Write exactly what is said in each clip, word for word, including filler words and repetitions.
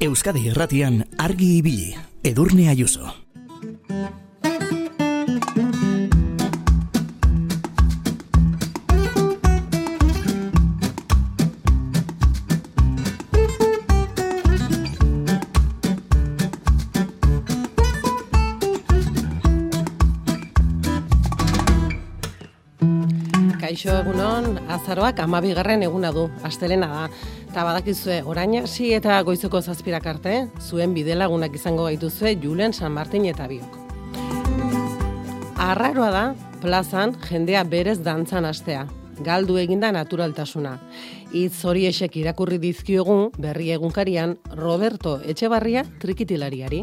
Euskadi Irratian argi ibili, Edurne Ayuso. Kaixo egunon, azaroak hamabigarren eguna du, astelena da. Eta badakizue, orain hasi eta goizeko zazpirak arte, zuen bidelagunak izango gaituzue Julen San Martin eta biok. Arraroa da, plazan jendea berez dantzan hastea. Galdu eginda naturaltasuna. Hitz horiexek irakurri dizkiogu berri egunkarian Roberto Etxebarria trikitilariari.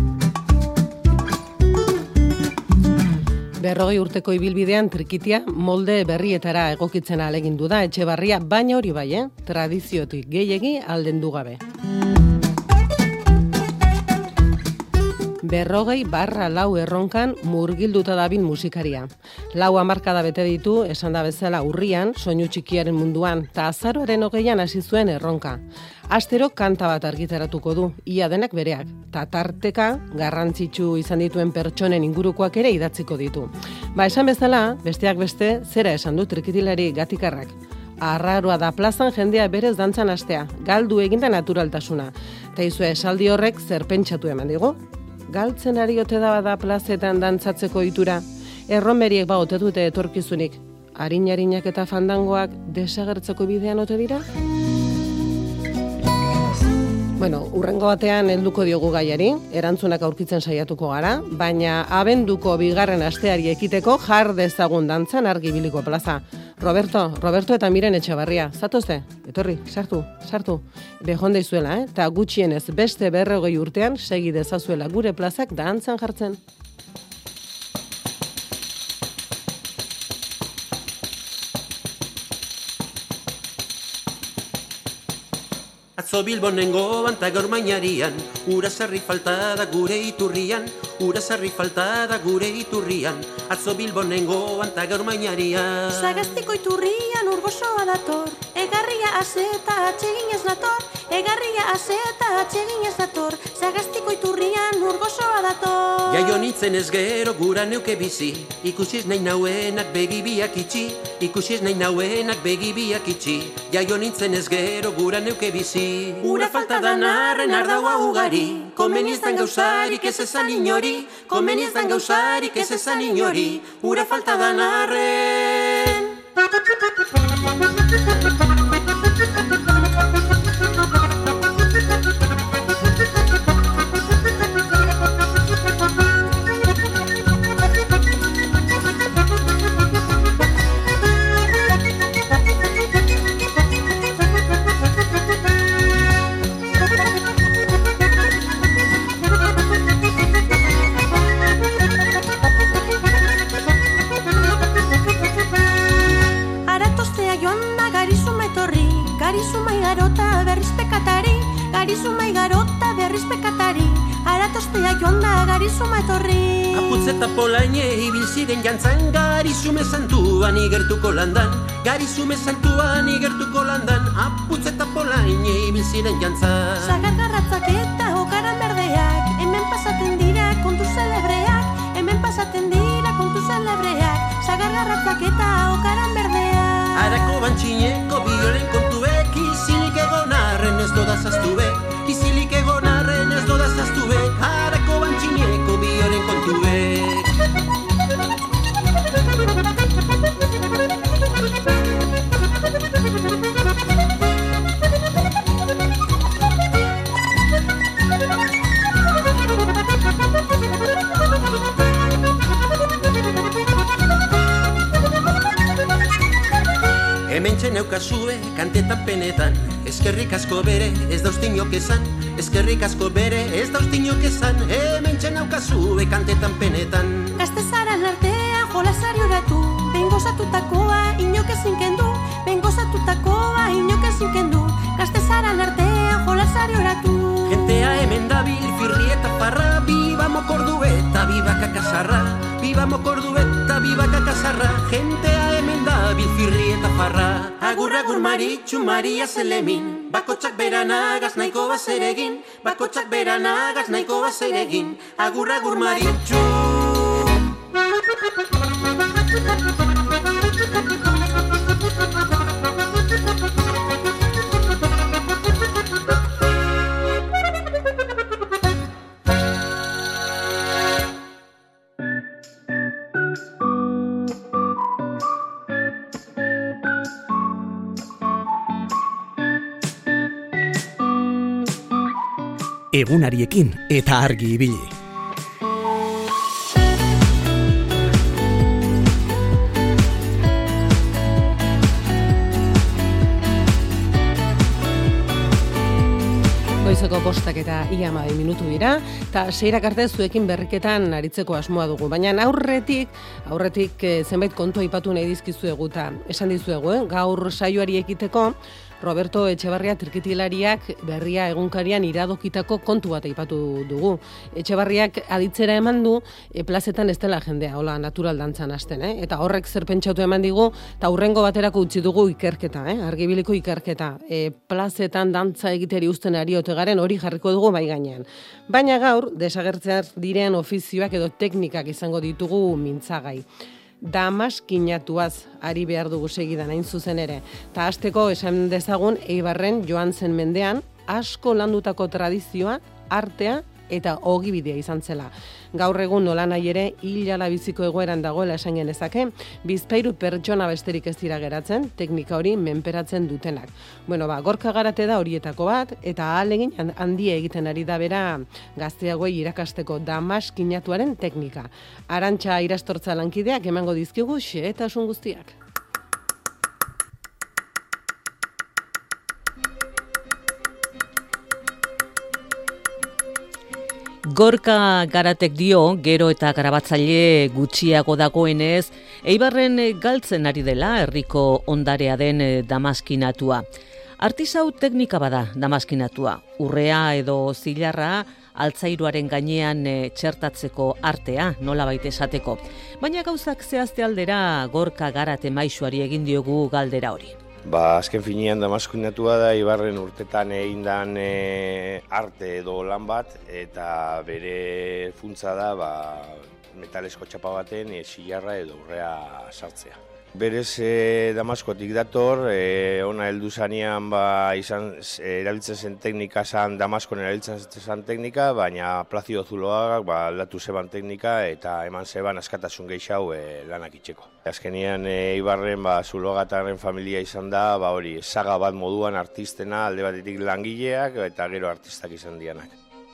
Berrogei urteko ibilbidean trikitia molde berrietara egokitzen ahalegindu da Etxebarria, baina hori bai, eh? Tradiziotik gehiegi aldendu gabe. Berrogei barra lau erronkan murgilduta dabil musikaria. Lau hamarkada bete ditu, esan da bezala urrian, soinu txikiaren munduan, eta azaroaren hogeian hasi zuen erronka. Astero kanta bat argitaratuko du, ia denak bereak, eta tarteka garrantzitsu izan dituen pertsonen ingurukoak ere idatziko ditu. Ba, esan bezala, besteak beste, zera esan du trikitilari Gatikarrak. Arraroa da plazan jendea berez dantzan hastea, galdu eginda naturaltasuna. Eta izue esaldi horrek zer pentsatu eman digu? Galtzen ari ote da bada plazetan dantzatzeko itura, erromeriek ba ote dute etorkizunik, harin-harinak eta fandangoak desagertzeko bidean ote dira? Bueno, urrengo batean helduko diogu gaiari, erantzunak aurkitzen saiatuko gara, baina abenduko bigarren asteari ekiteko jar dezagun dantzan argibiliko plaza. Roberto, Roberto eta Miren Etxebarria, zatozte? Etorri, sartu, sartu. Behonde izuela, eh? Ta gutxienez beste berrogei urtean segi dezazuela gure plazak dantzan jartzen. Atzo Bilbonengo banta gaur mainarian, ura sarri falta da gure iturrian, ura sarri falta da gure iturrian, atzo Bilbonengo banta gaur mainarian. Sagastiko iturrian urgosoa dator, egarria azeta atsegin ez dator, egarria azeta atsegin ez dator, Sagastiko iturrian urgosoa dator. Jaio nintzen ez gero gura neuke bizi, ikusiz nahi nauenak begibiak itxi, ikusiz nahi nauenak begibiak itxi, jaio nintzen ez gero gura neuke bizi. Ura falta dan arren ardaua ugari, komeniz dan gauzarik ez esan inori, komeniz dan gauzarik ez esan inori, ura falta dan arren. Garizumai garota berriz pekatari, garizumai garota berriz pekatari, aratostea joan da garizuma etorri. Aputzeta polaine ibil ziren jantzan, garizume santuan igertuko landan, garizume santuan igertuko landan, aputzeta polaine ibil ziren jantzan. Sagargarratzak eta okaran berdeak, hemen pasaten dira kontu zelebreak, hemen pasaten dira kontu zelebreak, sagargarratzak eta okaran berdeak. Arako bantxineko bioren kontuek, izilik egon arren ez doda zaztube, izilik egon arren ez doda zaztube, arako bantxineko bioren kontuek. Hementxe neukazue kantetan penetan, eskerrik asko bere ez dauztinok esan, eskerrik asko bere ez dauztinok esan, hementxe neukazue kantetan penetan. Gaztezaran artea jolasari oratu, behin gozatutakoa inok ezin kendu, behin gozatutakoa inok ezin kendu, gaztezaran artea jolasari oratu. Gentea hemen dabil firri eta parra, biba mokordu eta biba kakasarra, biba mokordu eta biba kakasarra, gentea hemen dabil bilfirri eta farra. Agur, agur, Maritxu, Maria Zelemin, bakotxak beranagaz nahiko bazeregin, bakotxak beranagaz nahiko bazeregin. Agur, agur, Maritxu. Egunariekin eta argi ibili. Goizeko bostak eta ia hamabi minutu dira, eta seirak arte zuekin berriketan aritzeko asmoa dugu. Baina aurretik, aurretik eh, zenbait kontu aipatu nahi dizkizuegu eta esan dizuegu, eh? Gaur saioari ekiteko, Roberto Etxebarria trikitilarriak berria egunkarian iradokitako kontu bat aipatu dugu. Etxebarriak aditzera eman du e, plazetan ez dela jendea, hola natural dantzan hasten, eh? Eta horrek zer pentsatu eman digu, eta hurrengo baterako utzi dugu ikerketa, eh? Argibiliko ikerketa. E, plazetan dantza egiteri uzten ari ote garen hori jarriko dugu bai gainean. Baina gaur, desagertzear diren ofizioak edo teknikak izango ditugu mintzagai. Damaskinatuaz ari behar dugu segidan hain zuzen ere. Ta hasteko esan dezagun Eibarren joan zen mendean asko landutako tradizioa, artea eta ogibidea izan zela. Gaur egun nolanahi ere hilala biziko egoeran dagoela esan genezake, bizpahiru pertsona besterik ez dira geratzen, teknika hori menperatzen dutenak. Bueno, ba, Gorka Garate da horietako bat, eta ahalegin handia egiten ari da bera gazteagoei irakasteko damaskinatuaren teknika. Arantxa Irastortza lankideak emango dizkigu xehetasun guztiak. Gorka Garatek dio, gero eta garabatzaile gutxiago dagoenez, Eibarren galtzen ari dela herriko ondarea den damaskinatua. Artisau teknika bada damaskinatua, urrea edo zilarra altzairuaren gainean txertatzeko artea, nolabait esateko. Baina gauzak zehazte aldera Gorka Garate maisuari egin diogu galdera hori. Ba, azken finean damaskinatua da Eibarren urtetan egindan e, arte edo lan bat, eta bere funtza da ba, metalesko txapa baten e, zilarra edo urrea sartzea. Berez e, Damaskotik dator, e, ona heldu zanean ba, izan, e, erabiltzen zen teknika zan, Damaskon erabiltzen zen teknika, baina Plazido Zuloagak ba, aldatu zeban teknika eta eman zeban askatasun gehiago e, lanak itxeko. Azkenean e, Eibarren ba, Zuloagataren familia izan da, ba, hori, saga bat moduan artistena, alde batetik langileak eta gero artistak izan dianak.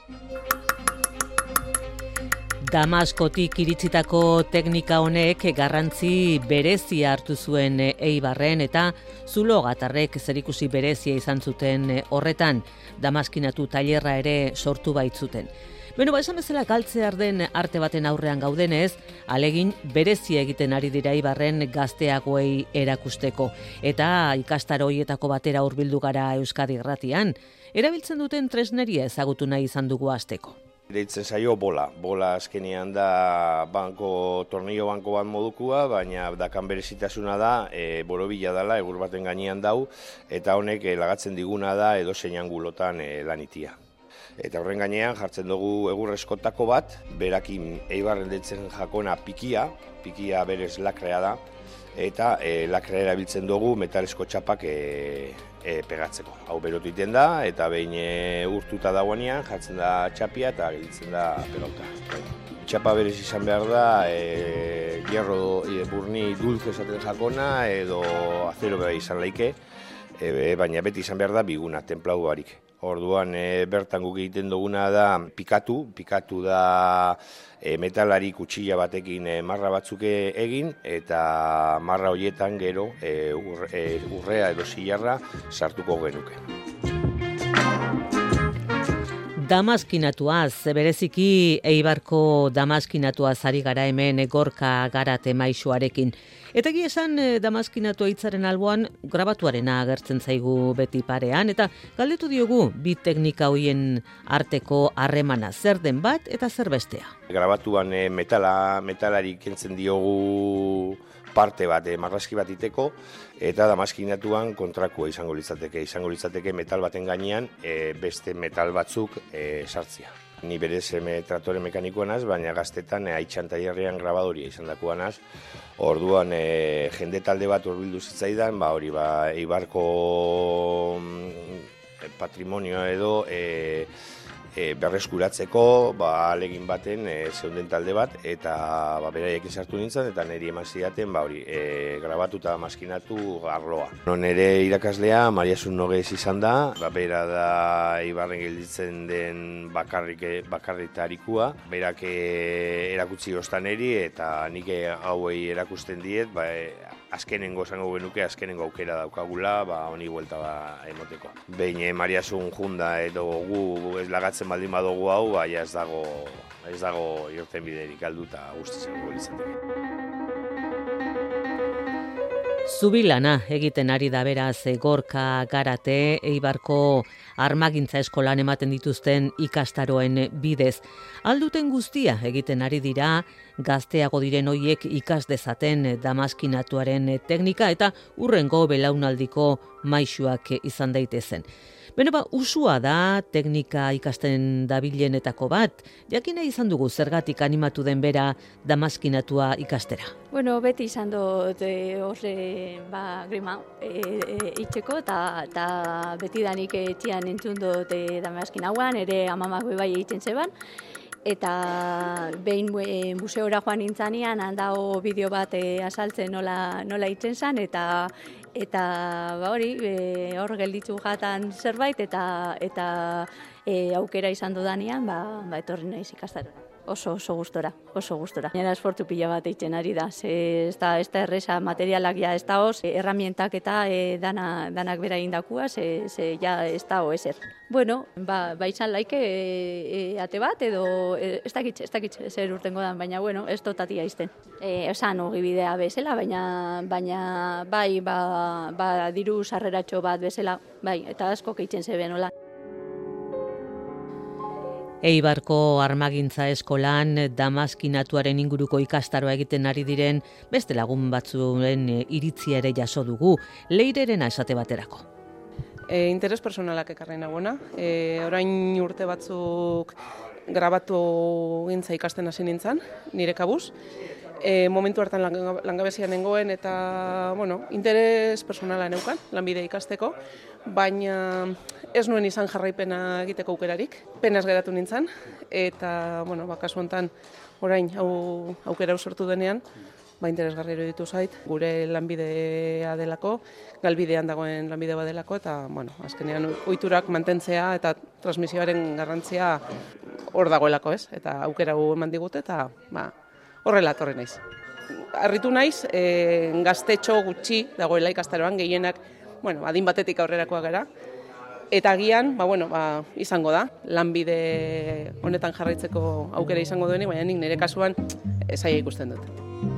Damaskotik iritsitako teknika honek garrantzi berezia hartu zuen Eibarren eta Zuloagatarrek zerikusi berezia izan zuten horretan, damaskinatu tailerra ere sortu baitzuten. Beno, ba, esan bezala galtzear den arte baten aurrean gaudenez, alegin berezia egiten ari dira Eibarren gazteagoei erakusteko. Eta ikastaro hoietako batera hurbildu gara Euskadi Irratian, erabiltzen duten tresneria ezagutu nahi izan dugu hasteko. Deitzen zaio bola. Bola azkenean da banko, tornillo banko bat modukua, baina dakan berezitasuna da, e, borobila dela, egur baten gainean dau, eta honek e, lagatzen diguna da edozein angulotan e, lanitia. Eta horren gainean jartzen dugu egur eskotako bat, berakin Eibarren deitzen jakona pikia, pikia berez lakrea da, eta e, lakrea erabiltzen dugu metalesko txapak e, e, pegatzeko. Hau berotu iten da, eta behin e, urtuta dagoenean jartzen da txapia eta gelditzen da pelota. Txapa berez izan behar da, e, hierro e, burni dulce esaten jakona edo azero beba izan laike, e, baina beti izan behar da biguna, templau barik. Orduan e, bertan guk egiten duguna da pikatu, pikatu da e, metalari kutxilla batekin e, marra batzuk egin, eta marra horietan gero e, ur, e, urrea edo zilarra sartuko genuke. Damaskinatuaz, bereziki Eibarko damaskinatuaz ari gara hemen Gorka Garate maisuarekin. Eta egia esan damaskinatua hitzaren alboan grabatuarena agertzen zaigu beti parean, eta galdetu diogu bi teknika hoien arteko harremana, zer den bat eta zer bestea. Grabatuan e, metala, metalari kentzen diogu parte bat, e, marrazki bat iteko, eta damaskinatuan kontrakua izango litzateke. Izango litzateke metal baten gainean e, beste metal batzuk e, sartzia. Ni berez eme, tratore mekanikoa naz, baina gaztetan e, Aitxan tailerrean grabadoria izan dakoa naz. Orduan e, jende talde bat hurbildu zitzaidan, ba, hori ba, Eibarko mm, patrimonioa edo e, e, berreskuratzeko ba, alegin baten e, zeunden talde bat, eta ba, beraiek sartu nintzen, eta niri eman zidaten ba, hori, e, grabatu eta maskinatu arloa. No, nire irakaslea Mariasun Nogez izan da, ba, bera da Eibarren gelditzen den bakarrik, bakarritarikua, berak e, erakutsi ostan eri, eta nik hauei erakusten diet, ba, e, azkenengo esango genuke, azkenengo aukera daukagula, ba, honi buelta ba, emoteko. Behin e, Mariasun junda edo gu ez lagatzen baldin badugu hau, ba, ja ez dago, ez dago irten biderik alduta guztiz egongo litzateke. Zubilana egiten ari da beraz Gorka Garate Eibarko armagintza eskolan ematen dituzten ikastaroen bidez. Alduten guztia egiten ari dira gazteago diren hoiek ikas dezaten damaskinatuaren teknika eta urrengo belaunaldiko maisuak izan daitezen. Beno ba, usua da teknika ikasten dabilenetako bat, jakina izan dugu zergatik animatu den bera damaskinatua ikastera. Bueno, beti izan dut e, horre ba, grima e, e, itxeko, eta beti danik etxian entzun dut e, damaskinauan, ere amamak bai egiten zeban. Eta behin e, museora joan nintzanean, handao bideo bat e, azaltzen nola, nola itzen zen, eta eta ba hori, e, hor gelditzu jatan zerbait, eta eta e, aukera izan dudanean, ba, ba etorri naiz ikastaro. Oso, oso gustora, oso gustora. Nera esfortu pila bat eitzen ari da, ze ez da, ez da erresa materialak ja ez da hoz, erramientak eta e, dana, danak bera indakua, ze, ze ja ez da ho ezer. Bueno, ba, ba izan laike e, e, ate bat, edo e, ez dakit, ez dakit zer urtengo dan, baina bueno, ez dotatia izten. E, esan ogibidea bezala, baina, baina bai, ba, ba diru sarreratxo bat bezala, bai, eta asko keitzen zeben hola. Eibarko armagintza eskolan damaskinatuaren inguruko ikastaroa egiten ari diren beste lagun batzuen iritzia ere jaso dugu, leirerena esate baterako. E, interes personalak ekarri nagoena, e, orain urte batzuk grabatu gintza ikasten hasi nintzen, nire kabuz. E, momentu hartan langabezian nengoen eta bueno, interes personala neukan, lanbide ikasteko, baina ez nuen izan jarraipena egiteko aukerarik, penaz geratu nintzen, eta bueno, ba, kasu honetan orain hau aukera sortu denean, ba, interesgarri iruditu zait, gure lanbidea delako, galbidean dagoen lanbide badelako, eta bueno, azkenean ohiturak mantentzea eta transmisioaren garrantzia hor dagoelako, ez? Eta aukera hau eman digute, eta ba, horrela etorri naiz. Harritu naiz, e, gaztetxo gutxi dagoela ikastaroan, gehienak, bueno, adin batetik aurrerakoak gara, eta agian, ba, bueno, ba, izango da, lanbide honetan jarraitzeko aukera izango duenik, baina nik nire kasuan zaila ikusten dut.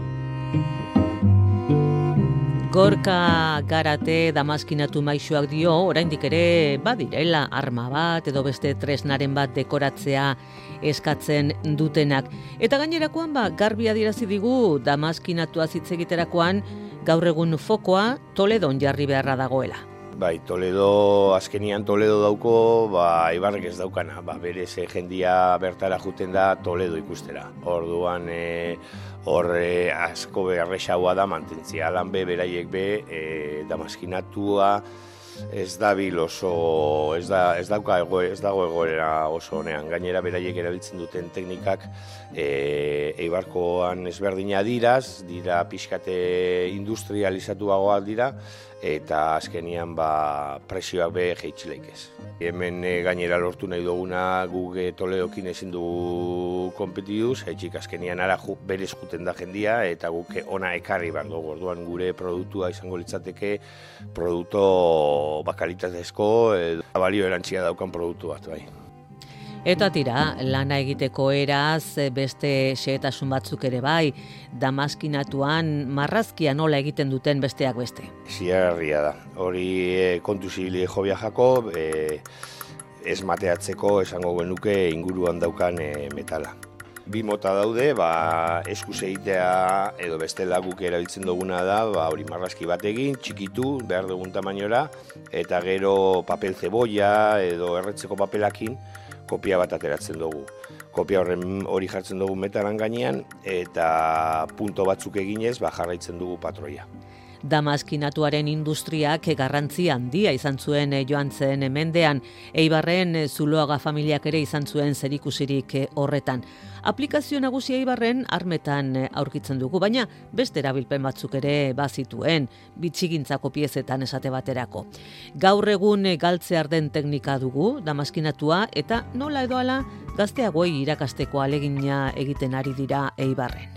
Gorka Garate damaskinatu maisuak dio, oraindik ere badirela arma bat edo beste tresnaren bat dekoratzea eskatzen dutenak. Eta gainerakoan ba, garbi adierazi digu damaskinatua hitz egiterakoan gaur egun fokoa Toledon jarri beharra dagoela. Bai, Toledo, azkenian Toledo dauko, ba, Eibarrek ez daukana, ba, berez jendia bertara juten da Toledo ikustera. Orduan, e, hor e, asko beharrexaua da mantentzia, lan be, beraiek be, e, damaskinatua ez dabil oso, ez, da, ez, dauka ego, ez dago egoera oso honean. Gainera, beraiek erabiltzen duten teknikak e, Eibarkoan ezberdina diraz, dira pixkate industrializatuagoak dira, eta azkenian ba, presioak be jeitxileik ez. Hemen e, gainera lortu nahi duguna guk Toledokin ezin dugu konpetiduz, etxik azkenian ara ju, berez juten da jendia, eta guk ona ekarri behar dugu. Orduan gure produktua izango litzateke produktu bakalitatezko, edo balio erantzia daukan produktu bat, bai. Eta tira, lana egiteko eraz, beste xehetasun batzuk ere bai, damaskinatuan marrazkia nola egiten duten besteak beste. Ziarria da, hori e, kontu zibili jo biajako, e, ez mateatzeko esango genuke inguruan daukan e, metala. bi mota daude, ba, eskuz egitea edo bestela guk erabiltzen duguna da, ba, hori marrazki bat egin, txikitu, behar dugun tamainora, eta gero papel zeboia edo erretzeko papelakin kopia bat ateratzen dugu. Kopia horren hori jartzen dugu metalan gainean, eta punto batzuk eginez, ba, jarraitzen dugu patroia. Damaskinatuaren industriak garrantzi handia izan zuen joan zen mendean, Eibarren Zuloaga familiak ere izan zuen zerikusirik horretan. Aplikazio nagusia Eibarren armetan aurkitzen dugu, baina beste erabilpen batzuk ere bazituen, bitxigintzako piezetan esate baterako. Gaur egun galtzear den teknika dugu, damaskinatua, eta nola edo ala gazteagoei irakasteko alegina egiten ari dira Eibarren.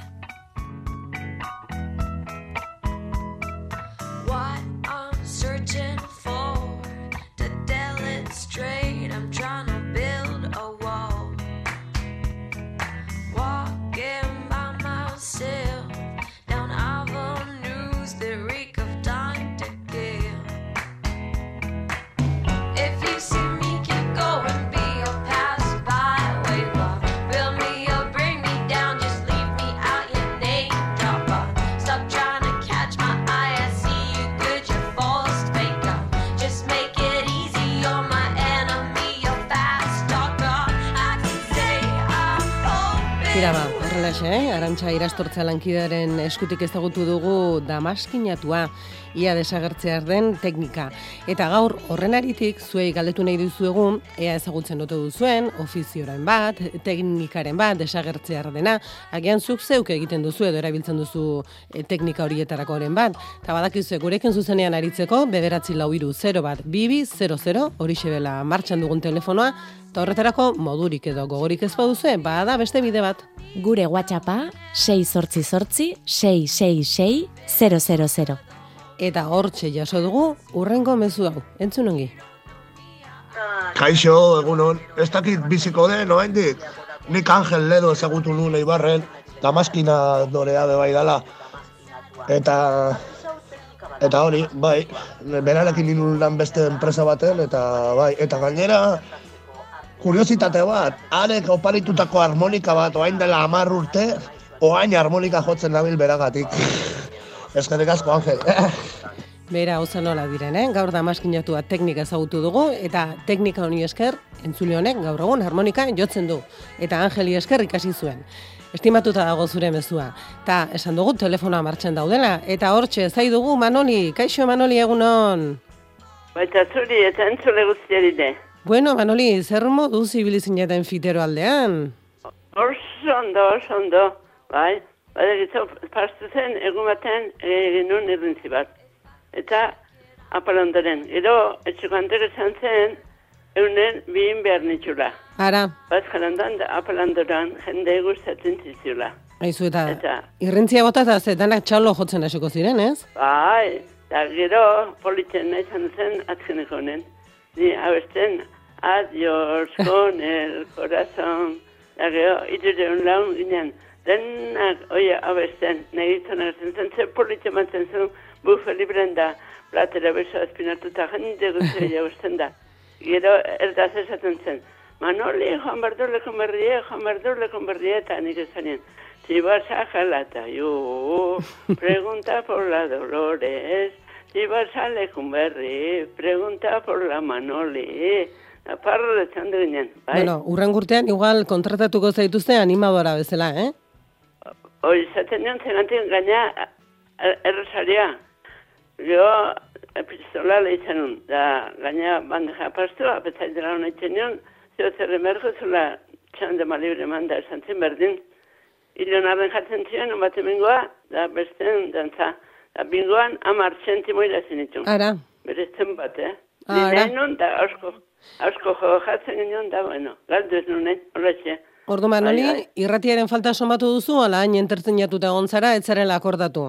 Tira ba, horrelaxe, eh? Arantxa Irastortza lankidearen eskutik ezagutu dugu damaskinatua, ia desagertzear den teknika. Eta gaur horren aritik zuei galdetu nahi duzuegu, ea ezagutzen ote duzuen, ofizioaren bat, teknikaren bat, desagertzear dena, agian zuk zeuk egiten duzu edo erabiltzen duzu e, teknika horietarakoren bat. Eta badakizu gurekin zuzenean aritzeko, bederatzi lau hiru zero bat bibi zero zero, horixe bela martxan dugun telefonoa, eta horretarako modurik edo gogorik ez baduzue, bada beste bide bat. Gure WhatsAppa sei zortzi zortzi sei sei sei zero zero zero. Eta hortxe jaso dugu urrengo mezu hau. Entzun ongi. Kaixo, egunon. Ez dakit biziko den, oraindik. Nik Angel Ledo ezagutu nuen Eibarren, damaskina dorea be bai dala. Eta eta hori, bai, berarekin nuen lan beste enpresa baten, eta bai, eta gainera kuriositate bat, arek oparitutako harmonika bat, oain dela hamar urte, oain harmonika jotzen nabil beragatik. Eskerrik asko, Angel. Bera, oza nola diren, eh? Gaur damaskinatua teknika ezagutu dugu, eta teknika honi esker, entzule honek gaur egun harmonika jotzen du. Eta Angeli esker ikasi zuen. Estimatuta dago zure mezua. Ta, esan dugu telefonoa martxan daudela, eta hortxe zai dugu Manoli. Kaixo Manoli, egunon? Baita zuri eta entzule guztiari de. Bueno, Manoli, zer modu zibilizineten fitero aldean? Oso ondo, oso ondo, bai. Bada gitzo, pastu zen, egun baten egin nuen irrintzi bat. Eta apalondoren. Gero, etxeko hantek esan zen, eunen bihin behar nitxula. Ara. Baz jalandan, apalondoran jende gustatzen zizula. Aizu, eta, eta irrintzia bota eta zetanak txalo jotzen hasiko ziren, ez? Bai, eta gero, politzen nahi zan zen, atzeneko honen. Ni abesten, adiós con el corazón. Da gero, irureun laun ginen, denak, oia, abesten, nahi zonak zen, zer politzen matzen zuen, bufe libren da, platera beso azpinatuta jende guzti abesten da. Gero, erdaz esaten zen, Manoli, Juan Bardole konberrie, Juan Bardole konberrie, eta nik esanien, si vas a Jalata, yo, pregunta por la Dolores, si vas a Lecumberri, pregunta por la Manoli, aparro de txando ginen, bai? Bueno, urren gurtean igual kontratatuko zaituzte animadora bezala, eh? Hoi, zaten nion zenantin gaina errosaria. Jo, epistola lehitzen nun, da gaina bandeja pastu, apetzait dela hona itzen nion, zio zerre mergo zula txande malibre manda esan zen berdin. Ilion arren jatzen zion, un bat emingoa, da besten dantza. Da bingoan, amar txentimo irazin itun. Ara. Berezten bat, eh? Ara. Nahi nun, da asko, asko jo jatzen ginen, da, bueno, galdu ez nunen, horretxe. Ordu Manoli, irratiaren falta somatu duzu, ala hain entertzen jatuta gontzara, etzarela akordatu?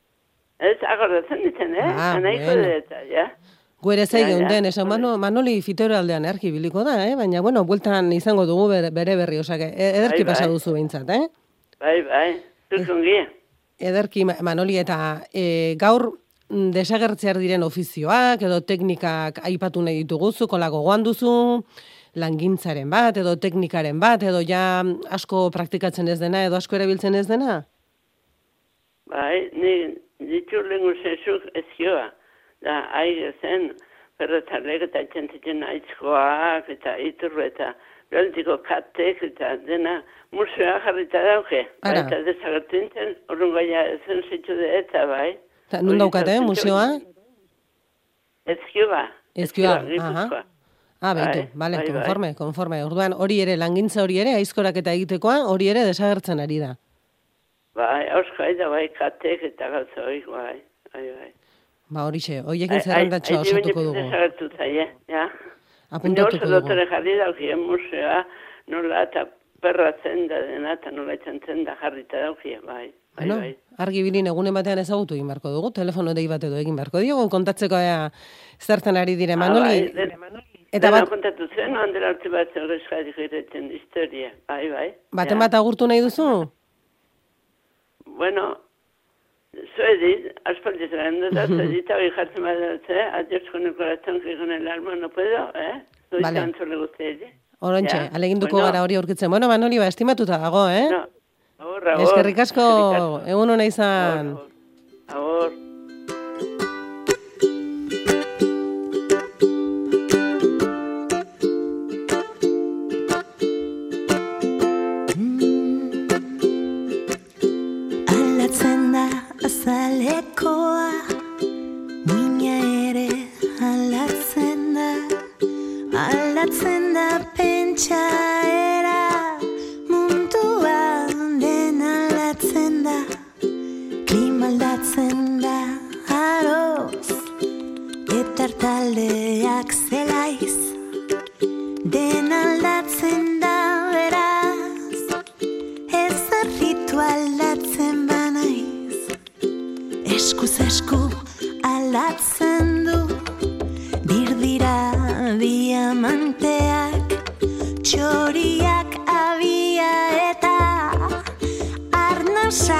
Ez, akordatzen ditzen, eh? Ah, Anaiko bueno. deta, ja. Guere zei Ja, ja. geunden, esan Mano, Manoli fitero aldean erki biliko da, eh? Baina, bueno, bueltan izango dugu bere, bere berri, osake, ederki Bai, bai. pasa duzu behintzat, eh? Bai, bai, zukongia. Ederki, Ma- Manoli, eta e, gaur mm, desagertzear diren ofizioak edo teknikak aipatu nahi ditugu, zuko gogoan duzu, langintzaren bat, edo teknikaren bat, edo ja asko praktikatzen ez dena, edo asko erabiltzen ez dena? Bai, ni ditu lengu zezuk ezioa. Da, aire zen, perretarlek eta txentitzen aitzkoak, eta iturru, eta behaltiko katek, eta dena museoa jarrita dauke. Bai, eta desagertintzen, horren gaia zen zitu de eta, bai. Ta, nun daukate, museoa? Ezkioa. Ezkioa, aha. Ah, baitu, bale, bai, konforme, bai. konforme. Orduan, hori ere, langintza hori ere, aizkorak eta egitekoa, hori ere desagertzen ari da. Bai, auskai da, bai, katek eta gauza hori, bai, bai, bai. Ba, hori xe, horiekin zerrendatxoa osatuko dugu. Desagertu zaie, ja. Apuntatuko dugu. Oso dotore jarri daukien museoa, nola eta perratzen da dena, eta nola etxantzen da jarrita daukien, bai. Bai, bueno, bai. Argi bilin egunen batean ezagutu egin beharko dugu, telefono dei bat edo egin beharko diogu, kontatzeko ea zertan ari dire, Manoli. Ah, bai, eta bat... kontatu zen, handela hartu bat zerrezkadik egiten historia, bai, bai. Baten bat agurtu nahi duzu? Bueno, zuedit, aspaldiz garen dut, zuedit, hori jartzen badatzen, adios con el corazón, que con el alma no puedo, eh? Zuedit antzole guztiedi. Orontxe, aleginduko gara hori aurkitzen. Bueno, Manoli, ba, estimatuta dago, eh? No. Agor, agor. Eskerrik asko, egun hona izan. Agor. Aldatzen da azalekoa, muina ere aldatzen da, aldatzen da pentsaera. Aldatzen da aroz, eta taldeak zelaiz, den aldatzen da beraz, ez arritu aldatzen banaiz, eskuz esku aldatzen du, dirdira diamanteak, txoriak abia eta arnasa.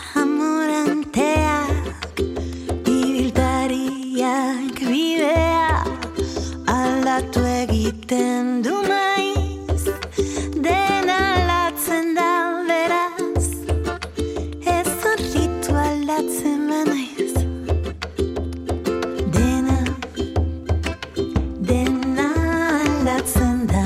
Aldatu egiten du maiz, dena aldatzen da beraz, ez horritu aldatzen banaiz. Dena, dena aldatzen da.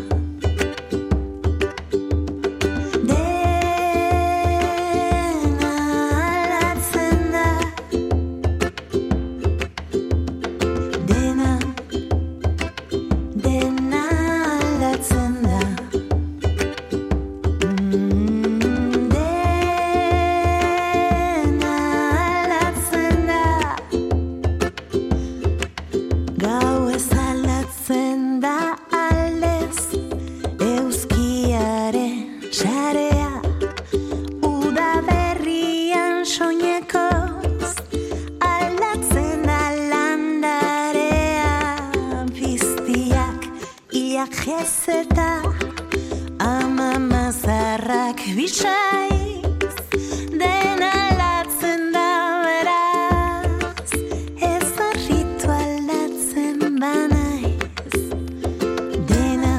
Jezeta ama mazarrak bisaiz, dena aldatzen da beraz, ez horritu aldatzen banaiz. Dena,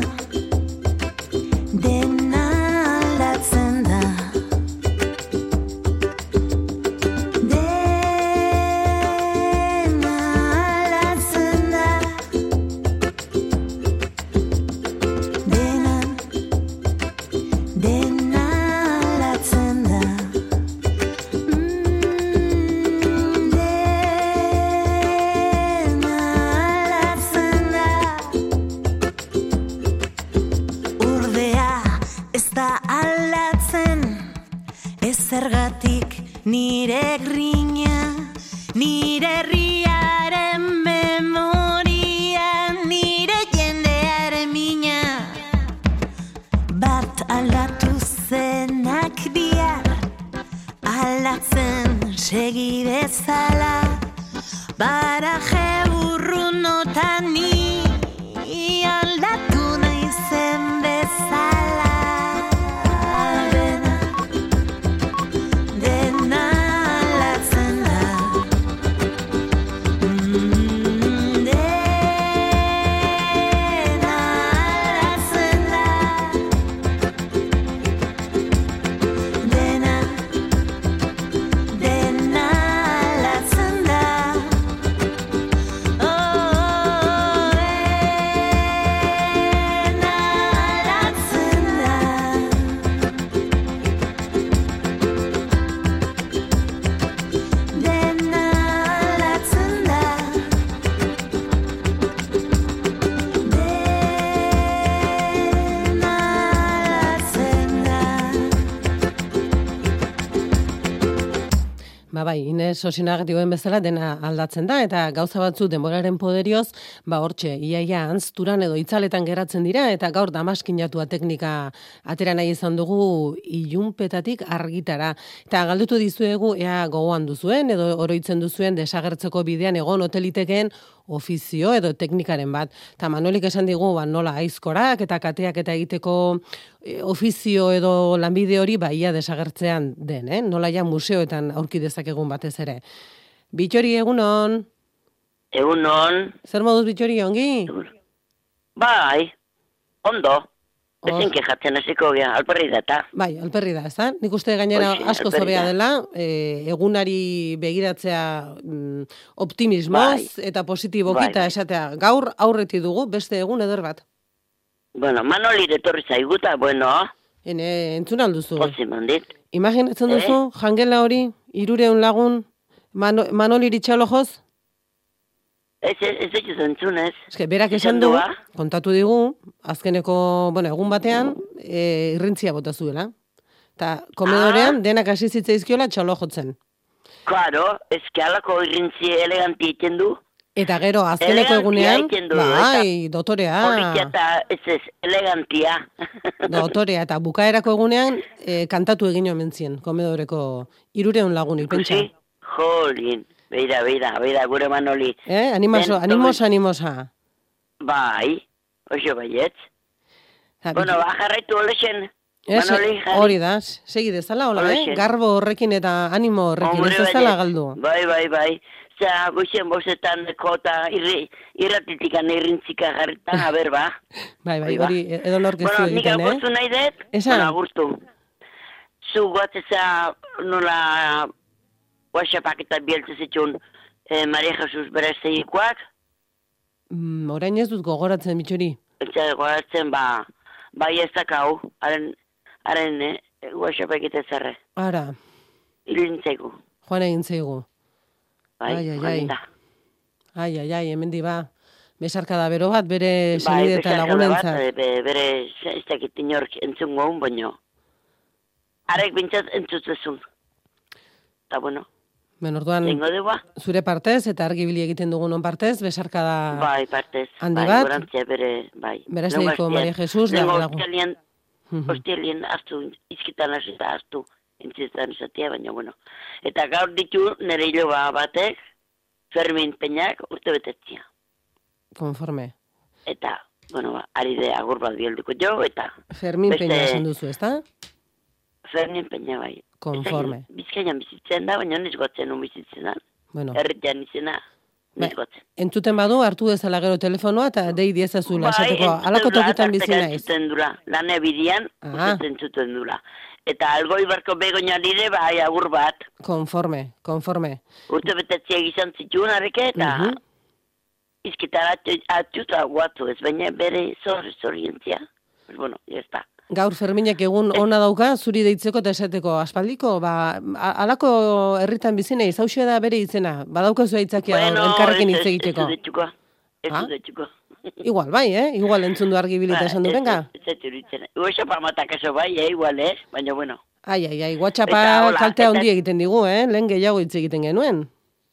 dena aldatzen da. Zergatik nire grina, nire herriaren memoria, nire jendearen mina. Bat aldatu zenak bihar, aldatzen segi bezala, baraje burrunotan ni aldatu nahi zen bezala. Ba bai, Ines Osinagati dioen bezala dena aldatzen da, eta gauza batzu denboraren poderioz, ba hortxe, iaia antzturan edo itzaletan geratzen dira, eta gaur damaskinatua teknika atera nahi izan dugu ilunpetatik argitara. Eta galdetu dizuegu, ea gogoan duzuen, edo oroitzen duzuen desagertzeko bidean egon otelitekeen ofizio edo teknikaren bat. Eta Manolik esan digu, ba, nola aizkorak eta kateak eta egiteko e, ofizio edo lanbide hori ba, ia desagertzean den, eh? Nola ja museoetan aurki dezakegun batez ere. Bitxori, egunon? Egunon. Zer moduz Bitxori, ongi? Bai, ondo. Ezen kejatzen hasiko gea, alperri da eta. Bai, alperri da, ez da? Nik uste gainera Oixi, asko alperri zobea da. dela, e, egunari begiratzea mm, optimismoz Bai. eta positibokita Bai, bai. esatea. Gaur aurreti dugu beste egun eder bat. Bueno, Manoli etorri zaiguta, bueno. Ene, entzun alduzu. Pozi mandit. Imaginatzen Eh? duzu, jangela hori, irureun lagun, Mano, Manoli ritxalojoz? Ez, ez, ez ez entzunez. Eske, berak esan du, kontatu digu, azkeneko, bueno, egun batean, e, irrintzia bota zuela. Eta komedorean, denak hasi zitzaizkiola txalo jotzen. Claro, ez que alako irrintzi eleganti egiten du. Eta gero, azkeneko Elegantia egunean, egiten du, bai, dotorea, Politia eta ez ez, elegantia. dotorea, eta bukaerako egunean, e, kantatu egin omen zien, komedoreko irureun lagunik, pentsa. Ikusi? Jolin, beira, beira, beira, gure Manoli. Eh, animoso, Den- animosa, animosa. Bai, oso baietz. Ja, Bueno, biki- ba, jarraitu olexen. Ez, Manoli, jarri. hori da, segi dezala, hola, eh? Horixe. Garbo horrekin eta animo horrekin, Hombre, ez dezala baietz. galdu. Bai, bai, bai. Za, goizien bostetan kota irri, irratitikan irrintzika jarritan, a ber, ba. Bai, bai, Hori ba. hori edo norkeztu Bueno, nik egiten, agurtu eh? nahi dut, Esan. bueno, agurtu. Zu guatzeza nola WhatsAppak eta bieltze zitun eh, Maria Jesus Berezeikoak, Mm, orain ez dut gogoratzen, bitxori. eta goratzen, ba, bai ez dakau, haren, haren eh, WhatsApp egite zerre, Ara, ilintzeko. joan egin zaigu. Bai, Ai, ai, ai. joan da. Ai, ai, ai, hemen di ba. Besarkada bero bat, bere Bai, senide eta besarkada bat, lagunentzat. eh, be- bere, ez dakit inork entzungo hon, baino. Arek bintzat entzutzezun. Eta bueno, Ben, orduan, tengo deba. zure partez eta argibili egiten dugunon partez, besarkada Bai, partez. handi bai, bat. gorantzia bere, bai. Berazteiko Nengo Maria hastian- Jesus da nengo lagun. Ostiralien, Mhm. ostiralien hartu, izkitan hasi eta hartu, entzitzen esatia, baina bueno. Eta gaur ditu nire hiloba batek, Fermin Peñak urte betetzia. Konforme. Eta, bueno, ba, ari de agur bat bielduko jo, eta Fermin Beste- Peña esan duzu, ezta? Fermin Peña bai. Konforme. Ez dakit, Bizkaian bizitzen da, baina niz gotzen un bizitzen da. Bueno, Herritan izena, niz gotzen. entzuten badu, hartu dezala gero telefonoa eta dei diezazula, Bai, esateko, alako tokitan bizi naiz. entzuten dura, lan ebidian, Ah. entzuten dura. Eta algoi barko begoina dire, bai, agur bat. Konforme, konforme. Urte betetziak izan zituen arreke, eta Mhm. izkitan atxuta guatu ez, baina bere zorri zorrientzia. Pues bueno, ya está. Gaur Ferminak egun ona dauka, zuri deitzeko eta esateko aspaldiko, ba, a- alako herritan bizi naiz, hauxe da bere izena, badaukazu aitzakia gaur, elkarrekin hitz egiteko. Ez dutxuko, ez Ah? dutxuko. Igual, bai, eh? Igual entzun du argibilita esan du, venga. Ez ez duritzen. Uesa pamatak eso bai, eh, igual, eh? Baina bueno. Ai, ai, ai, Eta WhatsAppa hola, kalte eta- handi egiten digu, eh? Lehen gehiago hitz egiten genuen.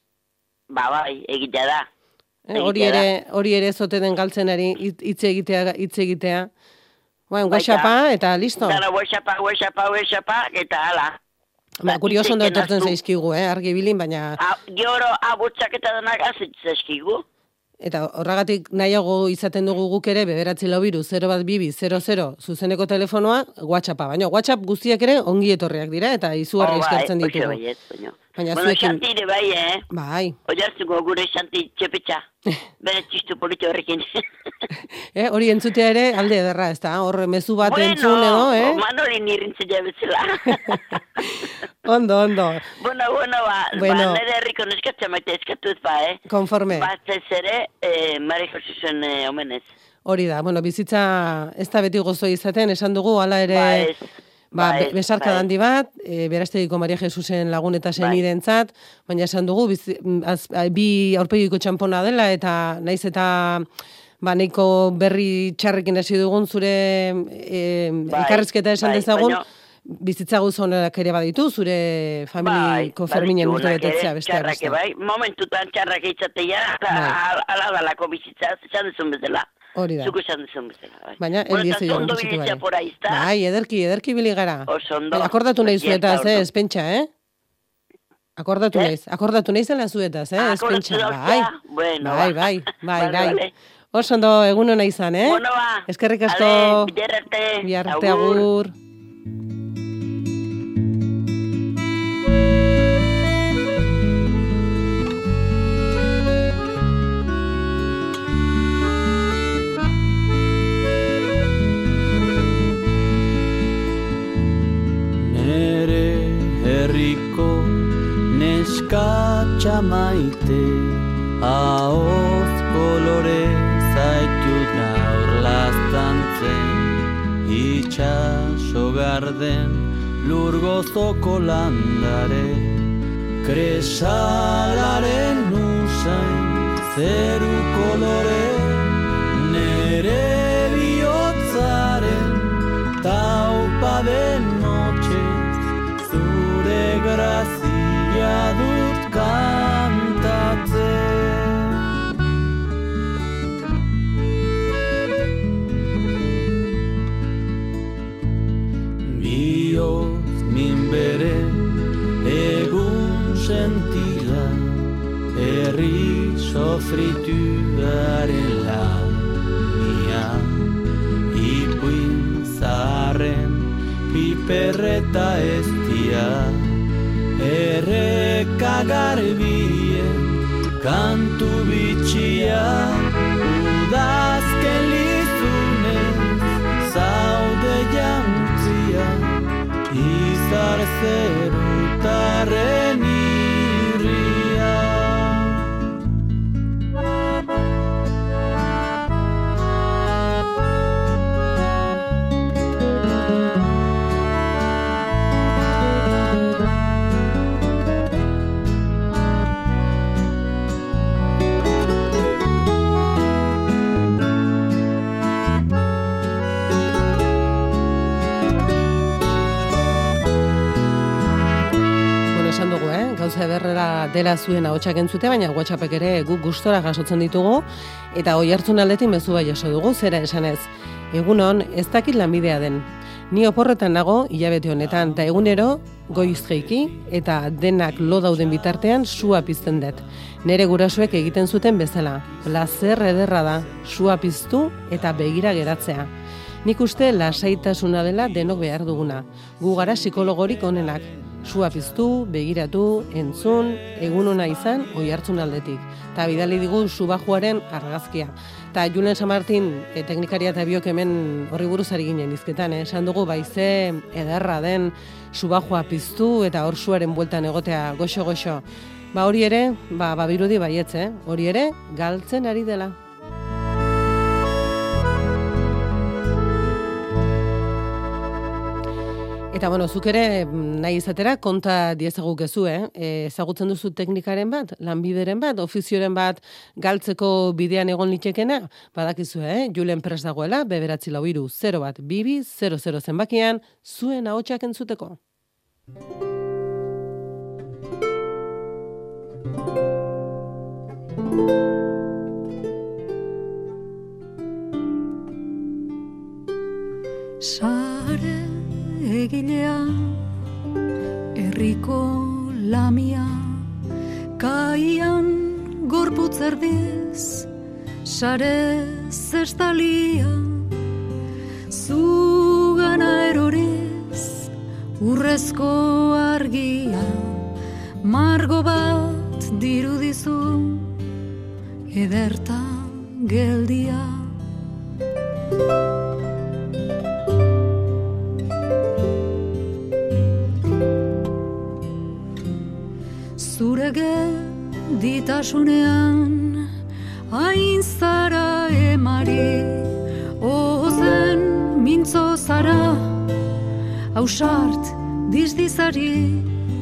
Ba, bai, egitea da. Eh, hori Egitea da. ere, hori ere zote den galtzenari hitz hitz egitea, hitz egitea. Bueno, Baita. WhatsAppa eta listo. Dara, WhatsAppa, WhatsAppa, WhatsAppa, eta ala. Ba, kurioso ondo hitz egiten etortzen hastu. zaizkigu, eh? Argibilin, baina... A, Gero, abutsak eta denak azitzeskigu. Eta horregatik nahiago izaten dugu guk ere, bederatzi lau biru, zero bat bibi, zero zero, zuzeneko telefonoa, WhatsAppa. Baina WhatsApp guztiak ere ongi etorriak dira, eta izugarri eskertzen ditugu. Baiet, baina. Baina Bueno, zuekin... Xantire bai, eh? Bai, Oiartzuko gure Xanti txepetxa. Bere txistu polito horrekin. eh, hori entzutea ere alde ederra, ez da? Hor mezu bat entzun edo, eh? Manoli nirintzea bezala. Ondo, ondo. bueno, bueno, ba, Bueno. ba nire herriko neskatzea maite eskatuz ba, eh? Konforme. Batez ere, eh, Mari Josusen eh, omenez. Hori da, bueno, bizitza ez da beti gozo izaten, esan dugu, hala ere... Ba, ez. Ba, Ba, be- ez, besarka ba, ez. handi bat, e, beraztegiko Maria Jesusen lagun eta senidentzat, baina esan dugu, bizi, az, a, bi aurpegiko txampona dela, eta naiz eta ba, nahiko berri txarrekin hasi dugun zure e, Bai, elkarrizketa esan bai, dezagun, baina- bizitza gauza honak ere baditu, zure familiko Ferminen urte betetzea besteak beste. Bai, momentutan txarrak eitzatea, ala dalako bizitza, esan duzun bezala. Hori da. Zuko esan duzun bezala. Bai. Baina, eldiezi joan bizitu bai. Por ahí está. Bai, ederki, ederki bili gara. Oso ondo. Akordatu nahi zuetaz, eh, espentsa, eh? Akordatu eh? naiz, akordatu nahi zela zuetaz, eh, espentsa. Bai, bueno, bai, bai, bai, bai. Vale. Oso ondo egun hona izan, eh? Bueno, ba. Eskerrik asko. Biarrarte. Biarrarte, agur. Nere herriko neskatxa maite, ahoz kolore zaitut gaur laztantzen, itxaso garden lur gozoko landare, kresalaren usain zeru kolore, nere bihotzaren taupa den notxez, zure grazia dut kantatzen. Bihotz minbere egun sentila, herri sofrituaren launia, ipuin zaharren piperreta eztia, erreka garbien kantu bitxia, udazken lizunez zaude jantzia, izar zerutaren irria. Gauza ederrera dela zuen ahotsak entzute, baina WhatsAppek ere guk gustora jasotzen ditugu, eta oi hartzun aldetik mezu bai jaso dugu, zera esanez. Egunon, ez dakit lanbidea den. Ni oporretan nago, hilabete honetan, eta egunero, goiz jeiki, eta denak lo dauden bitartean sua pizten dut. Nere gurasoek egiten zuten bezala. Plazer ederra da, sua piztu eta begira geratzea. Nik uste lasaitasuna dela denok behar duguna. Gu gara psikologorik onenak. Sua piztu, begiratu, entzun, egun ona izan, oi hartzun aldetik. Ta bidali digu subajuaren argazkia. Ta Julen San Martin, e, teknikaria eta biok hemen horri buruz ari ginen izketan, eh? Esan dugu baize ederra den subajua piztu eta hor suaren bueltan egotea goxo-goxo. Ba hori ere, ba, babirudi baietz, eh? Hori ere, galtzen ari dela. Eta, bueno, zuk ere nahi izatera konta diezaguk ezu, eh? E, ezagutzen duzu teknikaren bat, lanbideren bat, ofizioren bat galtzeko bidean egon litekena? Badakizu, eh? Julen prest dagoela, beberatzi lau hiru zero bat bibi zero zero zenbakian, zuen ahotsak entzuteko. Sare egilea, herriko lamia, kaian gorputz erdiz, sare zestalia, zugana eroriz, urrezko argia, margo bat dirudizu, ederta geldia. Zure geditasunean hain zara emari, ozen mintzo zara, ausart dizdizari,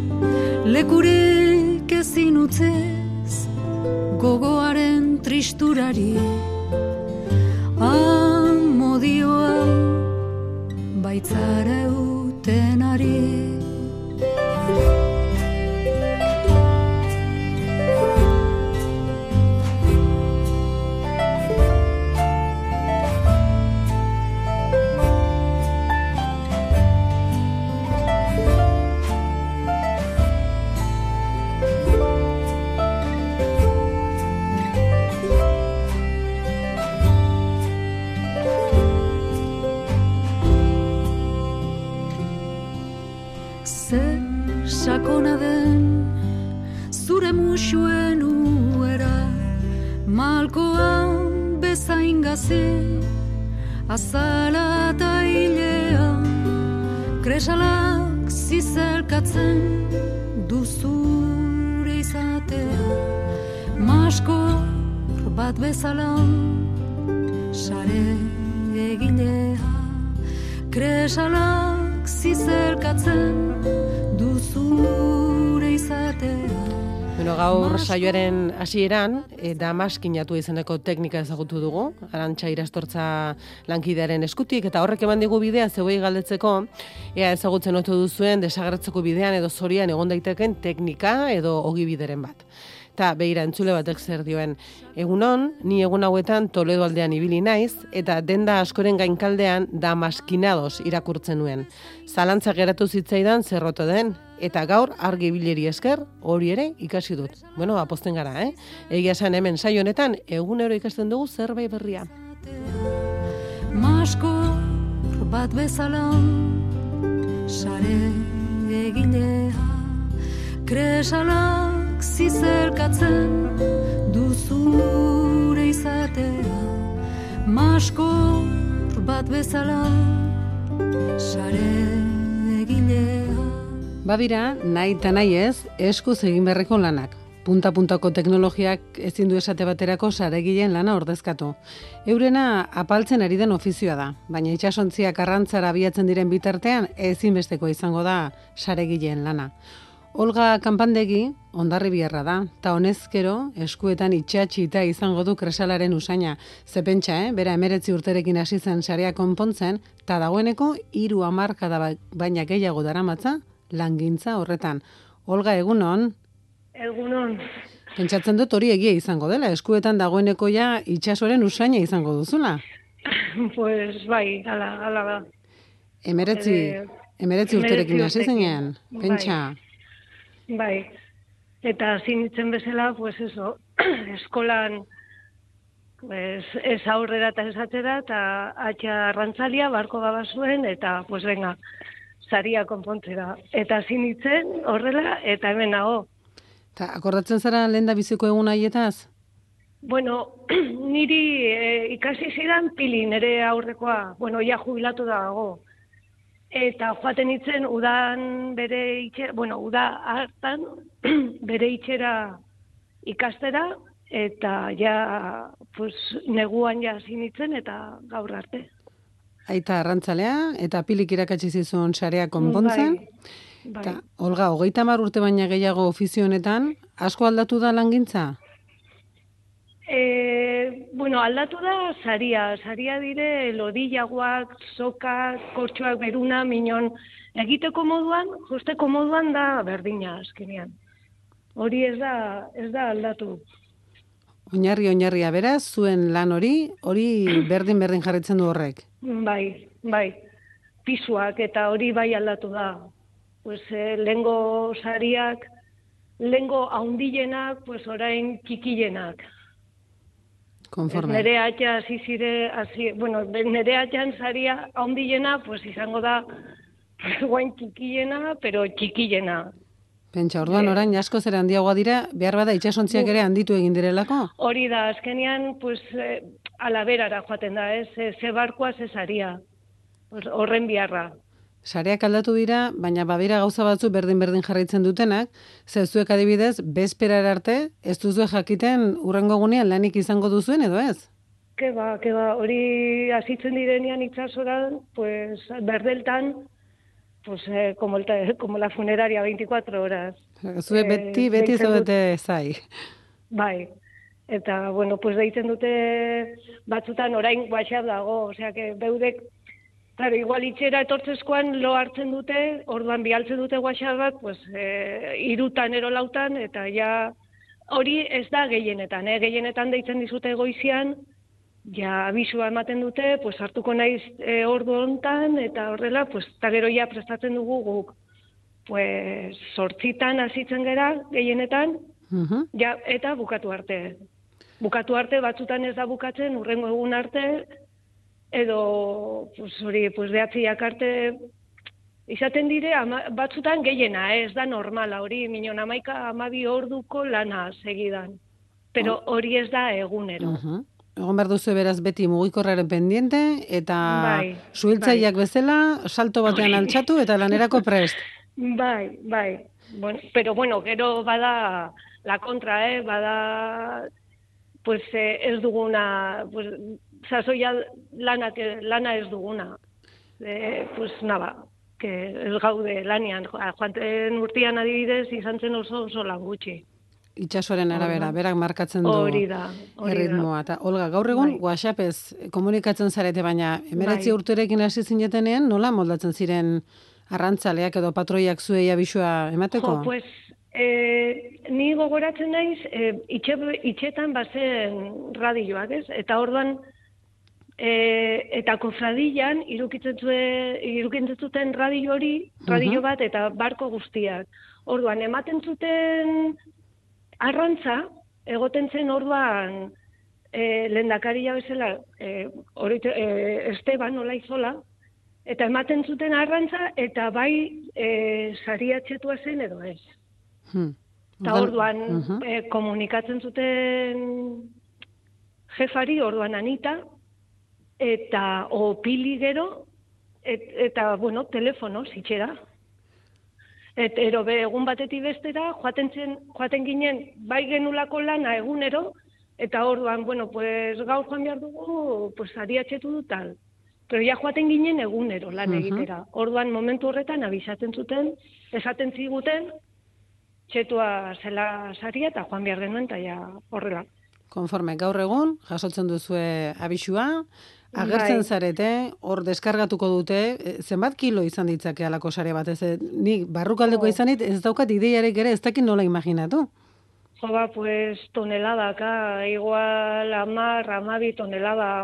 lekurik ezin utzez gogoaren tristurari. Amodioa baitzara eute denari. Sakona den zure musuen uera, malkoan bezain gazi, azala eta hilea, kresalak zizelkatzen duzure izatea, maskor bat bezala, sare egilea, kresalak zizelkatzen duzure izatea. Bueno, gaur saioaren hasieran e, damaskinatu izeneko teknika ezagutu dugu, Arantxa Irastortza lankidearen eskutik, eta horrek eman digu bidea zeuei galdetzeko, ea ezagutzen ote duzuen desagertzeko bidean edo zorian egon daiteken teknika edo ogibideren bat. Eta begira entzule batek zer dioen, egunon, ni egun hauetan Toledo aldean ibili naiz, eta denda askoren gainkaldean damaskinados irakurtzen nuen. Zalantza geratu zitzaidan zerroto den, eta gaur argi bileri esker hori ere ikasi dut. Bueno, aposten gara, eh? Egia esan hemen saio honetan egunero ikasten dugu zerbait berria. Maskor bat bezala, sare egilea, kresalak zizelkatzen duzure izatea, maskor bat bezala, sare egilea. Badira, nahi eta nahi ez, eskuz egin beharreko lanak. Punta-puntako teknologiak ezin du esate baterako saregileen lana ordezkatu. Eurena apaltzen ari den ofizioa da, baina itsasontziak arrantzara abiatzen diren bitartean ezinbesteko izango da saregileen lana. Olga Kanpandegi Hondarribiarra da, eta honezkero eskuetan itxatxita izango du kresalaren usaina. Ze pentsa, eh? Bera emeretzi urterekin hasi zen sarea konpontzen, eta dagoeneko hiru hamarkada baina gehiago daramatza langintza horretan. Olga, egunon? Egunon. Pentsatzen dut hori egia izango dela, eskuetan dagoeneko ja itxasoren usaina izango duzula. Pues bai, ala, ala da. Emeretzi, Eh, emeretzi urterekin hasi zenean, bai. pentsa. Bai, eta zinitzen bezala, pues eso, eskolan pues, ez aurrera eta ez atzera, eta atxa arrantzalia barko gaba zuen, eta pues venga, saria konpontzera. Eta zinitzen horrela, eta hemen nago. Ta, akordatzen zara lehen da biziko egun haietaz? Bueno, niri eh, ikasi zidan pili nire aurrekoa, bueno, ja jubilatu dago. Eta joaten itzen udan bere itxera, bueno, uda hartan bere itxera ikastera, eta ja, pues, neguan ja zinitzen eta gaur arte. Aita arrantzalea, eta pilik irakatsi zizun sarea konpontzen. Bai, bai. Ta, Olga, hogeita hamar urte baina gehiago ofizio honetan, asko aldatu da langintza? E, bueno, aldatu da saria, saria dire lodillagoak, sokak, kortxoak beruna, minon, egiteko moduan, justeko moduan da berdina azkenean. Hori ez da, ez da aldatu. Oinarri oinarria beraz, zuen lan hori, hori berdin-berdin jarritzen du horrek. Bai, bai, pisuak eta hori bai aldatu da. Pues, eh, lengo sariak, lengo haundilenak, pues orain kikilenak. Konforme. Nere atxa hasi zire, hasi, bueno, nere atxan saria haundilena, pues izango da, guain txikilena, pero txikilena. Pentsa, orduan orain asko zer handiagoa dira, behar bada itxasontziak ere handitu egin direlako? Hori da, azkenean, pues, eh, alaberara joaten da, ez, ze, ze barkoa, ze saria. Pues, horren biharra. Sareak aldatu dira, baina badira gauza batzu berdin-berdin jarraitzen dutenak, ze zuek adibidez, bezperar arte, ez duzue jakiten urrengo egunean lanik izango duzuen edo ez? Ke ba, ke ba, hori hasitzen direnean itxasoran, pues, berdeltan, pues, eh, como, el, como la funeraria, veinticuatro horas. Zue beti, Eh, beti deitzen dut- zaudete zai. Bai, eta, bueno, pues deitzen dute batzutan orain WhatsApp dago, osea, que beudek Claro, igual itxera etortzezkoan lo hartzen dute, orduan bialtzen dute WhatsApp bat, pues, e, irutan ero lautan, eta ja hori ez da gehienetan, eh? Gehienetan deitzen dizute goizian, ja abisua ematen dute, pues, hartuko naiz e, ordu hontan, eta horrela, pues, eta gero ja prestatzen dugu guk. Pues, sortzitan hasitzen gera, gehienetan, uh-huh. ja, eta bukatu arte. Bukatu arte, batzutan ez da bukatzen, urrengo egun arte, edo, pues, hori, pues, behatziak arte, izaten dire, ama, batzutan gehiena, eh? Ez da normala, hori, minon amaika amabi orduko lana segidan. Pero hori ez da egunero. Uh-huh. Egon behar duzu beraz beti mugikorraren pendiente, eta bai, suhiltzaileak bai. bezala, salto batean altxatu eta lanerako prest. Bai, bai. Bueno, pero bueno, gero bada la kontra, eh? Bada, pues, eh, ez duguna, pues, sasoia lana, lana ez duguna. Eh, pues, naba, que ez gaude lanian. Joanten urtean adibidez, izan zen oso oso lan gutxi. Itxasoren arabera, berak markatzen du hori da, hori erritmoa. Eta, Olga, gaur egun, bai. WhatsAppez komunikatzen zarete, baina emeretzi bai. urterekin hasi zinetenean, nola moldatzen ziren arrantzaleak edo patroiak zuei abisua emateko? Jo, pues, eh, ni gogoratzen naiz, eh, itxe, itxetan bazen radioak, ez? Eta orduan, eh, eta kofradilan irukitzen zuten radio hori, radio Uh-huh. bat, eta barko guztiak. Orduan, ematen zuten arrantza, egoten zen orduan, eh, lehendakaria bezala, eh, hori, eh, Esteban Olaizola, eta ematen zuten arrantza, eta bai e, sariatxetua zen edo ez. Hmm. Eta orduan uh-huh. e, komunikatzen zuten jefari, orduan Anita, eta o pili gero, et, eta, bueno, telefono, zitxera. Et, ero be, egun batetik bestera, joaten, zen, joaten ginen, bai genulako lana egunero, eta orduan, bueno, pues gaur joan behar dugu, pues sariatxetu du tal. Pero ja joaten ginen egunero lan egitera. Orduan momentu horretan abisaten zuten, esaten ziguten, txetua zela saria eta joan behar genuen, eta ja horrela. Konforme, gaur egun, jasotzen duzue abisua, agertzen Bai. zarete, hor deskargatuko dute, zenbat kilo izan ditzake alako sare bat, ez, nik barrukaldeko Jo. izanit, ez daukat ideiarek ere, ez dakit nola imaginatu. Jo, ba, pues, toneladaka, igual, amar, amabi tonelada.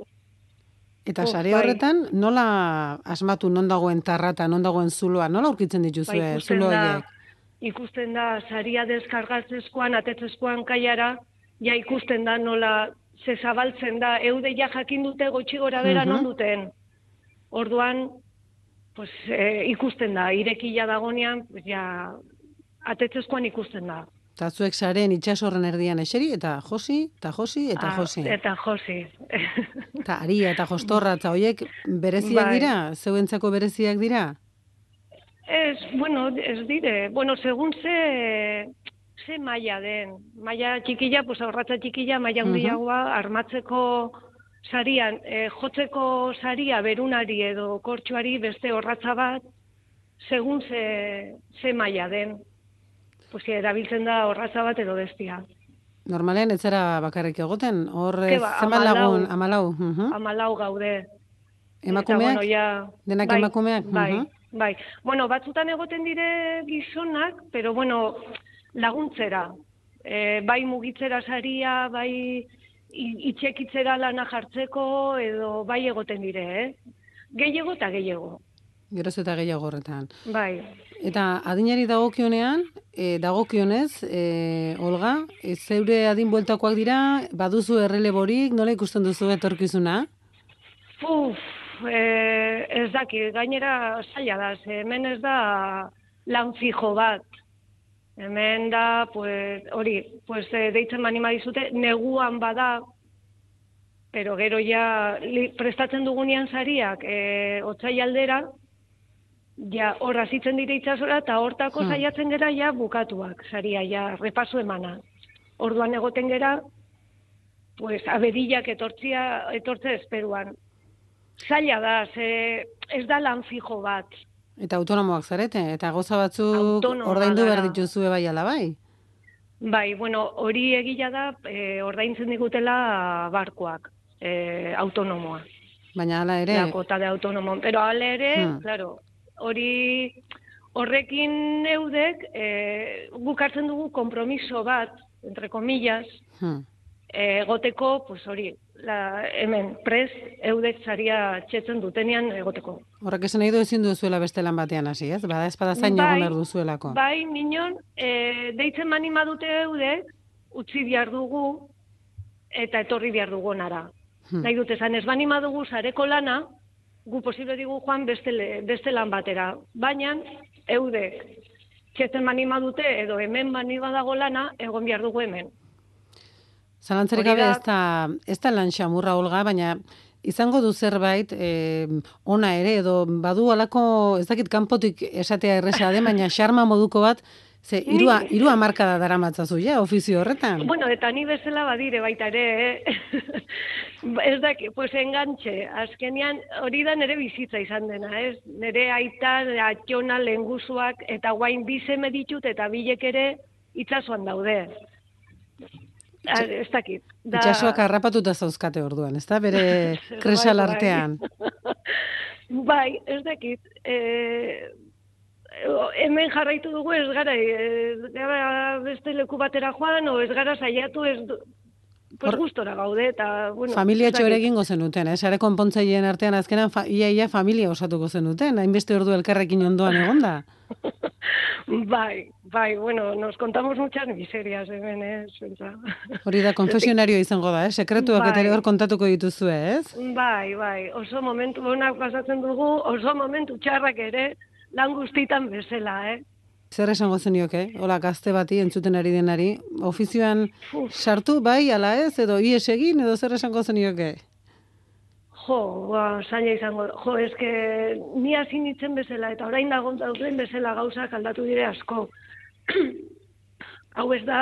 Eta Uf, sare bai. horretan, nola asmatu non dagoen tarrata, non dagoen zuloa, nola aurkitzen dituzue Ba, ikusten zulo da, horiek? ikusten da, saria deskargatzezkoan, atetzezkoan kaiara, ja ikusten da nola, ze zabaltzen da, eude ja jakin dute gotxi gora bera Mhm. non duten. Orduan, pues, e, ikusten da, irekila dagonean, pues, ja, atetzezkoan ikusten da. Eta zuek saren itxasorren erdian eseri, eta josi, eta josi, eta Ah, josi. Eta josi. Eta aria eta jostorra, eta horiek bereziak Bai. dira? Zeuentzako bereziak dira? Ez, bueno, ez dire, bueno, segun ze, ze maila den. Maila txikila, pues aurratza txikila, maila Mhm. handiagoa, armatzeko sarian, eh, jotzeko saria berunari edo kortxuari beste horratza bat, segun ze, ze maila den. Pues erabiltzen da horratza bat edo bestia. Normalean ez zara bakarrik egoten, hor Ke ba, zenbat hamalau. lagun, amalau. Mhm. Amalau gaude. Emakumeak? Eta, bueno, ja, Denak bai, emakumeak? Bai, Mhm. bai. Bueno, batzutan egoten dire gizonak, pero bueno, laguntzera. E, bai mugitzera saria, bai i- itxekitzera lana jartzeko, edo bai egoten dire, eh? Gehiago eta gehiago. Geroz eta gehiago horretan. Bai. Eta adinari dagokionean, e, dagokionez, e, Olga, e, zeure adin bueltakoak dira, baduzu erreleborik, nola ikusten duzu etorkizuna? Uf, e, ez daki, gainera zaila da, ze hemen ez da lan fijo bat. Hemen da, pues, hori, pues, e, deitzen manima dizute, neguan bada, pero gero ja li, prestatzen dugunean sariak e, otsai aldera, ja hor hasitzen dire itsasora eta hortako Hmm. saiatzen gera ja bukatuak saria, ja repaso emana. Orduan egoten gera, pues, abedillak etortzia, etortze esperuan. Zaila da, ze ez da lan fijo bat. Eta autonomoak zarete, eta goza batzuk Autonomoa ordaindu behar gara. dituzue bai ala bai. Bai, bueno, hori egila da, e, ordaintzen digutela barkoak, e, autonomoa. Baina hala ere... La kota de autonomo. Pero hala ere, hmm. claro, hori horrekin eudek, e, guk hartzen dugu kompromiso bat, entre comillas, hmm. egoteko, pues hori, la, hemen, prez, eudek zaria txetzen dutenean egoteko. Horrek esan nahi du ezin duzuela beste lan batean hasi, ez? Bada espada zain bai, egon behar duzuelako. Bai, minon, e, deitzen manima dute eudek, utzi behar dugu, eta etorri behar dugu nara. Hmm. Nahi dut esan, ez manima dugu zareko lana, gu posible digu joan beste, beste lan batera. Baina, eudek, txetzen manima dute, edo hemen manima dago lana, egon behar dugu hemen. Zalantzarik gabe ez da, ez da lan xamurra, Olga, baina izango du zerbait eh, ona ere, edo badu alako, ez dakit kanpotik esatea erresa de, baina xarma moduko bat, ze irua, irua markada daramatzazu, ja, ofizio horretan. Bueno, eta ni bezala badire baita ere, eh? Ez dakit, pues engantxe, azkenean hori da nere bizitza izan dena, ez? Nere aita, atxona, lehenguzuak, eta guain bizeme ditut, eta bilek ere itsasoan daude. Ez dakit. Da... Itxasoak harrapatuta zauzkate orduan, ez da? Bere kresal artean. Bai, ez dakit. E, hemen jarraitu dugu ez gara, ez gara beste leku batera joan, o ez gara saiatu, ez pues gustora gaude, eta... Bueno, familia txore egingo zenuten, eh? Sare konpontzaileen artean azkenan fa, ia, ia familia osatuko zenuten, hainbeste ordu elkarrekin ondoan egonda. Bai, bai, bueno, nos contamos muchas miserias, hemen, eh? Hori da, konfesionario izango da, eh? Sekretuak bai. Eta ere hor kontatuko dituzue, ez? Bai, bai, oso momentu honak pasatzen dugu, oso momentu txarrak ere, lan guztitan bezala, eh? Zer esango zenioke, hola gazte bati entzuten ari denari, ofizioan sartu bai, ala ez, edo ies egin, edo zer esango zenioke? Jo, ba, zaila izango, jo, eske ni hasi nintzen bezala, eta orain dagoen dauden bezala gauzak aldatu dire asko. Hau ez da,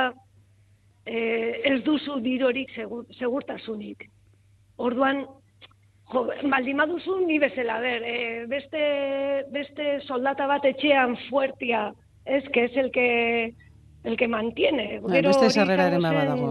eh, ez duzu dirorik segur, segurtasunik. Orduan, jo, baldin baduzu ni bezala, ber, eh, beste, beste soldata bat etxean fuertia, es que es el que el que mantiene. Ba, beste sarreraren baba dago.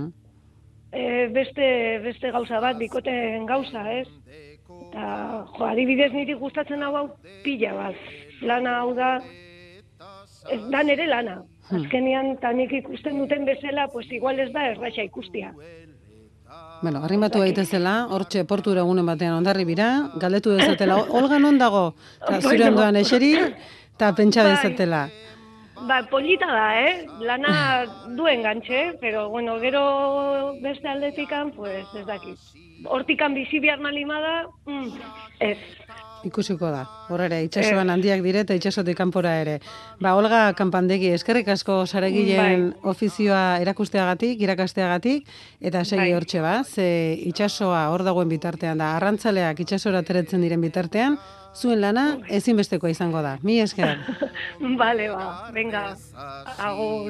Eh, beste beste gauza bat bikoten gauza, ez? Eta jo, adibidez niri gustatzen hau hau pila bat. Lana hau da ez da nere lana. Azkenean ta nik ikusten duten bezala, pues igual ez da erraxa ikustia. Bueno, arrimatu daitezela, hortxe portura egunen batean Hondarribira, galdetu dezatela, Olga non dago? Ta zure ondoan eseri, eta pentsa dezatela. Ba, polita da, eh? Lana duen gantxe, pero, bueno, gero beste aldetikan, pues, ez dakit. Hortikan bizi behar malimada, mm, ez. Ikusiko da, horre, itxasoan handiak dire eta itxasotik kanpora ere. Ba, Olga Kanpandegi, eskerrik asko saregileen bai. Ofizioa erakusteagatik, irakasteagatik, eta segi bai. Hortxe ba, ze itxasoa hor dagoen bitartean da, arrantzaleak itxasora teretzen diren bitartean, zuen lana ezinbestekoa izango da. Mi esker. Vale, ba, venga, agur.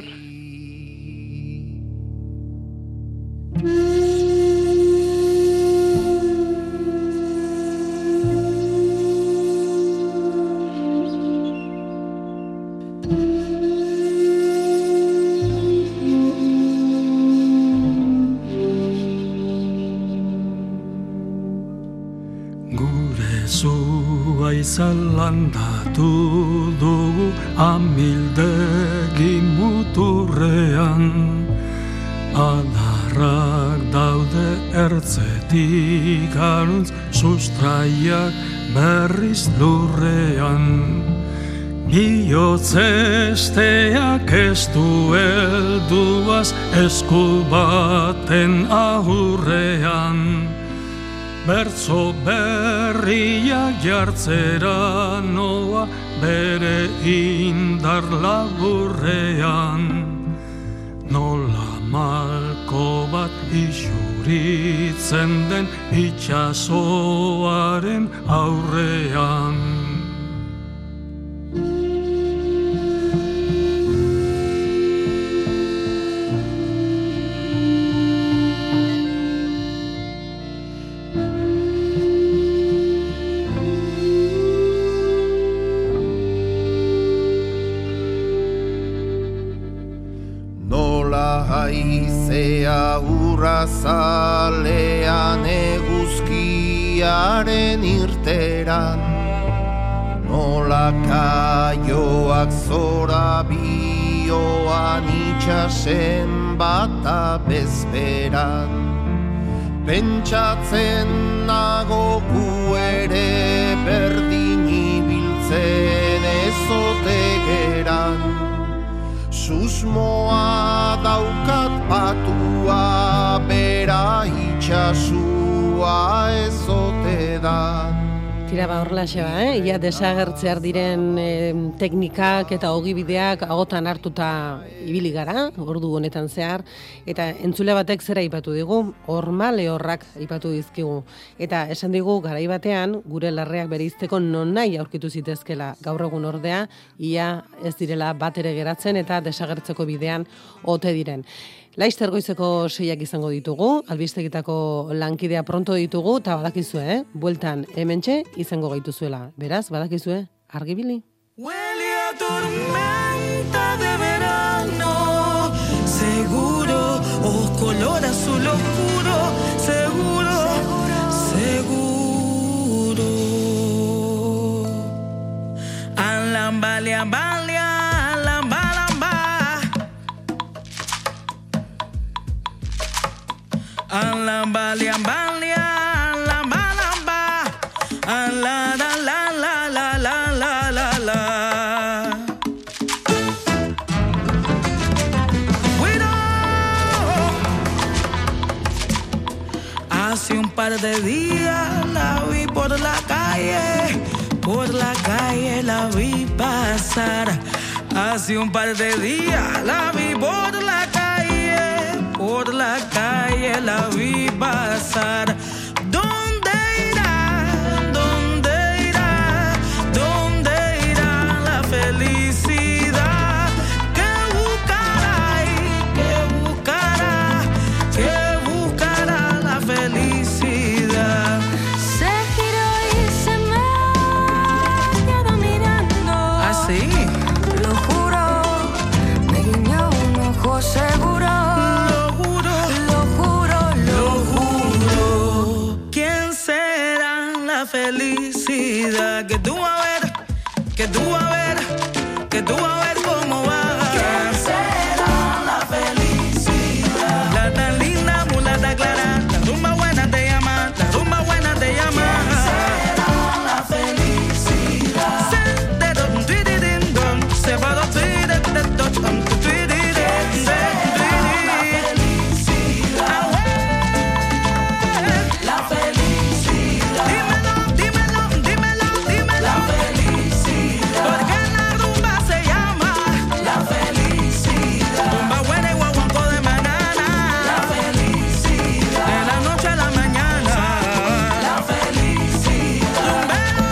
Zalandatu dugu amildegi muturrean, adarrak daude ertzetik aruntz, sustraiak berriz lurrean. Biotzesteak ez du helduaz esku baten ahurrean, bertzo berriak jartzera noa bere indar laburrean. Nola malko bat isuritzen den itxasoaren aurrean. Haizea urrazalean eguzkia argiaren irteran, nola kaioak zora bioan itxasen bata bezperan. Pentsatzen nago gu ere berdin ibiltzen ezote geran. Susmoa daukat patua, bera itxasua ezote da. Tira ba horrela xeba, eh? Ia desagertzear diren eh, teknikak eta ogibideak agotan hartuta ibili gara, ordu honetan zehar, eta entzule batek zera aipatu digu, horma lehorrak aipatu dizkigu. Eta esan digu, garai batean, gure larreak bereizteko non nahi aurkitu zitezkela. Gaur egun ordea, ia ez direla bat ere geratzen eta desagertzeko bidean ote diren. Laizter goizeko seiak izango ditugu, albistegitako lankidea pronto ditugu, eta badakizue, eh? Bueltan hementxe izango gaituzuela. Beraz, badakizue, argibili. Huele a tormenta de verano, seguro, o color azul oscuro, seguro, seguro. Alambale, ambale, alamba, alamba. Alambale, ambale, alamba, alamba. Ala, la, la, la, la, la, la, la, la. Cuidado. Hace un par de días la vi por la calle, por la calle la vi pasar. Hace un par de días la vi por la calle, por la calle la vi pasar. ¿Dónde irá? ¿Dónde irá? ¿Dónde irá la felicidad? ¿Qué buscará y qué buscará? ¿Qué buscará la felicidad? Se giró y se me quedó mirando. ¿Ah, sí? Lo juro, me guiñó un ojo seguro. Lo juro, Lo juro, lo juro. ¿Quién será la felicidad? Que tú a ver, que tú a ver, que tú a ver cómo va. ¿Quién será la felicidad? La tan linda mulata clara, la rumba buena te llama, la rumba buena te llama. ¿Quién será la felicidad? Se te don tuididin don, se va do tuididin don, tu tuididin se la felicidad. Dímelo, dímelo, dímelo, dímelo. La felicidad. Porque la rumba se llama la felicidad. Rumba buena y guaguanco de mañana. La felicidad. De la noche a la mañana. La felicidad. Rumbero.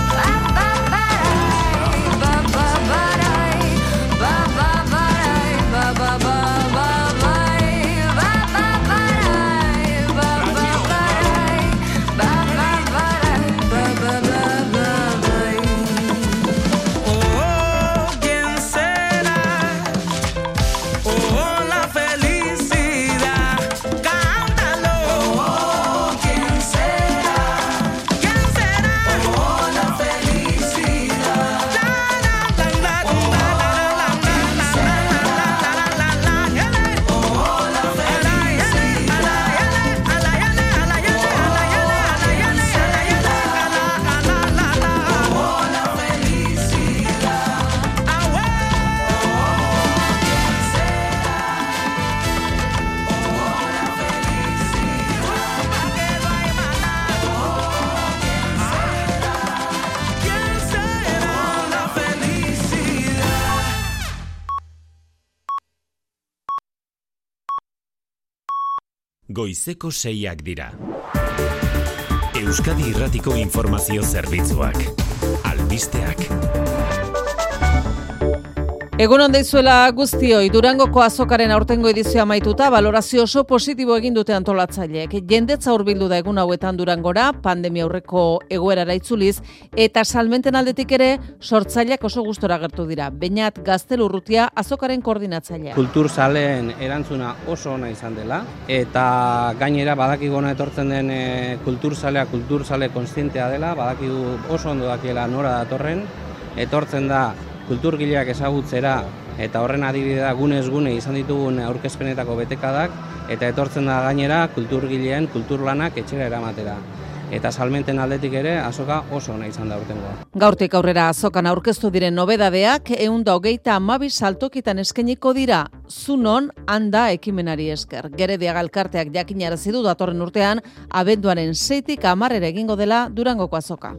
Oh, ¿quién será? Oh, la felicidad. Cántalo. Oh, ¿quién será? ¿Quién será? Oh, la felicidad. La la la la la la la la la la. Oh, la felicidad. Oh, la felicidad. ¿Quién será la felicidad? Goizeko seiak dira. Euskadi Irratiko Informazio Zerbitzuak. Albisteak. Egun on deizuela guztioi, Durangoko azokaren aurtengo edizioa amaituta, balorazio oso positibo egin dute antolatzaileek. Jendetza hurbildu da egun hauetan Durangora, pandemia aurreko egoerara itzuliz, eta salmenten aldetik ere sortzaileak oso gustora agertu dira. Beñat Gaztelurrutia azokaren koordinatzailea. Kulturzaleen erantzuna oso ona izan dela, eta gainera badakigona etortzen den e, kulturzalea, kulturzale kontzientea dela, badakigu oso ondo dakiela nora datorren, etortzen da kulturgileak ezagutzera eta horren adibidea gunez gune izan ditugun aurkezpenetako betekadak eta etortzen da gainera kulturgileen kulturlanak etxera eramatera. Eta salmenten aldetik ere azoka oso ona izan da urtengoa. Gaurtik aurrera azokan aurkeztu diren nobedadeak ehun eta hogeita hamabi saltokitan eskainiko dira. Zunon handa ekimenari esker. Gerediaga elkarteak jakinarazi du datorren urtean abenduaren seitik hamarrera egingo dela Durangoko azoka.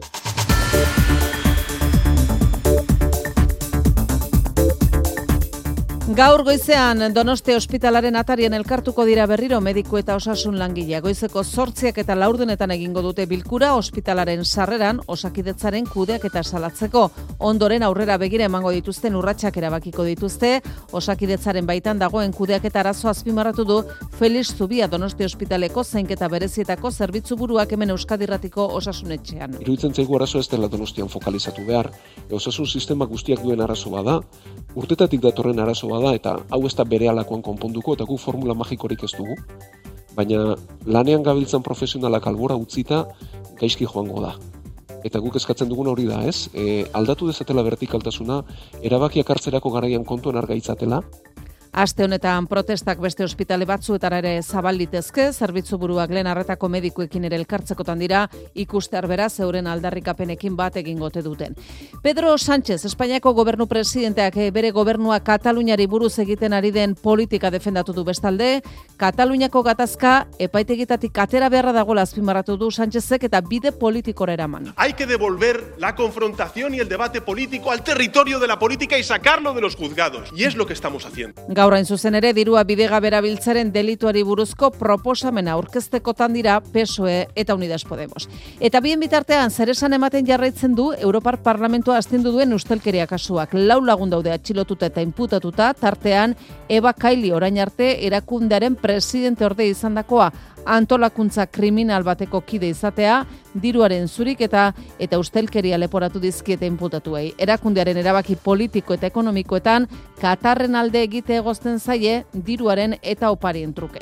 Gaur goizean Donostia ospitalaren atarian elkartuko dira berriro mediku eta osasun langilea. Goizeko zortziak eta laurdenetan egingo dute bilkura ospitalaren sarreran Osakidetzaren kudeak eta salatzeko. Ondoren aurrera begira emango dituzten urratsak erabakiko dituzte. Osakidetzaren baitan dagoen kudeak eta arazo azpimarratu du Felix Zubia Donostia ospitaleko zainketa berezietako zerbitzu buruak hemen Euskadirratiko osasunetxean. Iruditzen zaigu arazo ez dela Donostian fokalizatu behar. Osasun sistema guztiak duen arazo bada, urtetatik datorren arazo bada, eta hau ez da berehalakoan konponduko eta gu formula magikorik ez dugu, baina lanean gabiltzan profesionalak albora utzita gaizki joango da. Eta guk eskatzen duguna hori da, ez? E, aldatu dezatela vertikaltasuna, erabakiak hartzerako garaian kontuan argaitzatela. Aste honetan protestak beste ospitale batzuetara ere zabalditezke, zerbitzu buruak lehen arretako medikuekin ere elkartzekotan dira, ikustear beraz euren aldarrikapenekin bat egingote duten. Pedro Sánchez, Espainiako gobernu presidenteak bere gobernua Kataluniari buruz egiten ari den politika defendatu du bestalde, Kataluniako gatazka epaitegitatik atera beharra dagoela azpimarratu du Sánchezek eta bide politikora eraman. Hay que devolver la confrontación y el debate político al territorio de la política y sacarlo de los juzgados. Y es lo que estamos haciendo. Gaur hain zuzen ere dirua bidegabera biltzaren delituari buruzko proposamena aurkeztekotan dira P S O E eta Unidas Podemos. Eta bien bitartean zeresan ematen jarraitzen du Europar Parlamentua astindu duen ustelkeria kasuak. Lau lagun daude atxilotuta eta inputatuta, tartean Eva Kaili orain arte erakundearen presidente orde izandakoa, antolakuntza kriminal bateko kide izatea, diruaren zuriketa eta ustelkeria leporatu dizkiete inputatuei. Erakundearen erabaki politiko eta ekonomikoetan Katarren alde egite egozten zaie diruaren eta oparien truke.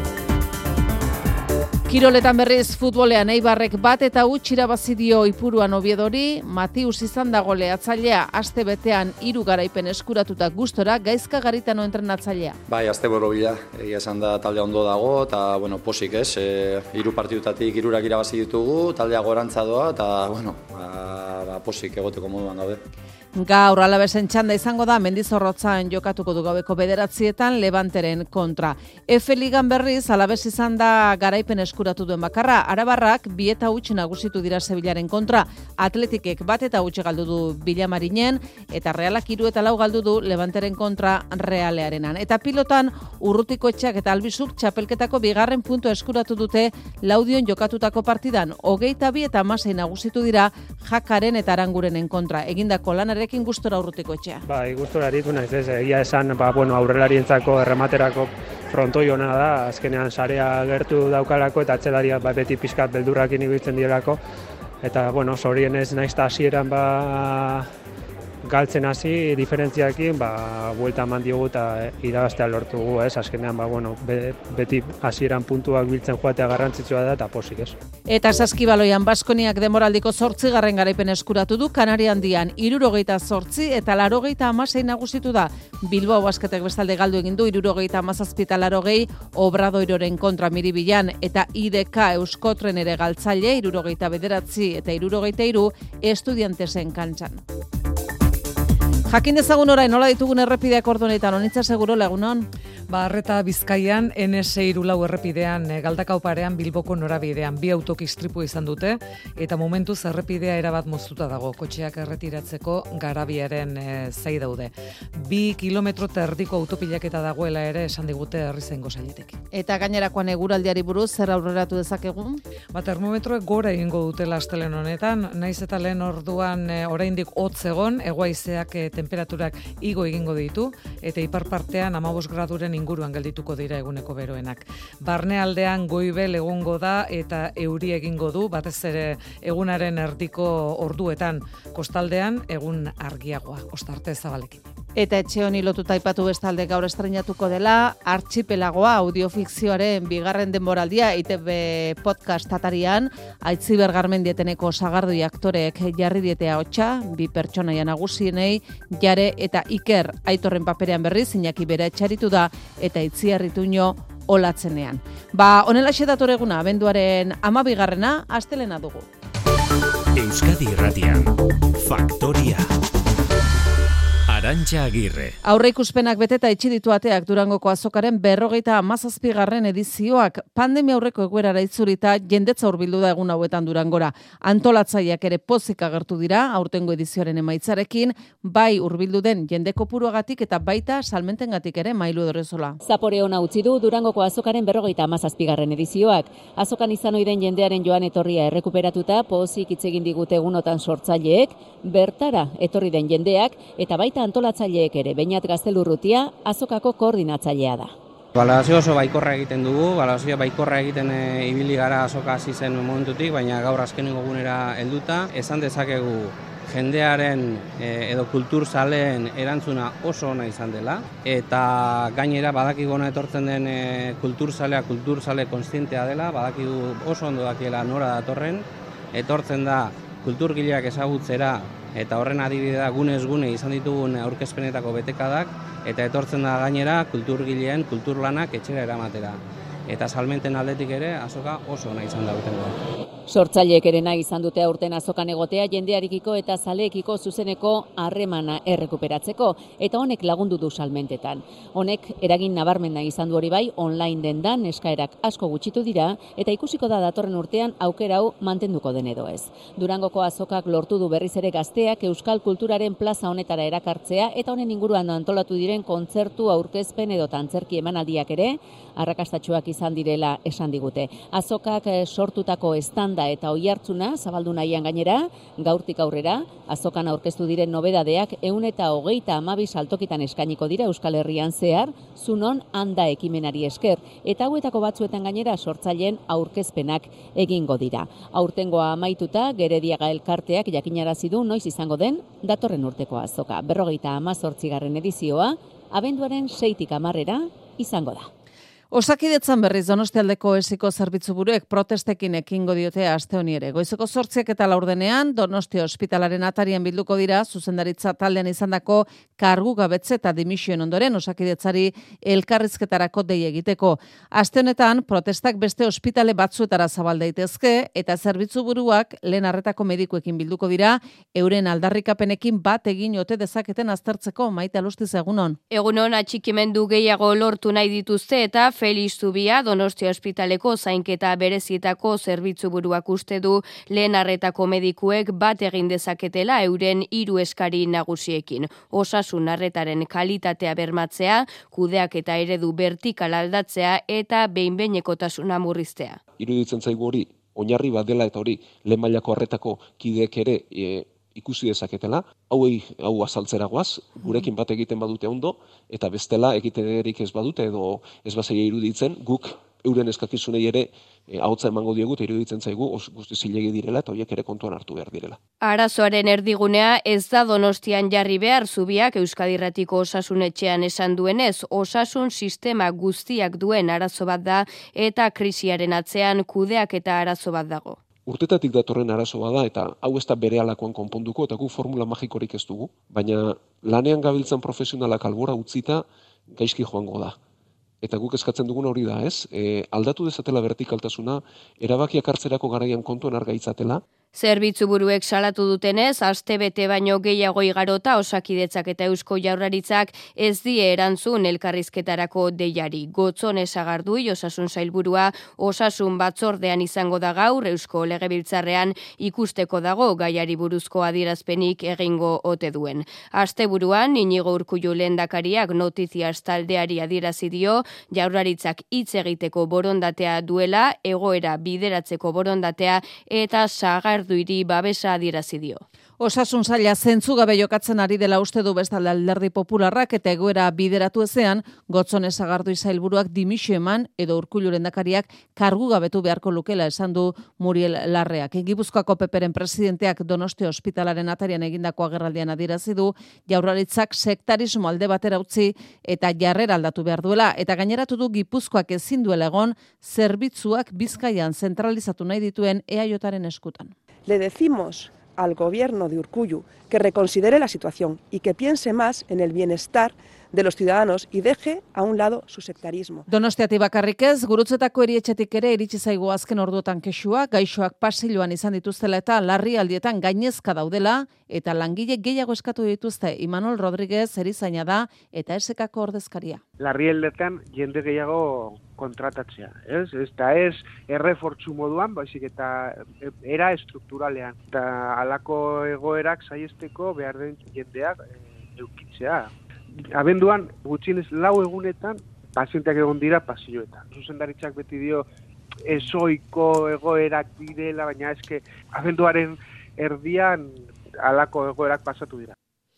Kiroletan berriz futbolean Eibarrek bat eta huts irabazi dio Ipuruan Oviedori, Matius izan da goleatzailea, aste betean hiru garaipen eskuratuta gustora Gaizka Garitano entrenatzailea. Bai, aste borobila, egia esan da taldea ondo dago eta bueno, posik ez, e, hiru partidutatik hirurak irabazi ditugu, taldea gorantza doa eta bueno, ba, ba, posik egoteko moduan gaude. Gaur Alabesen txanda izango da Mendizorrotzan jokatuko du gaueko bederatzietan Levanteren kontra. Efe Ligan berriz Alabes izan da garaipen eskuratu duen bakarra. Arabarrak bi eta huts nagusitu dira Sevillaren kontra. Atletikek bat eta huts galdu du Villamarinen eta Realak hiru eta lau galdu du Levanteren kontra Realearenan. Eta pilotan Urrutiko etxeak eta Albizuk txapelketako bigarren puntu eskuratu dute Laudion jokatutako partidan. Hogeita bi eta hamasei nagusitu dira Jakaren eta Arangurenen kontra. Egindako lanaren Ekin gustora Urrutiko etxea. Bai, gustora aritu naiz, ez, egia esan, ba, bueno, aurrelarientzako errematerako frontoi ona da, azkenean sarea gertu daukalako eta atzelariak ba, beti pizkat beldurrakin ibiltzen direlako. Eta, bueno, zorionez naiz eta hasieran ba, galtzen hasi diferentziakin, ba, buelta eman diogu eta irabaztea lortugu, ez, azkenean, ba, bueno, be, beti hasieran puntuak biltzen joatea garrantzitsua da eta posik, ez. Eta saskibaloian Baskoniak demoraldiko zortzigarren garaipen eskuratu du, Kanari Handian hirurogeita zortzi eta larogeita hamasei nagusitu da. Bilbao Basketek bestalde galdu egin du hirurogeita hamazazpi eta larogei Obradoiroren kontra Miribilan eta I D K Euskotren ere galtzaile hirurogeita bederatzi eta hirurogeita hiru Estudiantesen kantxan. Jakin dezagun orain nola ditugun errepideak ordu honetan, Onitza Seguro, lagunon? Ba, Arreta Bizkaian N S hiru lau errepidean Galdakao parean Bilboko norabidean bi autok istripu izan dute eta momentuz errepidea erabat moztuta dago. Kotxeak erretiratzeko garabiaren e, zai daude. Bi kilometro eta erdiko autopilaketa dagoela ere esan digute Herrizaingo sailetik. Eta gainerakoan eguraldiari buruz zer aurreratu dezakegu? Ba, termometroek gora egingo dutela astelehen honetan, naiz eta lehen orduan e, oraindik hotz egon, hegua-haizeak e, temperaturak igo egingo ditu eta ipar partean hamabost graduren inguruan geldituko dira eguneko beroenak. Barnealdean goibel egongo da eta euri egingo du, batez ere egunaren erdiko orduetan, kostaldean egun argiagoa, ostarte zabalekin. Eta etxe honi lotuta aipatu bestalde gaur estreinatuko dela Archipelagoa audiofikzioaren bigarren denboraldia I T B podcast atarian Aitziber Garmendieteneko sagardui aktoreek jarri dietea hotsa, bi pertsonaia nagusienei Jare eta Iker Aitorren paperean berriz Iñaki bera etxaritu da eta Itziar Ituño olatzenean. Ba, honelaxe dator eguna, abenduaren hamabigarrena astelena dugu. Euskadi Irratian, Faktoria. Arantxa Agirre. Aurreikuspenak beteta itxi ditu ateak Durangoko azokaren berrogeita hamazazpigarren edizioak. Pandemia aurreko egoerara itzulita jendetza hurbildu da egun hauetan Durangora. Antolatzaileak ere pozik agertu dira aurtengo edizioaren emaitzarekin, bai hurbildu den jende kopuruagatik eta baita salmentengatik ere Mailu Dorrezola. Zapore ona utzi du Durangoko azokaren berrogeita hamazazpigarren edizioak. Azokan izan ohi den jendearen joan etorria errekuperatuta pozik hitz egin digute egunotan sortzaileek, bertara etorri den jendeak eta baita antolatzaileek ere. Beñat Gaztelurrutia azokako koordinatzailea da. Balorazio oso baikorra egiten dugu, balorazio baikorra egiten e, ibili gara azoka hasi zen momentutik, baina gaur azkenengo egunera helduta, esan dezakegu jendearen e, edo kulturzaleen erantzuna oso ona izan dela, eta gainera badakigu ona etortzen den e, kulturzalea, kulturzale kontzientea dela, badakigu oso ondo dakiela nora datorren, etortzen da kulturgileak ezagutzera, eta horren adibide da gunez gune izan ditugun aurkezpenetako betekadak, eta etortzen da gainera kulturgileen kulturlanak etxera eramatera. Eta salmenten aldetik ere azoka oso ona izan da urtengoa. Sortzaileek ere nahi izan dute aurten azokan egotea jendearekiko eta zaleekiko zuzeneko harremana errekuperatzeko, eta honek lagundu du salmentetan. Honek eragin nabarmena izan du hori bai, online dendan eskaerak asko gutxitu dira, eta ikusiko da datorren urtean aukera hau mantenduko den edo ez. Durangoko azokak lortu du berriz ere gazteak euskal kulturaren plaza honetara erakartzea, eta honen inguruan antolatu diren kontzertu, aurkezpen edo antzerki emanaldiak ere arrakastatsuak izan direla esan digute. Azokak sortutako estanda eta oihartzuna zabaldu nahian gainera, gaurtik aurrera, azokan aurkeztu diren nobedadeak ehun eta hogeita hamabi saltokitan eskainiko dira Euskal Herrian zehar, zunon handa ekimenari esker, eta hauetako batzuetan gainera sortzaileen aurkezpenak egingo dira. Aurtengoa amaituta, Gerediaga elkarteak jakinarazi du noiz izango den datorren urteko azoka. Berrogeita hamazortzigarren edizioa, abenduaren seitik hamarrera izango da. Osakidetzan berriz Donostialdeko esiko zerbitzu buruek protestekin ekingo diote aste honi ere. Goizeko zortziak eta laurdenean Donostia ospitalaren atarian bilduko dira zuzendaritza taldean izandako kargu gabetze eta dimisioen ondoren Osakidetzari elkarrizketarako dei egiteko. Aste honetan protestak beste ospitale batzuetara zabal daitezke eta zerbitzu buruak lehen arretako medikuekin bilduko dira euren aldarrikapenekin bat egin ote dezaketen aztertzeko. Maite Alustiz, egunon. Egunon, atxikimendu gehiago lortu nahi dituzte eta Felix Zubia Donostia ospitaleko zainketa berezietako zerbitzu buruak uste du lehen arretako medikuek bat egin dezaketela euren hiru eskari nagusiekin. Osasun arretaren kalitatea bermatzea, kudeak eta eredu vertikal aldatzea eta behin-behinekotasuna murriztea. Iruditzen zaigu hori, oinarri bat dela eta hori lehen mailako arretako kideek ere e, ikusi dezaketela, hauei hau azaltzeragoaz, gurekin bat egiten badute ondo, eta bestela egiterik ez badute edo ez bazaia iruditzen, guk euren eskakizunei ere e, ahotsa emango diegu eta iruditzen zaigu guzti zilegi direla eta horiek ere kontuan hartu behar direla. Arazoaren erdigunea ez da Donostian jarri behar. Zubiak Euskadi Irratiko osasunetxean esan duenez, osasun sistema guztiak duen arazo bat da eta krisiaren atzean kudeak eta arazo bat dago. Urtetatik datorren arazo bada eta hau ez da berehalakoan konponduko eta gu formula magikorik ez dugu, baina lanean gabiltzan profesionalak albora utzita gaizki joango da. Eta guk eskatzen duguna hori da, ez? E, aldatu dezatela vertikaltasuna, erabakiak hartzerako garaian kontuan argaitzatela. Zerbitzu buruek salatu dutenez, astebete baino gehiago igarota Osakidetzak eta Eusko Jaurlaritzak ez die erantzun elkarrizketarako deiari. Gotzone Sagardui Osasun Sailburua Osasun Batzordean izango da gaur Eusko Legebiltzarrean ikusteko dago gaiari buruzko adierazpenik egingo ote duen. Asteburuan Inigo Urkullu lehendakariak Notizias taldeari adierazi dio Jaurlaritzak hitz egiteko borondatea duela, egoera bideratzeko borondatea eta Sagar duiri babesa adierazi dio. Osasun saila zentzugabe jokatzen ari dela uste du bestalde Alderdi Popularrak eta egoera bideratu ezean, Gotzone Sagardui sailburuak dimisio eman edo Urkullu lehendakariak kargugabetu beharko lukela esan du Muriel Larreak. Gipuzkoako P Pren presidenteak Donostia ospitalaren atarian egindako agerraldian adierazi du Jaurlaritzak sektarismo alde batera utzi eta jarrera aldatu behar duela eta gaineratu du Gipuzkoak ezin duela egon zerbitzuak Bizkaian zentralizatu nahi dituen E A Jaren eskutan. Le decimos al gobierno de Urkullu que reconsidere la situación y que piense más en el bienestar de los ciudadanos y deje a un lado su sectarismo. Donostiati bakarrik ez, Gurutzetako erietxetik ere iritsi zaigu azken orduotan kexua, gaixoak pasiloan izan dituztela eta larrialdietan gainezka daudela eta langile gehiago eskatu dituzte. Imanol Rodríguez erizaina da eta esekako ordezkaria. Larrialdetan jende gehiago kontratatzea, ez? Eta ez errefortzu moduan, baizik eta era estrukturalean. Eta halako egoerak saiesteko behar den jendeak eukitzea. Abenduan, gutxienez lau egunetan, pazienteak egon dira pasioetan. Zuzendaritzak beti dio ezoiko egoerak direla, baina eske abenduaren erdian halako egoerak pasatu dira.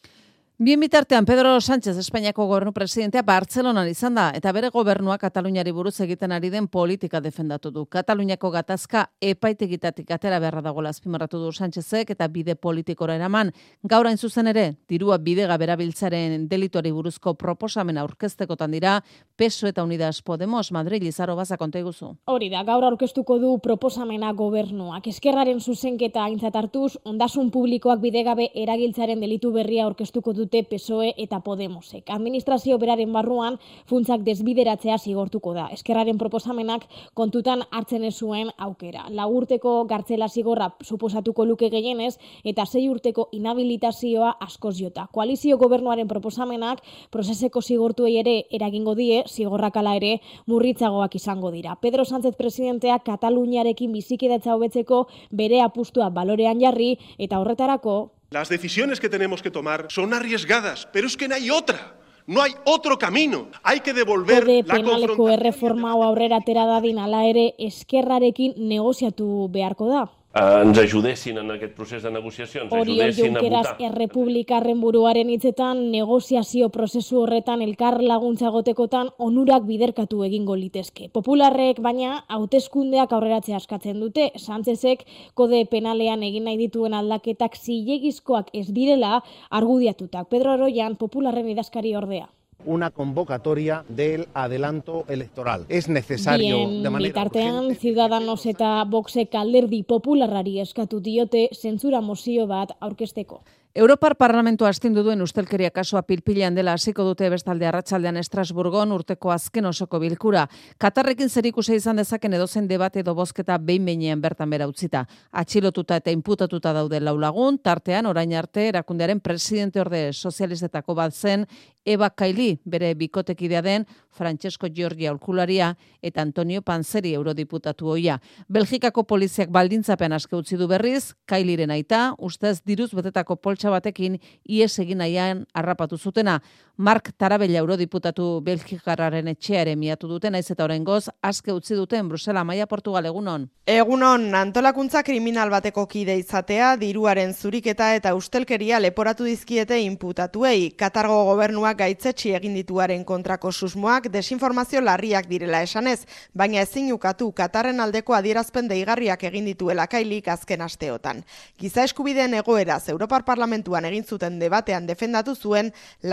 Bien bitartean, Pedro Sánchez, Espainiako gobernu presidentea, Bartzelonan izan da, eta bere gobernua Kataluniari buruz egiten ari den politika defendatu du. Kataluniako gatazka epaitegitatik atera beharra dagoela azpimarratu du Sánchezek eta bide politikora eraman. Gaur hain zuzen ere, dirua bidega berabiltzaren delituari buruzko proposamen aurkeztekotan dira, P S O E eta Unidas Podemos, Madrid, Lizaro Baza, konta iguzu. Hori da, gaur aurkeztuko du proposamena gobernuak. Eskerraren zuzenketa aintzat hartuz, ondasun publikoak bidegabe eragiltzaren delitu berria aurkeztuko dute P S O E eta Podemosek. Administrazio beraren barruan funtsak desbideratzea zigortuko da. Eskerraren proposamenak kontutan hartzen ez zuen aukera. Lau urteko gartzela zigorra suposatuko luke gehienez eta sei urteko inhabilitazioa askoz jota. Koalizio gobernuaren proposamenak prozeseko zigortuei ere eragingo die, zigorrak ala ere murritzagoak izango dira. Pedro Sánchez presidenteak Kataluniarekin bizikidatza hobetzeko bere apustua balorean jarri eta horretarako las decisiones que tenemos que tomar son arriesgadas, pero es que no hay otra. No hay otro camino. Hay que devolver Kode la penaleko confrontación. erreforma hau aurrera atera dadin ala ere Eskerrarekin negoziatu beharko da. ens ajudessin en aquest procés de negociacions, Oriol ajudessin a Junqueras votar. errepublikarren buruaren hitzetan negoziazio prozesu horretan elkar laguntza gotekotan onurak biderkatu egingo litezke. Popularrek baina hauteskundeak aurreratzea askatzen dute. Sánchezek kode penalean egin nahi dituen aldaketak zilegizkoak ez direla argudiatutak. Pedro Aroyan Popularren idazkari ordea. Una convocatoria del adelanto electoral. Es necesario Bien, de manera bitartean, urgente. Ciudadanos eta Voxek alderdi popularrari eskatu diote zentzura mozio bat aurkezteko. Europar Parlamentua astindu duen ustelkeria kasua pilpilean dela hasiko dute bestalde arratsaldean Estrasburgon urteko azken osoko bilkura. Katarrekin zerikusia izan dezaken edozen debate edo bozketa behin behinean bertan bera utzita. Atxilotuta eta inputatuta daude lau lagun, tartean orain arte erakundearen presidente orde sozialistetako bat zen Eva Kaili, bere bikotekidea den Francesco Giorgia aholkularia eta Antonio Panzeri eurodiputatu ohia. Belgikako poliziak baldintzapean aske utzi du berriz, Kailiren aita, ustez diruz betetako poltsa batekin ies egin nahian harrapatu zutena. Mark Tarabella eurodiputatu belgikarraren etxeare miatu duten, naiz eta oraingoz aske utzi duten Brusela, Maia, Portugal, egunon. Egunon, antolakuntza kriminal bateko kide izatea, diruaren zuriketa eta ustelkeria leporatu dizkiete inputatuei. Katargo gobernuak gaitzetsi egin dituaren kontrako susmoak desinformazio larriak direla esanez, baina ezin ukatu Katarren aldeko adierazpen deigarriak egin dituela Kailik azken asteotan. Giza eskubideen egoeraz Europar Parlamentuan egin zuten debatean defendatu zuen lanbaldintza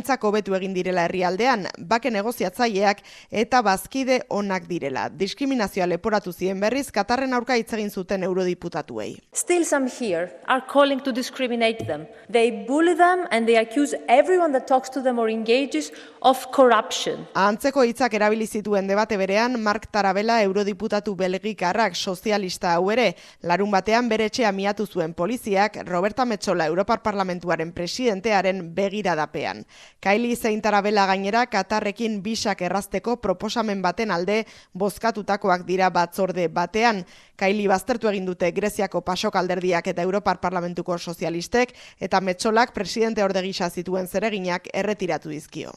baldintzak hobetu egin direla herrialdean, bake negoziatzaileak eta bazkide onak direla. Diskriminazioa leporatu zien berriz Katarren aurka hitz egin zuten eurodiputatuei. Still some here are calling to discriminate them. They bully them and they accuse everyone that talks to them or engages of corruption. Antzeko hitzak erabili zituen debate berean Mark Tarabella eurodiputatu belgikarrak sozialista hau ere, larun batean bere etxea miatu zuen poliziak Roberta Metsola Europar Parlamentuaren presidentearen begiradapean. Kylie zein Tarabella gainera Katarrekin bisak errazteko proposamen baten alde bozkatutakoak dira batzorde batean. Kylie baztertu egin dute Greziako PASOK alderdiak eta Europar Parlamentuko sozialistek eta Metsolak presidente orde gisa zituen zereginak erretiratu dizkio.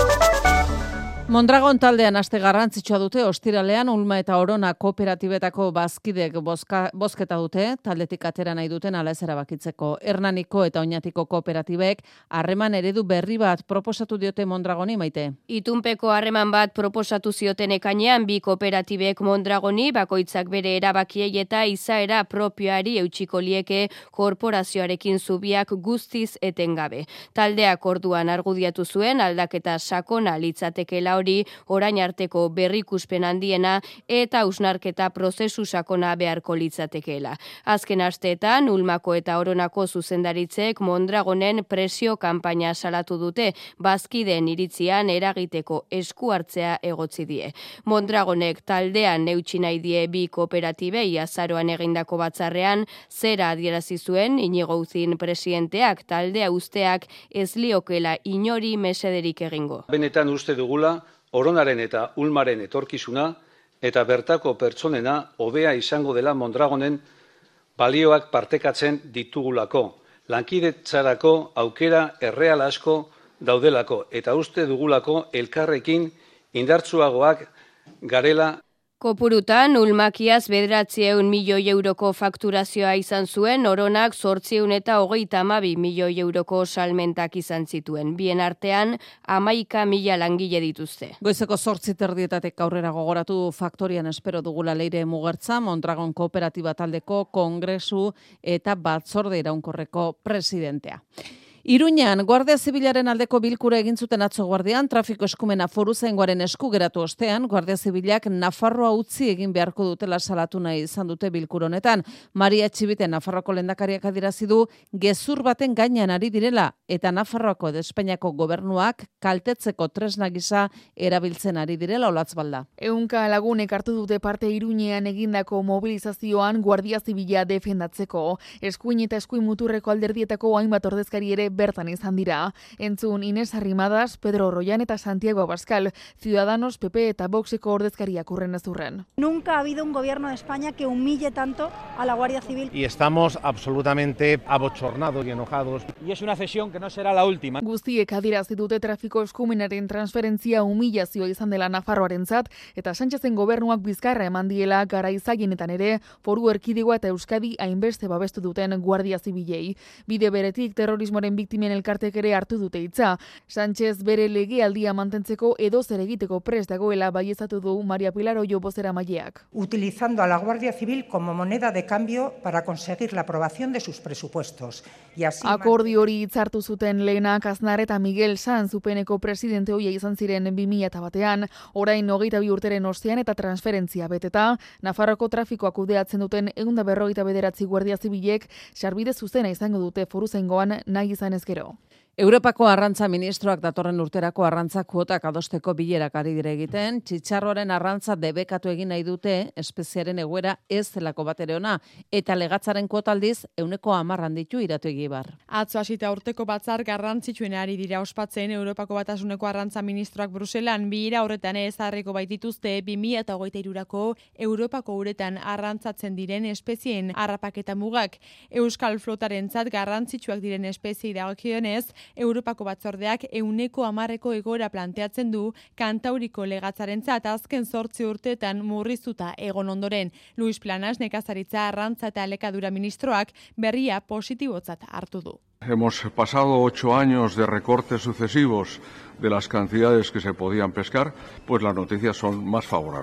Mondragon taldean aste garrantzitsua dute ostiralean Ulma eta Orona kooperatibetako bazkidek bozka, bozketa dute, taldetik atera nahi duten ala ez erabakitzeko. Hernaniko eta Oñatiko kooperatibek harreman eredu berri bat proposatu diote Mondragoni, Maite. Itunpeko harreman bat proposatu zioten ekainean bi kooperatibek Mondragoni bakoitzak bere erabakiei eta izaera propioari eutsiko lieke korporazioarekin zubiak guztiz etengabe. Taldeak orduan argudiatu zuen aldaketa sakona litzatekeela hori orain arteko berrikuspen handiena eta hausnarketa prozesu sakona beharko litzatekeela. Azken asteetan Ulmako eta Oronako zuzendaritzek Mondragonen presio kanpaina salatu dute, bazkideen iritzian eragiteko esku hartzea egotzi die. Mondragonek taldean neutsi nahi die bi kooperatibei azaroan egindako batzarrean zera adierazi zuen Inigo Uzin presidenteak taldea usteak ez liokela inori mesederik egingo. Benetan uste dugula Oronaren eta Ulmaren etorkizuna eta bertako pertsonena hobea izango dela Mondragonen balioak partekatzen ditugulako. Lankidetzarako aukera erreal asko daudelako eta uste dugulako elkarrekin indartsuagoak garela. Kopurutan, Ulmakiaz bederatziehun milioi euroko fakturazioa izan zuen, Oronak zortziehun eta hogeita hamabi milioi euroko salmentak izan zituen. Bien artean, hamaika mila langile dituzte. Goizeko zortzi terdietatek aurrera gogoratu faktorian espero dugula Leire Mugertza, Mondragon Kooperatiba taldeko kongresu eta batzorde iraunkorreko presidentea. Iruñan, Guardia Zibilaren aldeko bilkura egin zuten atzo guardian, trafiko eskumena foruzaingoaren esku geratu ostean, Guardia Zibilak Nafarroa utzi egin beharko dutela salatu nahi izan dute bilkura honetan. Maria Txibite Nafarroako lehendakariak adierazi du gezur baten gainean ari direla eta Nafarroako edo Espainiako gobernuak kaltetzeko tresna gisa erabiltzen ari direla Olatzbalda. Ehunka lagunek hartu dute parte Iruñean egindako mobilizazioan Guardia Zibila defendatzeko. Eskuin eta eskuin muturreko alderdietako hainbat ordezkari ere bertan izan dira. Entzun Inés Arrimadas, Pedro Royan eta Santiago Abascal, Ciudadanos, P P eta Voxeko ordezkariak urren ez urren. Nunca ha habido un gobierno de España que humille tanto a la Guardia Civil. Y estamos absolutamente abochornados y enojados. Y es una cesión que no será la última. Guztiek adierazi dute trafiko eskumenaren transferentzia humillazioa izan dela Nafarroarentzat eta Sánchezen gobernuak bizkarra eman diela garaizagienetan ere Foru Erkidegoa eta Euskadi hainbeste babestu duten Guardia Zibilei. Bide beretik terrorismoaren biktimen elkartek ere hartu dute hitza. Sánchez bere legealdia mantentzeko edo zer egiteko prest dagoela baieztatu du Maria Pilar Oyo bozeramaileak. Utilizando a la Guardia Civil como moneda de cambio para conseguir la aprobación de sus presupuestos. Y así akordio hori hitzartu zuten Lehenak Aznar eta Miguel Sanz Upeneko presidente hoia izan ziren bi mila batean, orain hogeita bi urteren ostean eta transferentzia beteta, Nafarroko trafikoa kudeatzen duten ehun eta berrogeita bederatzi Guardia Zibilek sarbide zuzena izango dute foruzaingoan nahi izan ezkero. Europako arrantza ministroak datorren urterako arrantza kuotak adosteko bilerak ari dire egiten, txitxarroaren arrantza debekatu egin nahi dute espeziaren egoera ez zelako bat ere ona, eta legatzaren kuotaldiz euneko hamar handitu iratu egibar. Atzo hasita urteko batzar garrantzitsuen ari dira ospatzen Europako Batasuneko arrantza ministroak Bruselan bilera horretan ezarriko baitituzte bi mila hogeita hirurako Europako uretan arrantzatzen diren espezien harrapaketa mugak. Euskal flotarentzat garrantzitsuak diren espeziei dagokionez, Europako batzordeak euneko hamarreko egoera planteatzen du Kantauriko legatzarentzat azken zortzi urteetan murriztuta egon ondoren. Luis Planas nekazaritza arrantza eta elikadura ministroak berria positibotzat hartu du. Hemos pasado ocho años de recortes sucesivos de las cantidades que se podían pescar, pues las noticias son más favorables.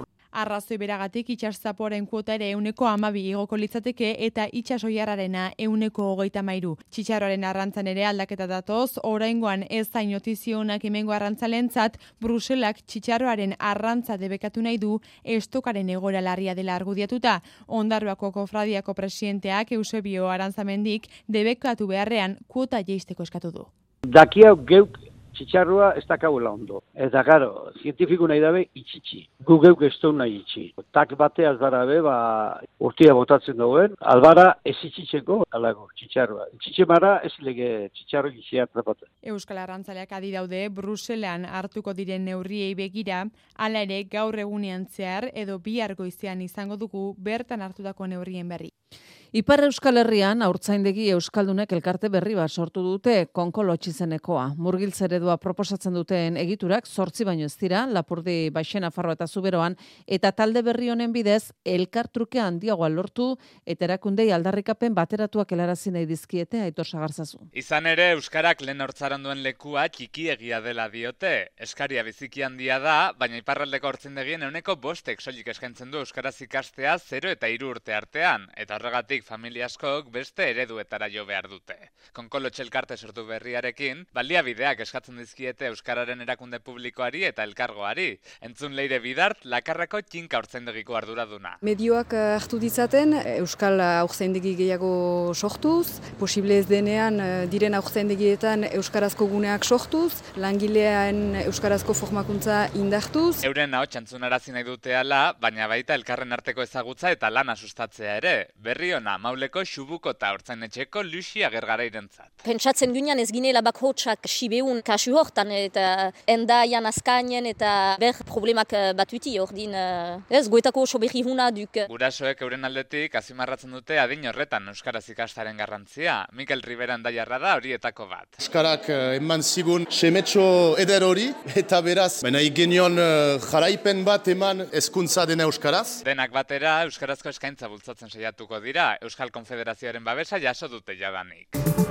Arrazoi beragatik itxaszapoaren kuota ere euneko amabi igoko litzateke eta itxasoiarrarena euneko hogeita mairu. Txitxarroaren arrantzan ere aldaketa datoz, oraingoan ez zain notizionak hemengo arrantzalentzat, Bruselak txitxarroaren arrantza debekatu nahi du estokaren egoera larria dela argudiatuta. Ondarroako kofradiako presidenteak Eusebio Arantzamendik debekatu beharrean kuota jeisteko eskatu du. Dakia geuk txitxarroa ez dakauela ondo. Eta, karo, zientifiku nahi dabe itxitxi. Gu geuk ez du nahi itxi. Tak bate azbarabe, ba, urtia botatzen dauen, albara ez itxitzeko, alago, txitxarroa. Itxitxe mara ez lege txitxarro gizia atrapatzen. Euskal Arrantzaleak adi daude Bruselan hartuko diren neurriei begira, hala ere gaur egunean zehar edo bihar goizean izango dugu bertan hartutako neurrien berri. Ipar Euskal Herrian haurtzaindegi euskaldunek elkarte berri bat sortu dute Konkolo izenekoa. Murgiltze eredua proposatzen duten egiturak zortzi baino ez dira, Lapurdi, Baixen, Nafarroa eta Zuberoan, eta talde berri honen bidez elkartruke handiagoa lortu eta erakundei aldarrikapen bateratuak helarazi nahi dizkiete Aitor Sagarzazu. Izan ere euskarak lehen hortzaran duen lekua txikiegia dela diote. Eskaria biziki handia da, baina iparraldeko haurtzaindegien ehuneko bostek soilik eskaintzen du euskaraz ikastea zero eta hiru urte artean, eta horregatik familia askok beste ereduetara jo behar dute. Konkolo elkarte sortu berriarekin, baliabideak eskatzen dizkiete euskararen erakunde publikoari eta elkargoari. Entzun Leire Bidart, Lakarrako txinka haurtzaindegiko arduraduna. Medioak hartu ditzaten, euskal haurtzaindegi gehiago sortuz, posible ez denean diren haurtzaindegietan euskarazko guneak sortuz, langilean euskarazko formakuntza indartuz. Euren ahots entzunarazi nahi dute ala, baina baita elkarren arteko ezagutza eta lana sustatzea ere. Berri ona Mauleko Xubuko eta Hortzainetxeko Luxi Agergarairentzat. Pentsatzen ginean ez ginela bakhotsak sibeun kasu hortan eta endaian azkainen eta ber problemak batuti ordin ez goetako oso berri huna duk. Gurasoek euren aldetik azimarratzen dute adin horretan euskaraz ikastaren garrantzia. Mikel Rivera endaiarra da horietako bat. Euskarak eman zigun semetxo eder hori eta beraz, baina igenion jaraipen bat eman hezkuntza dena euskaraz. Denak batera euskarazko eskaintza bultzatzen saiatuko dira. Euskal Konfederazioaren babesa jaso dute jadanik.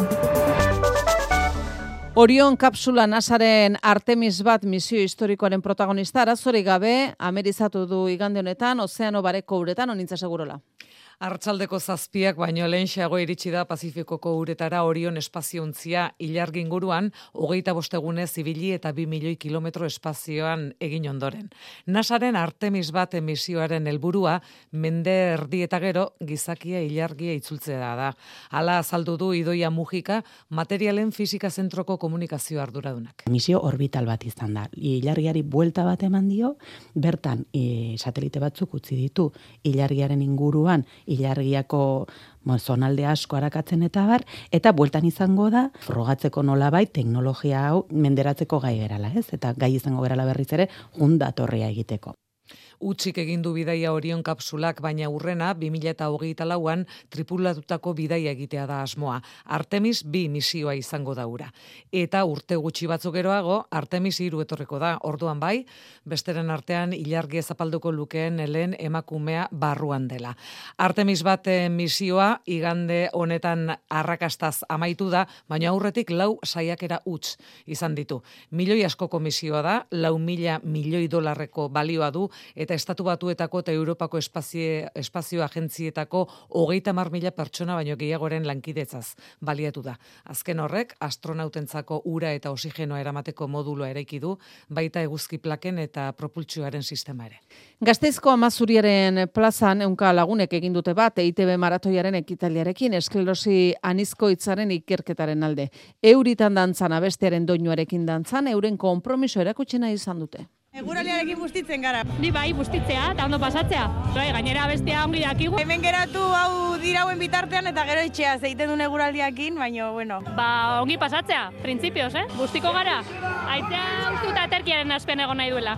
Orion kapsula nasaren Artemis bat misio historikoaren protagonista arazorik gabe amerizatu du igande honetan ozeano bareko uretan, onintza segurola. Arratsaldeko zazpiak baino lehenxeago iritsi da Pazifikoko uretara Orion espaziontzia ilargi inguruan, hogeita bostegune zibili eta bi milioi kilometro espazioan egin ondoren. NASAren Artemis bat misioaren helburua mende erdi eta gero gizakia ilargia itzultzea da. Hala azaldu du Idoia Mujika, materialen fisika zentroko komunikazio arduradunak. Misio orbital bat izan da. Ilargiari buelta bat eman dio, bertan e, satelite batzuk utzi ditu ilargiaren inguruan ilargiako zonalde asko arakatzen eta bar, eta bueltan izango da, frogatzeko nolabait teknologia hau menderatzeko gai gerala, ez? Eta gai izango gerala berriz ere, jundatorria egiteko. Utsik egin du bidaia Orion kapsulak, baina urrena bi mila hogeita lauan tripulatutako bidaia egitea da asmoa. Artemis bi misioa izango da ura. Eta urte gutxi batzuk geroago, Artemis hiru etorriko da. Orduan bai, besteren artean ilargi zapalduko lukeen helen emakumea barruan dela. Artemis bat misioa igande honetan arrakastaz amaitu da, baina aurretik lau saiakera huts izan ditu. Milioi askoko misioa da, lau mila milioi dolarreko balioa du, eta Estatu Batuetako eta Europako espazio, espazio agentzietako hogeita hamar mila pertsona baino gehiagoren lankidetzaz baliatu da. Azken horrek, astronautentzako ura eta oxigenoa eramateko moduloa eraiki du, baita eguzki plaken eta propultsioaren sistema ere. Gasteizko Amazuriaren plazan ehunka lagunek egin dute bat E I T B maratoiaren ekitaliarekin esklerosi anizko hitzaren ikerketaren alde. Euritan dantzan abestearen doinuarekin dantzan, euren konpromiso erakutsena izan dute. Eguraldiarekin bustitzen gara. Ni bai, bustitzea eta ondo pasatzea. Bai, gainera bestea ongi dakigu. Hemen geratu hau dirauen bitartean eta gero itxea zeiten duen eguraldiakin, baina bueno. Ba, ongi pasatzea, printzipioz, eh? Bustiko gara. Aitzea ustu eta aterkiaren aspen egon nahi duela.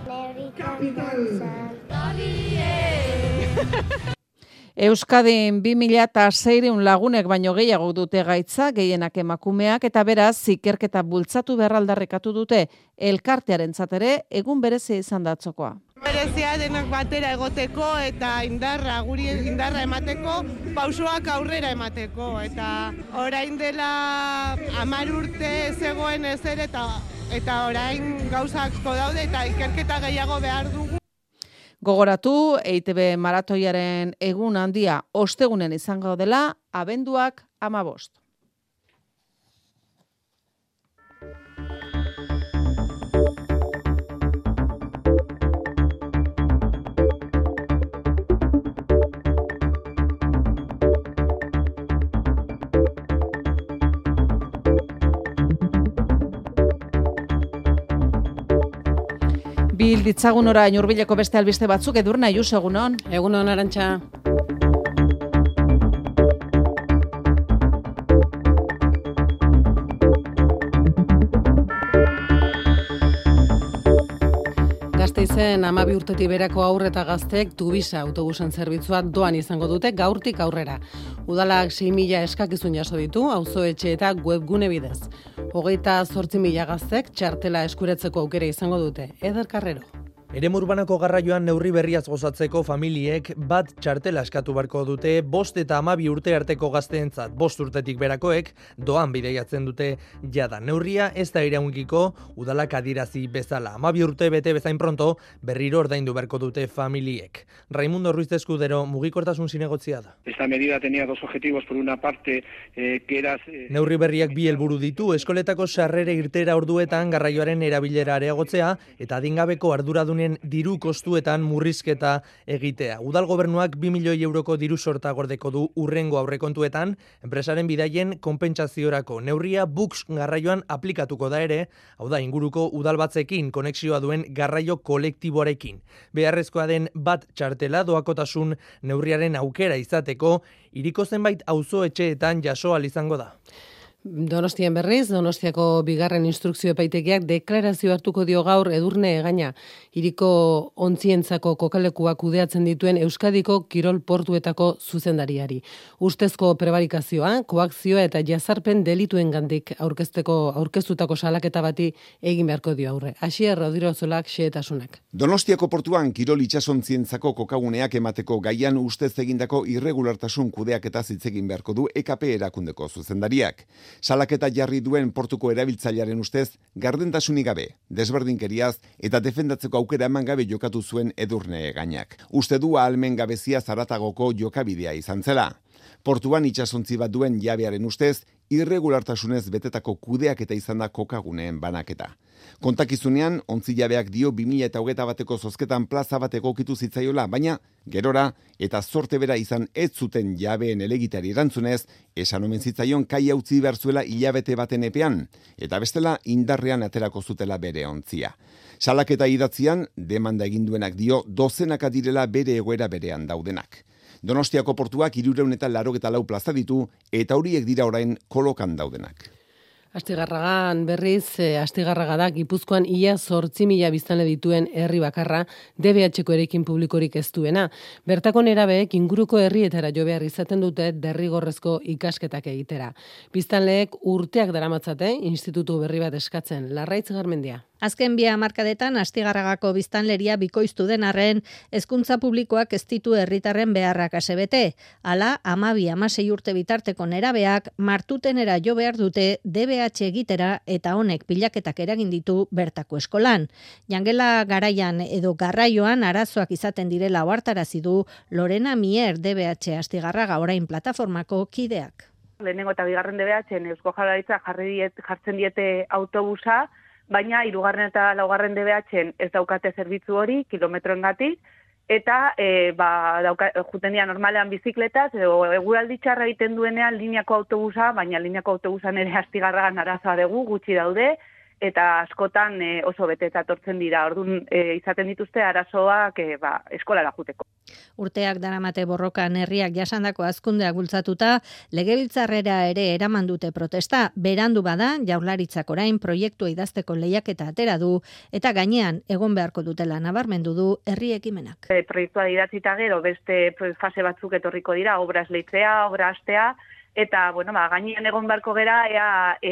Euskadin bi mila seiehun lagunek baino gehiago dute gaitza, gehienak emakumeak, eta beraz, ikerketa bultzatu berraldarrekatu dute elkartearentzat ere egun berezia izan da atzokoa. Berezia denak batera egoteko eta indarra, guri indarra emateko, pausoak aurrera emateko. Eta orain dela hamar urte zegoen ezer eta, eta orain gauzak daude eta ikerketa gehiago behar dugu. Gogoratu, E I Te Be maratoiaren egun handia ostegunen izango dela, abenduak hamabost. Bil ditzagun orain hurbileko beste albiste batzuk, Edurne Ayuso, egunon. Egunon, Arantxa. Gasteizen hamabi urtetik berako haur eta gazteek Tubisa autobusen zerbitzua doan izango dute gaurtik aurrera. Udalak sei mila eskakizun jaso ditu, auzoetxe eta webgune bidez. Hogeita zortzi mila gaztek txartela eskuretzeko aukera izango dute. Eder Carrero. Eremu urbanako garraioan neurri berriaz gozatzeko familiek bat txartela eskatu barko dute bost eta hamabi urte arteko gazteentzat. Bost urtetik berakoek doan bidaiatzen dute jada. Neurria ez da iraungiko udalak adirazi bezala. Hamabi urte bete bezain pronto berriro ordaindu beharko dute familiek. Raimundo Ruiz de Escudero, mugikortasun zinegotzia da. Esta medida tenía dos objetivos, por una parte, eh, que era... Eh... Neurri berriak bi helburu ditu, eskoletako sarrera irtera orduetan garraioaren erabilera areagotzea eta adingabeko arduradunen diru kostuetan murrizketa egitea. Udal gobernuak bi milioi euroko diru sorta gordeko du urrengo aurrekontuetan, enpresaren bidaien konpentsaziorako. Neurria Bux garraioan aplikatuko da ere, hau da inguruko udalbatzekin konexioa duen garraio kolektiboarekin. Beharrezkoa den bat txartela doakotasun neurriaren aukera izateko, hiriko zenbait auzoetxeetan jaso ahal izango da. Donostien berriz, Donostiako bigarren instrukzio epaitegiak deklarazio hartuko dio gaur Edurne Egaña, hiriko ontzientzako kokalekuak kudeatzen dituen Euskadiko kirol portuetako zuzendariari. Ustezko prebarikazioa, koakzioa eta jazarpen delituengandik aurkezteko aurkeztutako salaketa bati egin beharko dio aurre. Asier Rodirozolak xehetasunak. Donostiako portuan kirol itsasontzientzako kokaguneak emateko gaian ustez egindako irregulartasun kudeaketa hitz egin beharko du E K P erakundeko zuzendariak. Salaketa jarri duen portuko erabiltzailearen ustez, gardentasunik gabe, desberdinkeriaz eta defendatzeko aukera eman gabe jokatu zuen Edurne Egañak. Uste du ahalmen gabezia zaratagoko jokabidea izan zela. Portuan itsasontzi bat duen jabearen ustez, irregulartasunez betetako kudeaketa izan da kokaguneen banaketa. Kontakizunean, ontzi jabeak dio bi mila hogeita bateko zozketan plaza bat egokitu zitzaiola, baina gerora eta zorte bera izan ez zuten jabeen elegitari erantzunez, esan omen zitzaion kai utzi behar zuela hilabete baten epean, eta bestela indarrean aterako zutela bere ontzia. Salaketa idatzian, demanda egin duenak dio dozenaka direla bere egoera berean daudenak. Donostiako portuak hirurehun eta laurogeita lau plaza ditu eta horiek dira orain kolokan daudenak. Astigarragan berriz, eh, Astigarraga da Gipuzkoan ia zortzi mila biztanle dituen herri bakarra D B H-ko erekin publikorik ez duena. Bertako nerabeek inguruko herrietara jo behar izaten dute derrigorrezko ikasketak egitera. Biztanleek urteak daramatzate institutu berri bat eskatzen. Larraitz Garmendia. Azken bi hamarkadetan Astigarragako biztanleria bikoiztu den arren, hezkuntza publikoak ez ditu herritarren beharrak asebete. Hala, hamabi hamasei urte bitarteko nerabeak martutenera jo behar dute D B H egitera eta honek pilaketak eragin ditu bertako eskolan. Jangela garaian edo garraioan arazoak izaten direla ohartarazi du Lorena Mier D B H Astigarraga orain plataformako kideak. Lehenengo eta bigarren D B H-en Eusko Jaurlaritza jarri diet, jartzen diete autobusa, baina hirugarren eta laugarren D B H-en ez daukate zerbitzu hori kilometroengatik eta e, ba, dauka, juten dira normalean bizikletaz edo eguraldi txarra egiten duenean lineako autobusa, baina lineako autobusan ere Astigarragan arazoa dugu, gutxi daude eta askotan e, oso bete eta tortzen dira. Orduan e, izaten dituzte arazoak e, ba, eskolara juteko. Urteak daramate borrokan herriak jasandako hazkundeak bultzatuta, legebiltzarrera ere eraman dute protesta. Berandu bada, Jaurlaritzak orain proiektua idazteko lehiaketa atera du eta gainean egon beharko dutela nabarmendu du herri ekimenak. E, proiektua idatzita gero beste fase batzuk etorriko dira, obra esleitzea, obra hastea, eta bueno, ba, gainean egon beharko gera ea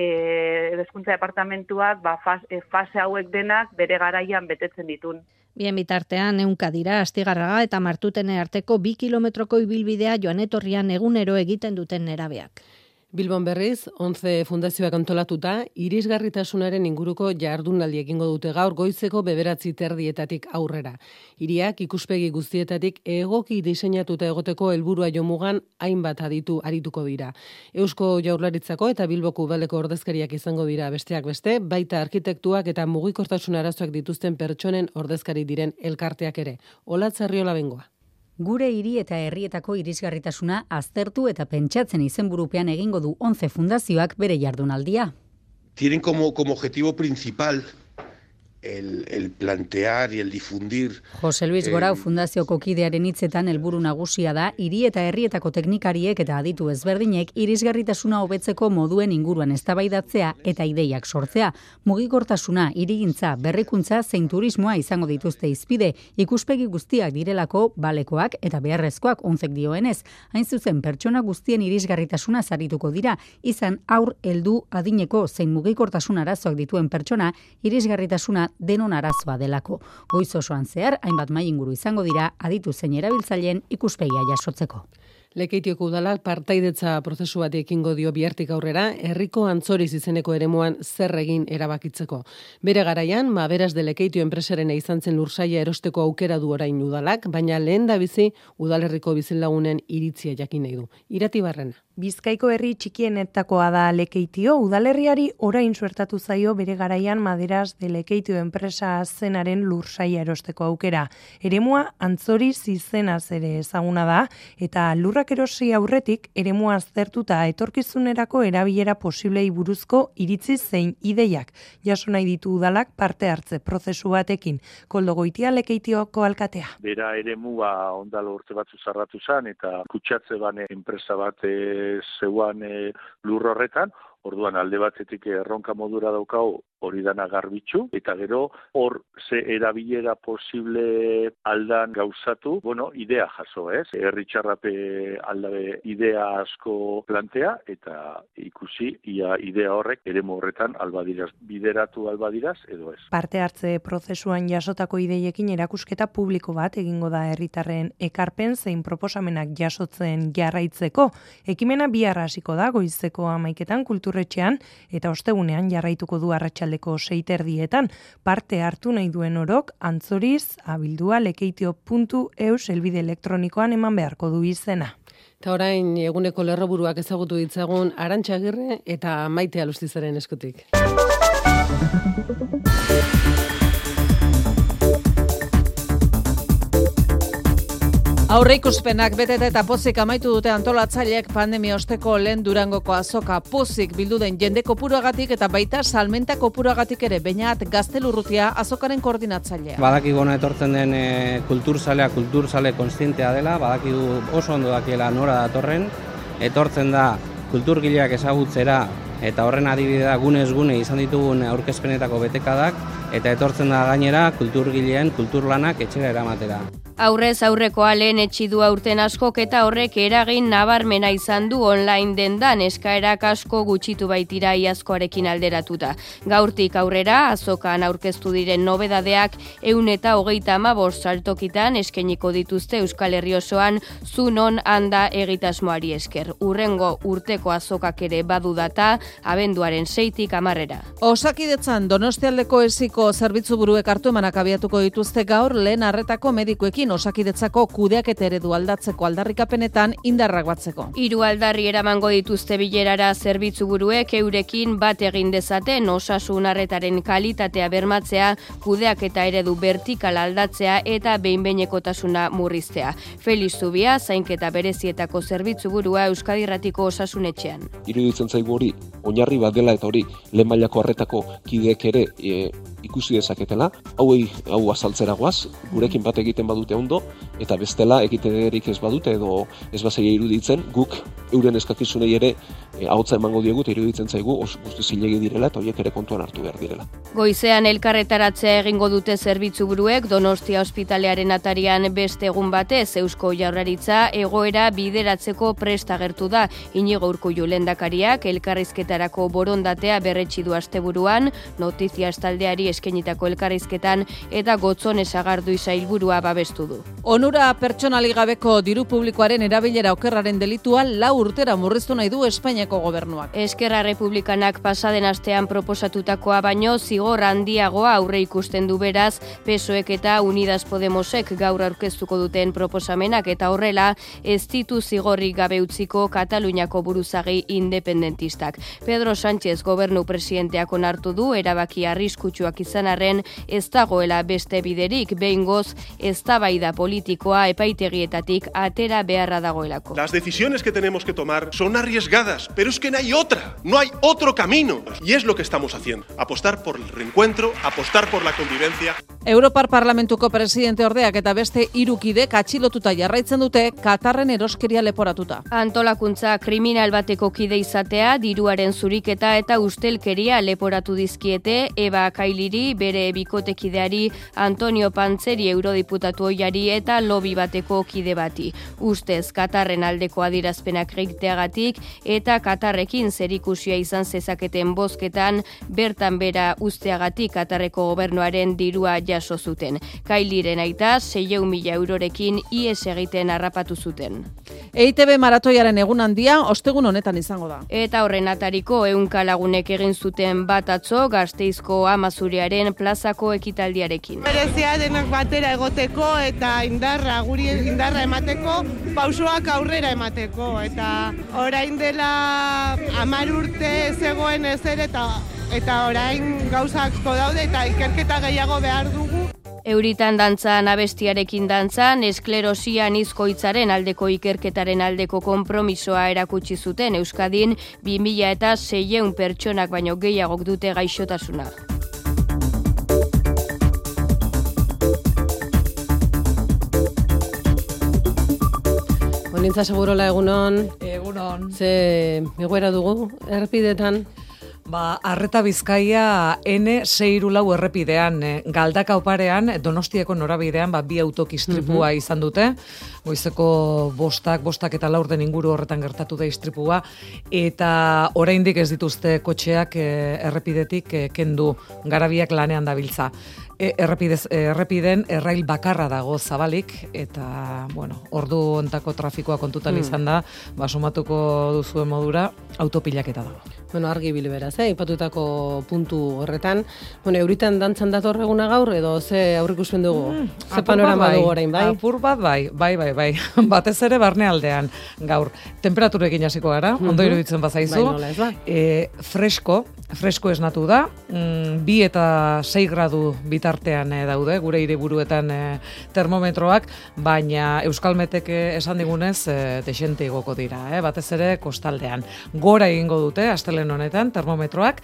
e, hezkuntza departamentuak ba, fase, fase hauek denak bere garaian betetzen ditun. Bien bitartean, ehunka dira Astigarraga eta Martutene arteko bi kilometroko ibilbidea joan etorrian egunero egiten duten nerabeak. Bilbon berriz, onze fundazioak antolatuta, irisgarritasunaren inguruko jardunaldi egingo dute gaur goizeko bederatzi terdietatik aurrera. Hiriak ikuspegi guztietatik egoki diseinatuta egoteko helburua jomugan hainbat aditu arituko dira. Eusko Jaurlaritzako eta Bilboko udaleko ordezkariak izango dira besteak beste, baita arkitektuak eta mugikortasun arazoak dituzten pertsonen ordezkari diren elkarteak ere. Olatz Arriola Bengoa. Gure hiri eta herrietako irisgarritasuna aztertu eta pentsatzen izenburupean egingo du onze fundazioak bere jardunaldia. Tienen como, como objetivo principal el, el plantear y el difundir. Jose Luis Gorau fundazioko kidearen hitzetan helburu nagusia da hiri eta herrietako teknikariek eta aditu ezberdinek irisgarritasuna hobetzeko moduen inguruan eztabaidatzea eta ideiak sortzea. Mugikortasuna, hirigintza, berrikuntza zein turismoa izango dituzte hizpide, ikuspegi guztiak direlako balekoak eta beharrezkoak onzek dioenez. Hain zuzen pertsona guztien irisgarritasuna sarituko dira, izan aur heldu adineko zein mugikortasun arazoak dituen pertsona irisgarritasuna denon arazoa delako. Goiz osoan zehar, hainbat mahai inguru izango dira aditu zein erabiltzaileen ikuspegia jasotzeko. Lekeitioko udalak partaidetza prozesu bat ekingo dio bihartik aurrera, herriko Antzoriz izeneko eremuan zer egin erabakitzeko. Bere garaian, Maberas de Lekeitio enpresarena izan zen lursaia erosteko aukera du orain udalak, baina lehen da bizi udalerriko bizilagunen iritzia jakin nahi du. Irati Barrena. Bizkaiko herri txikienetakoa da Lekeitio, udalerriari orain suertatu zaio bere garaian Maderas de Lekeitio enpresa zenaren lursaia erosteko aukera. Eremua Antzoriz izenaz ere ezaguna da, eta lurrak erosi aurretik eremua aztertuta etorkizunerako erabilera posiblei buruzko iritzi zein ideiak. Jaso nahi ditu udalak parte hartze prozesu batekin. Koldo Goitia Lekeitioko alkatea. Bera eremua ondalo urte batzu zarratu zen eta kutsatze bane enpresa bat zeuan e, lur horretan, orduan alde batetik erronka modura daukau hori dana garbitzu, eta gero hor ze erabilera posible aldan gauzatu, bueno, idea jaso, ez? Herri txarrape aldabe idea asko plantea, eta ikusi ia idea horrek eremu horretan albadiraz, bideratu albadiraz edo ez. Parte hartze prozesuan jasotako ideiekin erakusketa publiko bat egingo da herritarren ekarpen zein proposamenak jasotzen jarraitzeko. Ekimena bihar hasiko da goizeko hamaiketan kulturretxean eta ostegunean jarraituko du arratsaldeko sei terdietan. Parte hartu nahi duen orok Antzoriz abildua lekeitio puntu eus helbide elektronikoan eman beharko du izena. Eta orain eguneko lerroburuak ezagutu ditzagun Arantxa Agirre eta Maite Alustizaren eskutik. Aurreikuspenak betete eta pozik amaitu dute antolatzaileek pandemia osteko lehen Durangoko azoka. Pozik bildu den jende kopuruagatik eta baita salmenta kopuruagatik ere. Beñat Gaztelurrutia azokaren koordinatzailea. Badakigu ona etortzen den e, kulturzalea, kulturzale konstientea dela, badakigu oso ondo dakiela nora datorren, etortzen da kulturgileak ezagutzera eta horren adibidea gunez gune izan ditugun aurkezpenetako betekadak, eta etortzen da gainera kulturgileen kulturlanak etxera eramatera. Aurrez aurrekoa lehen etxidu aurten askok eta horrek eragin nabarmena izan du online dendan eskaerak asko gutxitu baitira iazkoarekin alderatuta. Gaurtik aurrera azokan aurkeztu diren nobedadeak ehun eta hogeita hamabost saltokitan eskainiko dituzte Euskal Herri osoan zunon handa egitasmoari esker. Urrengo urteko azokak ere badu data abenduaren seitik hamarrera. Osakidetzan Donostialdeko esiko zerbitzu buruek hartu emanak abiatuko dituzte gaur lehen arretako medikuekin Osakidetzako kudeaketa eredu aldatzeko aldarrikapenetan indarrak batzeko. Hiru aldarri eramango dituzte bilerara zerbitzu buruek eurekin bat egin dezaten osasun arretaren kalitatea bermatzea, kudeaketa eredu vertikal aldatzea eta behin-behinekotasuna murriztea. Felix Zubia, zainketa berezietako zerbitzu burua Euskadi Irratiko Osasunetxean. Iruditzen zaigu hori oinarri bat dela eta hori lehen mailako arretako kideek ere e, ikusi dezaketela, hauei hau azaltzera goaz, gurekin bat egiten badute ondo, eta bestela egiterik ez badute edo ez bazaia iruditzen, guk euren eskakizunei ere e, ahotza emango diegu eta iruditzen zaigu oso guzti zilegi direla eta horiek ere kontuan hartu behar direla. Goizean elkarretaratzea egingo dute zerbitzu buruek Donostia ospitalearen atarian beste egun batez Eusko Jaurlaritza egoera bideratzeko prest agertu da. Inigo Urkullu lehendakariak elkarrizketarako borondatea berretsi du asteburuan, Noticias taldeari eskenitako elkarrizketan eta Gotzon Esagardui sailburua babestu du. Onura pertsonali gabeko diru publikoaren erabilera okerraren delitua lau urtera murriztu nahi du Espainiako gobernuak. Eskerra Republikanak pasaden astean proposatutakoa baino zigor handiagoa aurre ikusten du beraz, P S Oek eta Unidas Podemosek gaur aurkeztuko duten proposamenak eta horrela ez ditu zigorrik gabe utziko Kataluniako buruzagi independentistak. Pedro Sánchez gobernu presidenteak onartu du erabaki arriskutsuak izan arren ez dagoela beste biderik behingoz eztabaida politikoa epaitegietatik atera beharra dagoelako. Las decisiones que tenemos que tomar son arriesgadas, pero es que no hay otra, no hay otro camino. Y es lo que estamos haciendo, apostar por el reencuentro, apostar por la convivencia. Europar Parlamentuko presidente ordeak eta beste hiru kidek atxilotuta jarraitzen dute Katarren eroskeria leporatuta. Antolakuntza kriminal bateko kide izatea, diruaren zuriketa eta ustelkeria leporatu dizkiete Eba Kailiri, bere bikotekideari Antonio Pantzeri eurodiputatu ohiari eta lobby bateko kide bati. Ustez Katarren aldeko adierazpenak egiteagatik eta Katarrekin zerikusia izan zezaketen bozketan bertan bera usteagatik Katarreko gobernuaren dirua jaso zuten. Kailiren aita seiehun mila eurorekin ihes egiten harrapatu zuten. E I T B maratoiaren egun handia ostegun honetan izango da. Eta horren atariko ehunka lagunek egin zuten bat atzo Gasteizko Amazuriaren plazako ekitaldiarekin. Berezia denak batera egoteko eta indarra guri indarra emateko, pausoak aurrera emateko eta orain dela hamar urte zegoen ezer eta eta orain gauzakko daude eta ikerketa gehiago behar dugu. Euritan dantzan abestiarekin dantzan, esklerosian izkoitzaren aldeko ikerketaren aldeko konpromisoa erakutsi zuten Euskadin bi mila eta seiehun pertsonak baino gehiagok dute gaixotasuna. Olintza segurola egunon. Egunon. Ze egoera dugu errepidetan? Ba, Arreta Bizkaia N sei hiru lau errepidean, eh, Galdaka oparean, Donostiako norabidean, ba, bi autokistripua uh-huh. izan dute. Goizeko bostak, bostak eta laurden inguru horretan gertatu da istripua, eta oraindik ez dituzte kotxeak eh, errepidetik eh, kendu, garabiak lanean dabiltza. E, errepidez, errepiden errail bakarra dago zabalik, eta, bueno, ordu ontako trafikoa kontutan hmm. izan da, ba, sumatuko duzuen modura, autopilaketa dago. Bueno, argi bile beraz, eh? Ipatutako puntu horretan. Bueno, euritan dantzan dator eguna gaur, edo ze aurrikuspen dugu? Mm, ze panorama dugu orain, bai? Apur bat bai, bai, bai, bai. Batez ere barnealdean gaur. Temperaturekin hasiko gara, mm-hmm. ondo iruditzen bazaizu. Bai, nola ez ba? E, fresko, fresko esnatu da, mm, bi eta sei gradu bitartean e, daude, gure hiriburuetan e, termometroak, baina Euskalmetek esan digunez e, desente igoko dira, eh? Batez ere kostaldean. Gora egingo dute, astelen honetan, termometroak,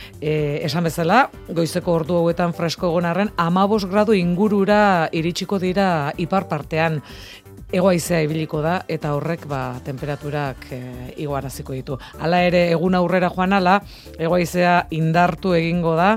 e, esan bezala, goizeko ordu hauetan fresko egonarren, amabos gradu ingurura iritsiko dira ipar partean. Hegoaizea ibiliko da eta horrek ba temperaturak e, igoaraziko ditu. Hala ere egun aurrera joan ala, hegoaizea indartu egingo da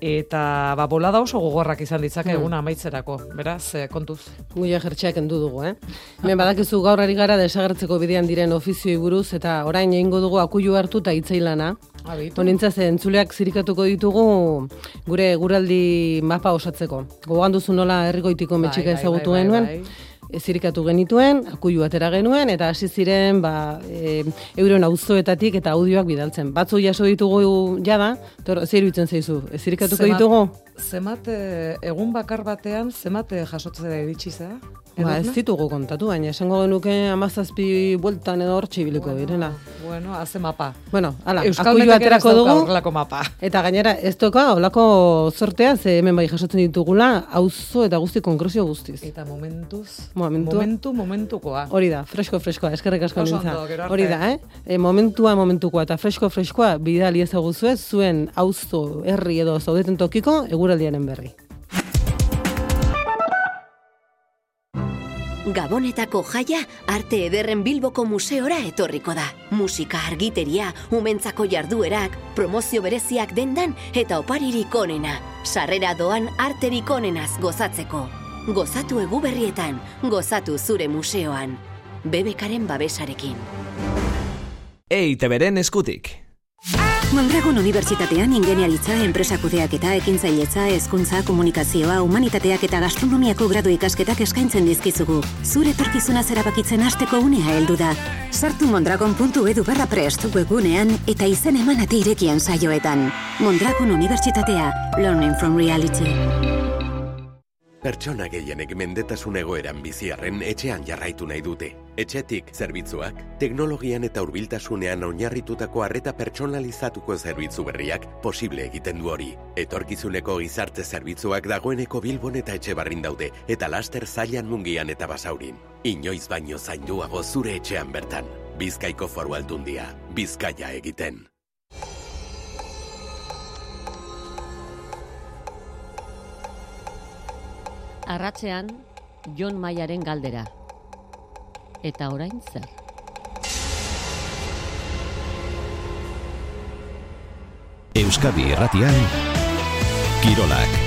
eta ba bolada oso gogorrak izan ditzake hmm. eguna amaitzerako. Beraz, e, kontuz. Guia jertxeak endu dugu, eh? Hemen badakizu gaur ari gara desagertzeko bidean diren ofizioi buruz eta orain egingo dugu akuilu hartu ta hitzailana. Honintza zen entzuleak zirikatuko ditugu gure guraldi mapa osatzeko. Gogoan duzu nola herrigoitiko metxika bai, ezagutu bai, bai, genuen? Bai, bai. Zirikatu genituen, akuilu atera genuen, eta hasi ziren ba, e, euren auzoetatik eta audioak bidaltzen. Batzu jaso ditugu jada, zer iruditzen zaizu, zirikatuko ditugu? Zemat, egun bakar batean, zemat jasotzera iritsi zera? Ba, ez ditugu kontatu, baina esango genuke hamazazpi bueltan edo hortxe ibiliko bueno, direna. Bueno, haze mapa. Bueno, ala, akuilu aterako dugu. Mapa. Eta gainera, ez toka, holako sortea, ze hemen bai jasotzen ditugula, auzo eta guzti konkrezio guztiz. Eta momentuz, momentu, momentu, momentukoa. Hori da, fresko, freskoa, eskerrik asko nintza. Hori da, eh? E, momentua, momentukoa, eta fresko, freskoa, bidali ezaguzue, zuen auzo, herri edo zaudeten tokiko, eguraldiaren berri. Gabonetako jaia Arte Ederren Bilboko museora etorriko da. Musika, argiteria, umentzako jarduerak, promozio bereziak dendan eta oparirik onena. Sarrera doan arterik onenaz gozatzeko. Gozatu eguberrietan, gozatu zure museoan. B B Karen babesarekin. E I Te Beren eskutik. Mondragon Unibertsitatean ingeniaritza, enpresakudeak eta ekintzailetza, hezkuntza, komunikazioa, humanitateak eta gastronomiako gradu ikasketak eskaintzen dizkizugu. Zure etorkizuna zerabakitzen hasteko unea heldu da. Sartu mondragon puntu edu barra prest webgunean eta izen emanate irekien saioetan. Mondragon Unibertsitatea, Learning from Reality. Pertsona gehienek mendetasun egoeran biziarren etxean jarraitu nahi dute. Etxetik zerbitzuak, teknologian eta hurbiltasunean oinarritutako arreta pertsonalizatuko zerbitzu berriak posible egiten du hori. Etorkizuneko gizarte zerbitzuak dagoeneko Bilbon eta Etxebarrin daude, eta laster Zailan, Mungian eta Basaurin. Inoiz baino zainduago zure etxean bertan. Bizkaiko Foru Aldundia, Bizkaia egiten. Arratsean, Jon Maiaren galdera. Eta orain zer? Euskadi Irratian, Kirolak.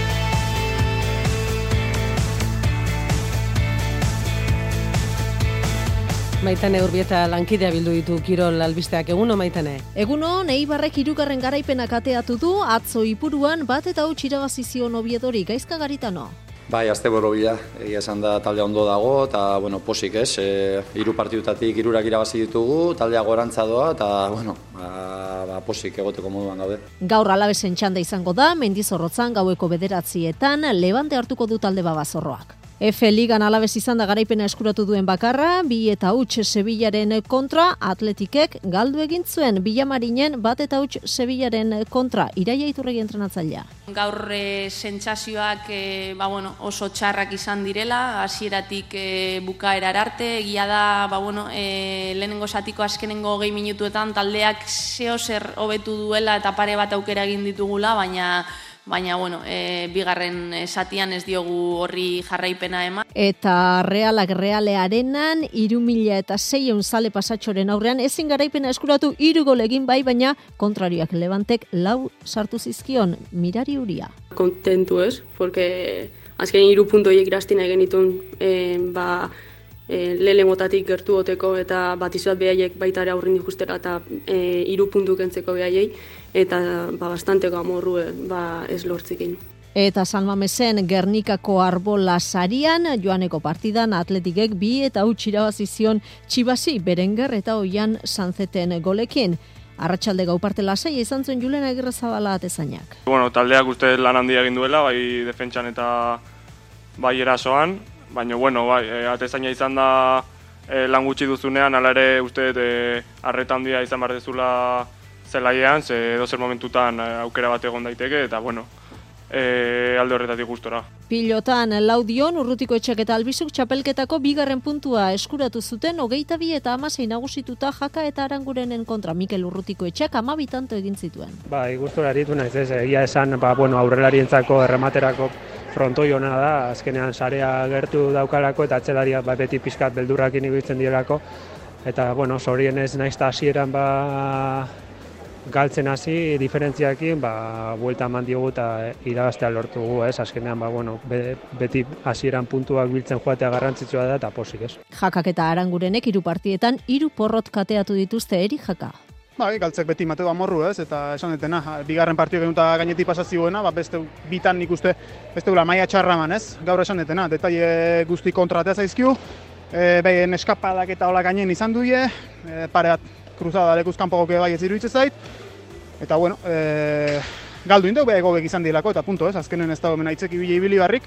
Maitane Urbieta lankidea bildu ditu Kirol albisteak. Eguno, Maitane? Eguno, Eibarrek hirugarren garaipenak ateatu du, atzo Ipuruan bat eta huts irabazi zion Oviedori. Gaizka Garitano? Bai, asteburu bila, egia esan da taldea ondo dago, eta, bueno, posik ez, e, hiru partidutatik hirurak irabazi ditugu, taldea gorantza doa, eta, bueno, ba, ba, posik egoteko moduan gaude. Gaur Alavesen txanda izango da, Mendizorrotzan gaueko bederatzietan, Levante hartuko du talde Babazorroak. F Ligan Alaves izan da garaipena eskuratu duen bakarra, bi eta huts Sevillaren kontra, Atletikek galdu egin zuen Villamarinen bat eta huts Sevillaren kontra, Iraia Iturregi entrenatzailea. Gaur e, sentsazioak e, ba, bueno, oso txarrak izan direla, hasieratik e, bukaerar arte, egia da ba, bueno, e, lehenengo zatiko azkenengo gehi minutuetan taldeak zeo zer hobetu duela eta pare bat aukera egin ditugula, baina baina bueno, e, bigarren zatian ez diogu horri jarraipena eman. Eta Realak Realearenan hiru mila seiehun zale pasatxoren aurrean ezin garaipena eskuratu hiru gol egin bai, baina kontrarioak Levantek lau sartu zizkion. Mirari Uria. Kontentu ez, porque azken hiru puntu horiek irastina egin ditun e, ba, e, lehenengotatik gertu goteko eta bat izuat behaiek baita ere aurrin dikustera eta e, hiru puntu kentzeko behaiei. Eta ba, bastanteko amorru ba, ez lortzekin. Eta San Mamesen Gernikako Arbola sarian, joaneko partidan Atletikek bi eta huts irabazi zion Txibasi, Berenguer eta Oian Sanzeten golekin. Arratsalde gau parte lasai izan zuen Julen Agirrezabala atezainak. Bueno, taldeak uste lan handia egin duela, bai defentsan eta bai erasoan, baina bueno, bai, atezaina izan da e, lan gutxi duzunean, hala ere uste e, arreta handia izan behar dezula zelaiean, ze edozer momentutan aukera bat egon daiteke, eta bueno, e, alde horretatik gustora. Pilotan Laudion, Urrutiko Etxek eta Albizuk txapelketako bigarren puntua eskuratu zuten, hogeita bi eta hamasei nagusituta Jaka eta Arangurenen kontra. Mikel Urrutiko Etxek hamabi tanto egin zituen. Bai, gustora aritu naiz ez, egia esan, ba, bueno, aurrelarientzako errematerako frontoi hona da, azkenean sarea gertu daukalako eta atzelariak ba, beti pixkat beldurrakin ibiltzen direlako, eta, bueno, zorienez naizta hasieran ba, galtzen hasi diferentziakin, ba, buelta eman diogu eta irabaztea lortugu, ez? Azkenean, ba, bueno, be, beti hasieran puntuak biltzen joatea garrantzitsua da eta posik, ez? Jakak eta Arangurenek hiru partietan hiru porrot kateatu dituzte. Eri Jaka. Bai, galtzek beti mateo amorru, ez? Eta esan detena, bigarren partio genuta gainetik pasazioena, ba, beste bitan nik uste, beste gula maia txarraman, ez? Gaur esan detena, detaile guzti kontratea zaizkiu, e, behin eskapadak eta hola gainen izan duie, e, pare bat kruzada lekuz kanpoko bai ez iruditzen zait, eta bueno, e, galdu indau beha egobek izan dilako, eta punto ez, azkenen ez dago mena itzeki bile ibili barrik,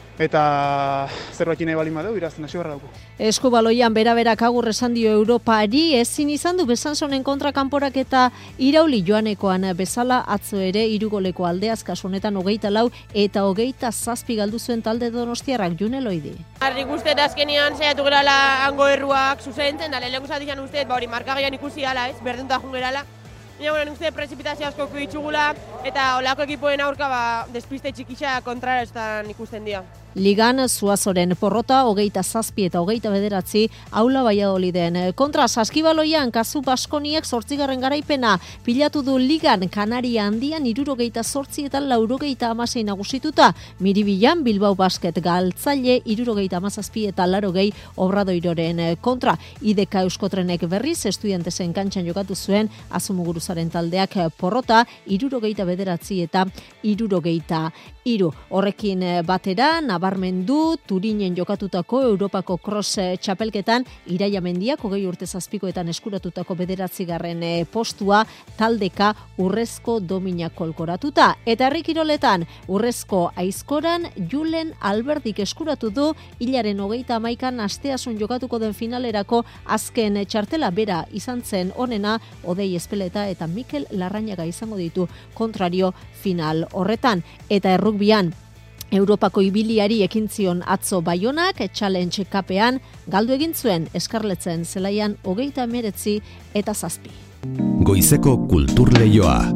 eta zerbait nahi bali madeu, irazten hasi barra dugu. Eskubaloian bera-berak agur esan dio Europari, ezin izan du Besanzonen kontra kanporak eta irauli joanekoan bezala atzo ere irugoleko aldeaz kasu honetan hogeita lau eta hogeita zazpi galdu zuen talde donostiarrak. June Loidi. Harrik uste eta azkenian saiatu gerala hango erruak zuzentzen, da lehenko zatian uste, ba hori markagaian ikusi ala ez, berdunta jungerala. Baina, bueno, uste prezipitazio asko ditugula eta olako ekipoen aurka ba, despiste txikisa kontrarestan ikusten dira. Ligan Zuazoren porrota hogeita zazpi eta hogeita bederatzi Aula Valladoliden kontra. Saskibaloian Kazu Baskoniek zortzigarren garaipena pilatu du Ligan Kanaria handian hirurogeita zortzi eta laurogeita hamasei nagusituta. Miribilan Bilbao Basket galtzaile hirurogeita hamazazpi eta larogei Obradoiroren kontra. Ideka Euskotrenek berriz estudiantesen kantxan jokatu zuen Azumuguruzaren taldeak porrota hirurogeita bederatzi eta hirurogeita hiru. Horrekin batera nabarmendu Turinen jokatutako Europako cross txapelketan Iraia Mendiak hogei urte zazpikoetan eskuratutako bederatzigarren postua taldeka urrezko dominak kolkoratuta. Eta herri kiroletan urrezko aizkoran Julen Alberdik eskuratu du hilaren hogeita hamaikan asteasun jokatuko den finalerako azken txartela bera izan zen onena Odei Espeleta eta Mikel Larrañaga izango ditu kontrario final horretan. Eta errukbian Europako ibiliari ekin zion atzo Baionak Challenge Cupean galdu egin zuen Eskarletzen zelaian hogeita hemeretzi eta zazpi. Goizeko kultur leioa.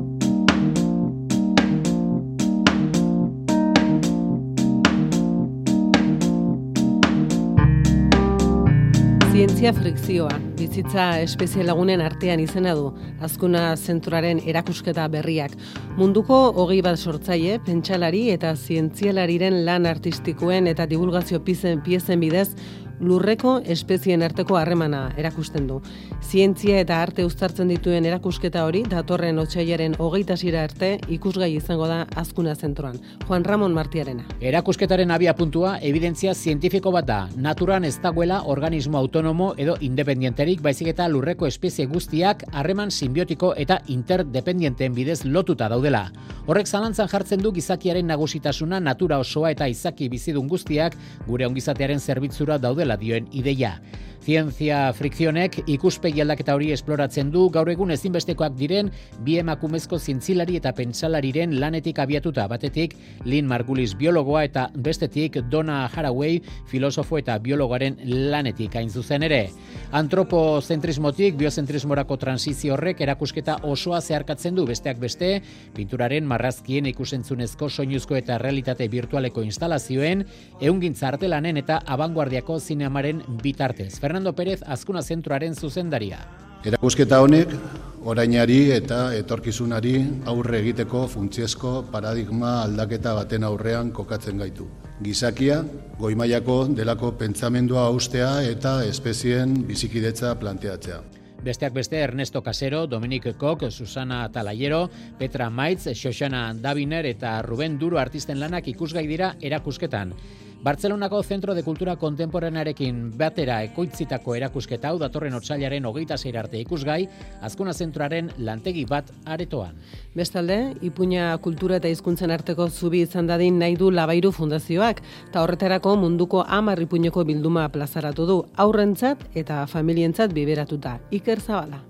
Zientzia frikzioa, bizitza espezie lagunen artean izena du, Azkuna Zentroaren erakusketa berriak. Munduko hogei bat sortzaile, pentsalari eta zientzialariren lan artistikoen eta divulgazio piezen, piezen bidez, lurreko espezien arteko harremana erakusten du. Zientzia eta arte uztartzen dituen erakusketa hori datorren otsailaren hogeita sira arte ikusgai izango da Azkuna Zentroan. Juan Ramon Martiarena. Erakusketaren abia puntua evidentzia zientifiko bat da. Naturan ez dagoela organismo autonomo edo independienterik, baizik eta lurreko espezie guztiak harreman sinbiotiko eta interdependienteen bidez lotuta daudela. Horrek zalantzan jartzen du gizakiaren nagusitasuna natura osoa eta izaki bizidun guztiak gure ongizatearen zerbitzura daudela dioen ideia. Zientzia frikzionek ikuspegi aldaketa hori esploratzen du gaur egun ezinbestekoak diren bi emakumezko zientzilari eta pentsalariren lanetik abiatuta, batetik Lynn Margulis biologoa eta bestetik Donna Haraway filosofo eta biologoaren lanetik hain zuzen ere. Antropozentrismotik biozentrismorako transizio horrek erakusketa osoa zeharkatzen du, besteak beste, pinturaren, marrazkien, ikusentzunezko, soinuzko eta realitate virtualeko instalazioen, ehungintza artelanen eta abanguardiako zinemaren bitartez. Fernando Pérez, Azkuna Zentroaren zuzendaria. Erakusketa honek orainari eta etorkizunari aurre egiteko funtsezko paradigma aldaketa baten aurrean kokatzen gaitu. Gizakia, goi mailako delako pentsamendua haustea eta espezien bizikidetza planteatzea. Besteak beste Ernesto Casero, Dominic Koch, Susana Talayero, Petra Maitz, Xoxana Daviner eta Ruben Duro artisten lanak ikusgai dira erakusketan. Bartzelonako Zentro de Kultura Kontemporanearekin batera ekoitzitako erakusketa hau datorren otsailaren hogeita sei arte ikusgai, Azkuna Zentroaren lantegi bat aretoan. Bestalde, Ipuina kultura eta hizkuntzen arteko zubi izan dadin nahi du Labairu Fundazioak, eta horretarako munduko hamar ipuineko bilduma plazaratu du, haurrentzat eta familientzat biberatuta. Iker Zabala.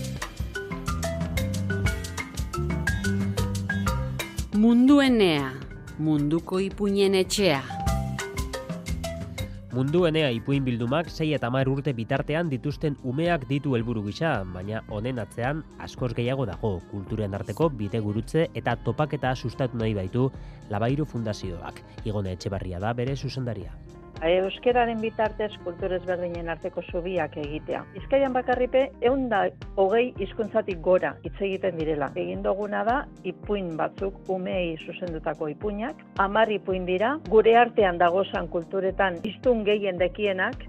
Munduenea, munduko ipuinen etxea. Munduenea ipuin bildumak sei eta hamar urte bitartean dituzten umeak ditu helburu gisa, baina honen atzean askoz gehiago dago, kulturen arteko bidegurutze eta topaketa sustatu nahi baitu Labairu Fundazioak. Igone Etxebarria da bere zuzendaria. Euskeraren bitartez kultur ezberdinen arteko zubiak egitea. Bizkaian bakarripe ehun eta hogei hizkuntzatik gora hitz egiten direla. Egin duguna da ipuin batzuk umeei zuzendutako ipuinak, hamar ipuin dira, gure artean dagozan kulturetan hiztun gehien dekienak.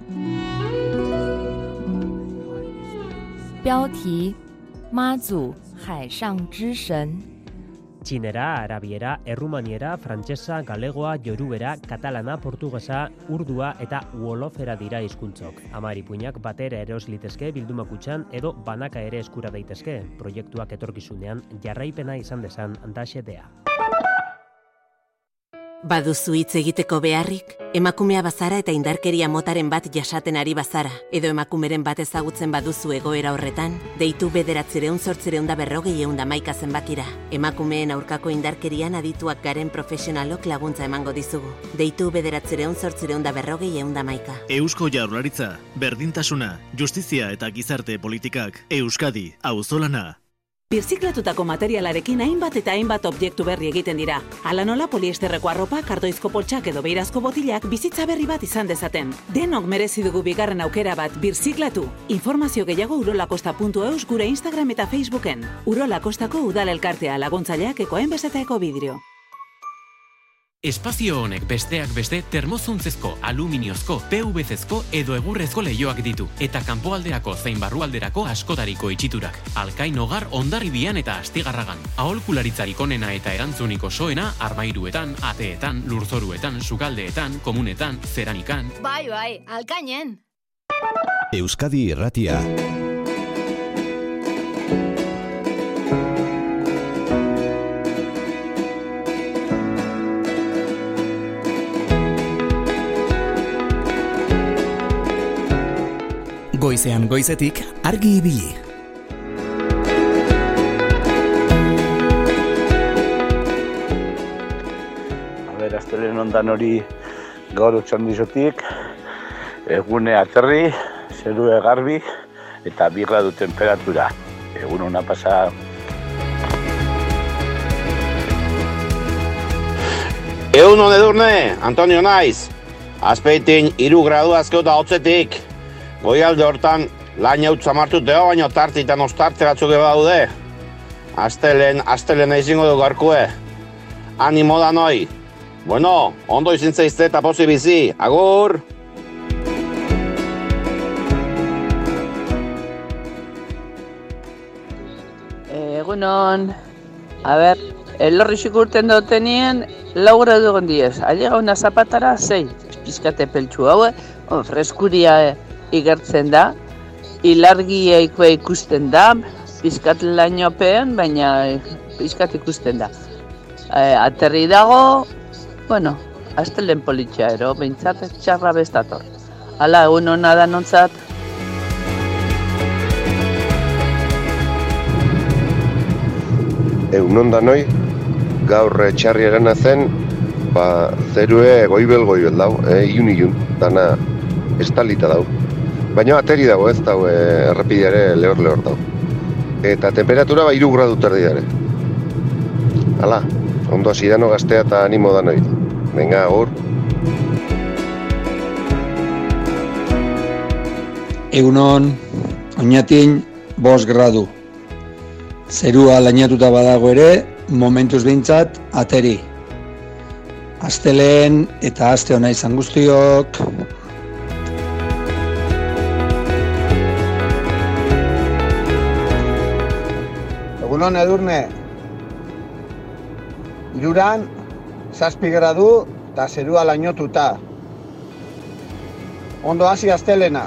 标题妈祖海上之神 Txinera, arabiera, errumaniera, frantsesa, galegoa, jorubera, katalana, portugesa, urdua eta uolofera dira hizkuntzok. Hamar ipuinak batera eros litezke bildumakutxan edo banaka ere eskura daitezke. Proiektuak etorkizunean jarraipena izan dezan da xedea. Baduzu hitz egiteko beharrik? Emakumea bazara eta indarkeria motaren bat jasaten ari bazara, edo emakumeren bat ezagutzen baduzu egoera horretan, deitu bederatzireun zortzireun da berrogei eun da maika zenbakira. Emakumeen aurkako indarkerian adituak garen profesionalok laguntza emango dizugu. Deitu bederatzireun zortzireun da berrogei eun da maika. Eusko Jaurlaritza, berdintasuna, justizia eta gizarte politikak, Euskadi, auzolana. Birziklatutako materialarekin hainbat eta hainbat objektu berri egiten dira. Hala nola poliesterreko arropa, kardoizko poltsak edo beirazko botilak bizitza berri bat izan dezaten. Denok merezi dugu bigarren aukera bat birziklatu. Informazio gehiago urolakosta puntu eus gure Instagram eta Facebooken. Urolakostako udal elkartea laguntzaileak ekoen bezetaeko bidrio. Espazio honek besteak beste termozuntzezko, aluminiozko, P V C-ezko edo egurrezko leihoak ditu eta kanpoalderako zein barrualderako askotariko itxiturak. Alkain Hogar Hondarribian eta Astigarragan. Aholkularitzarik onena eta erantzunik osoena armairuetan, ateetan, lurzoruetan, sukaldeetan, komunetan, zeramikan. Bai, bai, alkainen. Euskadi Irratia. Goizean goizetik argi ibili. A ber, astelen ondan hori gaur otxandizotik, egune aterri, zerue garbi eta bi gradu temperatura. Egun hona pasa. Egun hon Edurne, Antonio naiz. Azpeitin hiru gradu azkeuta hotzetik. Goialde hortan lan jautz amartuteo, baina tartitan ostarte batzuk eba daude. Astelen, astelen eizingo du garkue. Animo da noi. Bueno, ondo izin zaizte eta pozi bizi. Agur! Egunon, a ber, elorrixik urten dutenien, lau gradu gondiez. Allega una zapatara, zei, pizkate peltsu haue, on, freskuria igertzen da, ilargia ikue ikusten da, pizkat lainopean, baina pizkat ikusten da. E, aterri dago, bueno, astelen politxa ero, behintzat txarra bestator. Hala, egun hona da nontzat. Egun hon da noi, gaur txarri egana zen, ba, zerue goibel-goibel dau, e, iun-iun, dana estalita dau. Baina ateri dago ez dago errepideare lehor-lehor dago. Eta temperatura ba hiru gradu terdi dare. Hala, ondo hasi dano gaztea eta animo da noi. Venga, agur. Egunon, oinatin bost gradu. Zerua lainatuta badago ere, momentuz behintzat ateri. Astelehen eta aste ona izan guztiok. Egunon Edurne, iruran, zazpi gradu eta zerua lainotuta. Ondo hasi astelena.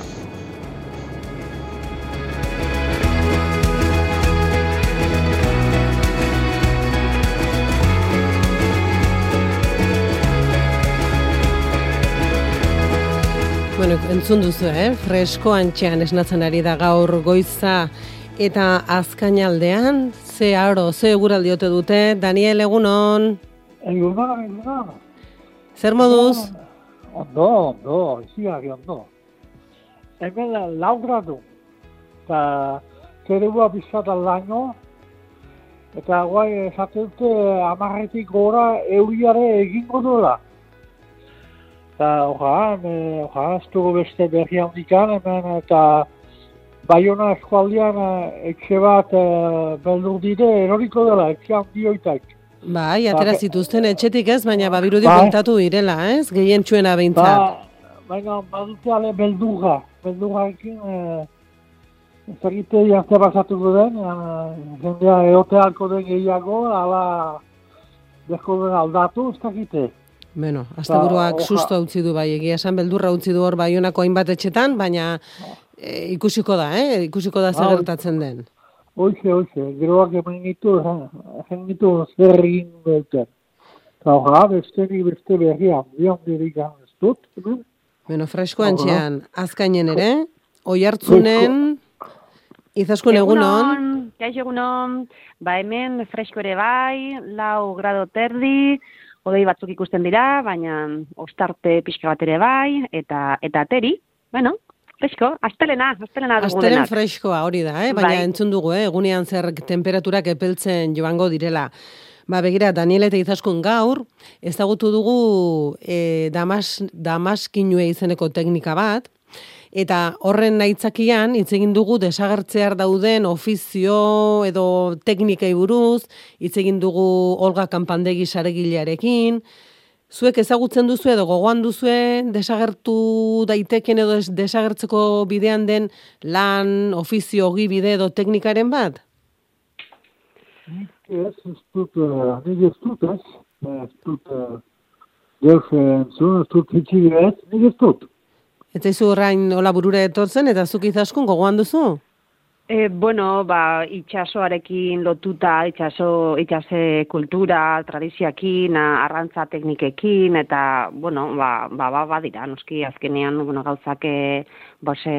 Bueno, entzun duzu, eh? Fresko antxean esnatzen ari da gaur goiza. Eta azkainaldean, ze aro, ze eguraldiote dute, Daniel, egunon? Egunon, egunon. Zer moduz? Ondo, ondo, iziak ondo. Hemen lau gradu, eta zerua bizkatan laino, eta guai esaten dute amarretik gora euriare egingo dola. Eta ojan, ojan, ez dugu beste berri handikan, hemen eta Baiona eskualdean etxe bat beldur dire eroriko dela, etxe handioitak. Bai, atera zituzten etxetik ez, baina babirudi kontatu direla, ez? Gehien txuena behintzat. Baina badute ale beldurra, beldurra ekin, ez egite jazte basatuko den, jendea eoteako den gehiago, ala deko den aldatu, ez egite. Bueno, asteburuak susto utzi du bai, egia esan beldurra utzi du hor Baionako hainbat etxetan, baina E, ikusiko da, eh? Ikusiko da zer gertatzen den. Hoxe, hoxe, geroak eman gitu, egin gitu zer egin duten. Eta hoja, beste ni beste berria, bian dirik ez dut. Bueno, fresko antxean, azkainen ere, oihartzunen, izaskun egunon. Kaixo egunon, ba hemen fresko ere bai, lau grado terdi, hodei batzuk ikusten dira, baina ostarte pixka bat ere bai, eta eta ateri, bueno, fresko, astelena, astelena dugu Astelen denak. freskoa hori da, eh? Baina Bai. entzun dugu, eh? Egunean zer temperaturak epeltzen joango direla. Ba, begira, Daniel eta Izaskun gaur, ezagutu dugu e, damas, damaskinue izeneko teknika bat, eta horren aitzakian hitz egin dugu desagertzear dauden ofizio edo teknikei buruz, hitz egin dugu Olga Kanpandegi saregilearekin. Zuek ezagutzen duzu edo gogoan duzue desagertu daiteken edo desagertzeko bidean den lan, ofizio, ogibide edo teknikaren bat? Ez, ez dut, nik ez dut, ez. Ez dut, deus entzun, ez dut hitzi ez, nik ez dut. Eta izu horrein hola burura etortzen, eta zuk Izaskun gogoan duzu? E, bueno, ba, itxasoarekin lotuta, itxaso, itxase kultura, tradizioakin, arrantza teknikekin, eta, bueno, ba, ba, ba, ba dira, noski azkenean, bueno, gauzak, e, bose,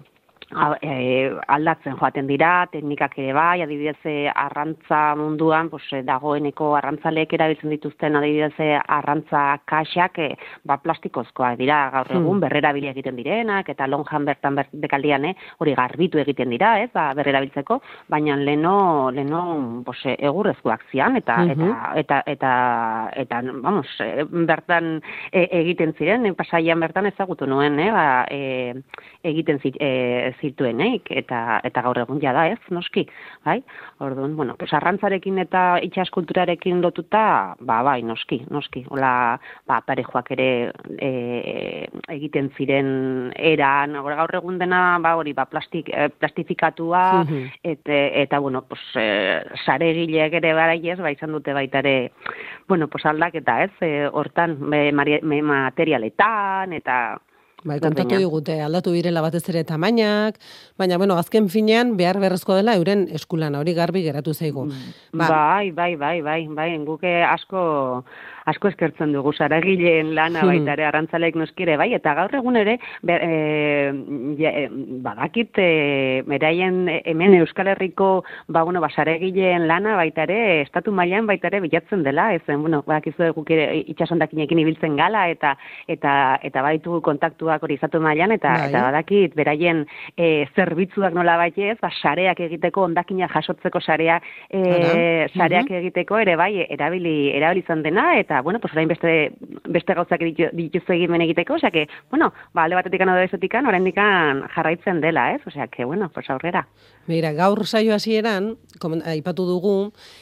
A, e, aldatzen joaten dira, teknikak ere bai, adibidez arrantza munduan, pues, dagoeneko arrantzaleek erabiltzen dituzten adibidez arrantza kaxak e, ba, plastikozkoak dira, gaur egun hmm. berrerabili egiten direnak, eta lonjan bertan bekaldian eh, hori garbitu egiten dira, ez, ba, berrerabiltzeko, baina leno, leno pues, egurrezkoak zian, eta, hmm. eta, eta, eta, eta, vamos, bertan e, egiten ziren, e, pasaian bertan ezagutu nuen, eh, ba, e, egiten zit, e, zituenek, eta eta gaur egun jada ez, noski, bai? Orduan, bueno, pues arrantzarekin eta itsaskulturarekin lotuta, ba, bai, noski, noski. Hola, ba, parejoak ere e, egiten ziren eran, gaur egun dena, ba, hori, ba, plastik, eh, plastifikatua, eta, eta, bueno, pues, eh, saregileak ere baraiez, ba, izan dute baita ere, bueno, pues, aldaketa, ez, eh, hortan, me, me, materialetan, eta... Bai, kontatu digute, aldatu direla batez ere tamainak, baina, bueno, azken finean behar beharrezkoa dela euren eskulana, hori garbi geratu zaigu. Ba. Bai, bai, bai, bai, bai, guke asko, asko eskertzen dugu saragileen lana baita ere arrantzaleek noskire, bai, eta gaur egun ere, be, e, e, badakit, e, beraien hemen Euskal Herriko, ba, bueno, ba, saragileen lana baita ere, estatu mailan baita ere bilatzen dela, ez, bueno, badakizu guk ere itxasondakinekin ibiltzen gala, eta, eta, eta baitu kontaktua hori izatu mailan, eta, bai. eta badakit, beraien e, zerbitzuak nola baitez, ba, sareak egiteko, ondakina jasotzeko sarea, e, sareak uh-huh. egiteko ere bai, erabili, erabili izan dena, eta, bueno, pues orain beste, beste gauzak dituzu egimen egiteko, osea que, bueno, ba, alde batetik edo bezotik, oraindik jarraitzen dela, ez? Osea que, bueno, pues aurrera. Mira, gaur saio hasieran, aipatu dugu,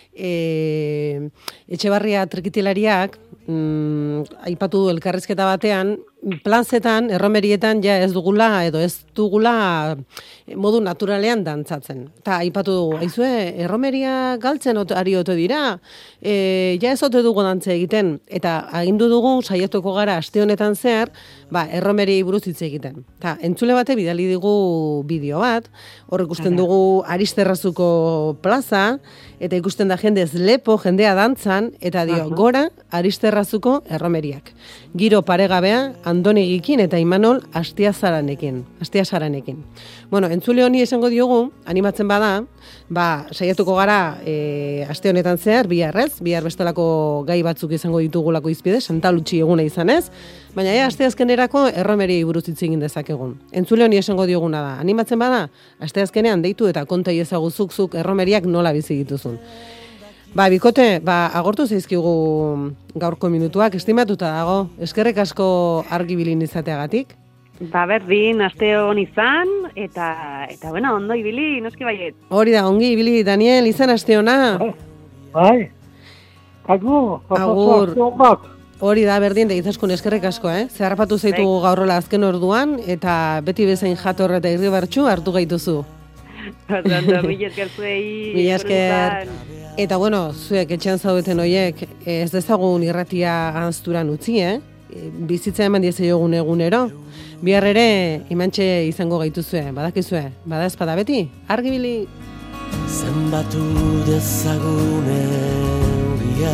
e, Etxebarria trikitilariak, mm, aipatu du elkarrizketa batean, planzetan, erromerietan, ja ez dugula, edo ez dugula modu naturalean dantzatzen. Eta aipatu dugu, aizue, erromeria galtzen ari ote dira, e, ja ez ote dugu dantze egiten, eta agindu dugu, saiatuko gara aste honetan zehar, ba, erromeriei buruz hitz egiten. Ta, entzule bate bidali digu bideo bat, hor ikusten dugu Aristerrazuko plaza, eta ikusten da jendez lepo, jendea dantzan, eta dio, Aha. gora Aristerrazuko erromeriak. Giro paregabea, Andoni Gikin eta Imanol Astiazaranekin. Astiazaranekin. Bueno, entzule honi esango diogu, animatzen bada, ba, saiatuko gara e, aste honetan zehar, bihar ez, bihar bestelako gai batzuk izango ditugulako izpide, Santa Lutxi eguna izan ez, baina ja, aste azkenerako erromeriei buruz hitz egin dezakegun. Entzule honi esango dioguna da, animatzen bada, aste azkenean deitu eta konta iezaguzuk zuk erromeriak nola bizi dituzun. Ba, bikote, ba, agortu zaizkigu gaurko minutuak, estimatuta dago, eskerrek asko argibilin izateagatik. Ba, berdin, aste hon izan, eta, eta bueno, ondo ibili, noski baiet. Hori da, ongi ibili, Daniel, izan aste hona. Bai, agur, agur. Hori da, berdin, da Izaskun eskerrek asko, eh? Zeharpatu zaitu gaurrola azken orduan, eta beti bezain jator eta irribartxu hartu gaituzu. Ondo, mila esker zuei. Mila esker. Eta bueno, zuek etxean zaudeten horiek ez dezagun irratia ahazturan utzi, eh? Bizitza eman diezaiogun egunero. Bihar ere imantxe izango gaituzue, badakizue, bada ezpada beti, argibili. Zenbatu dezagun euria,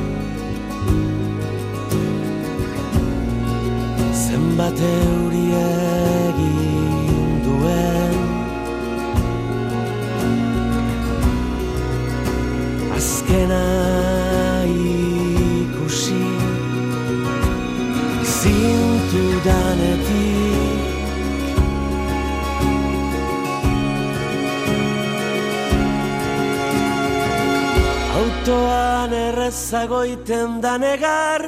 zenbat euria egin duen, azkena ikusi zintudanetik errezagoiten da negar,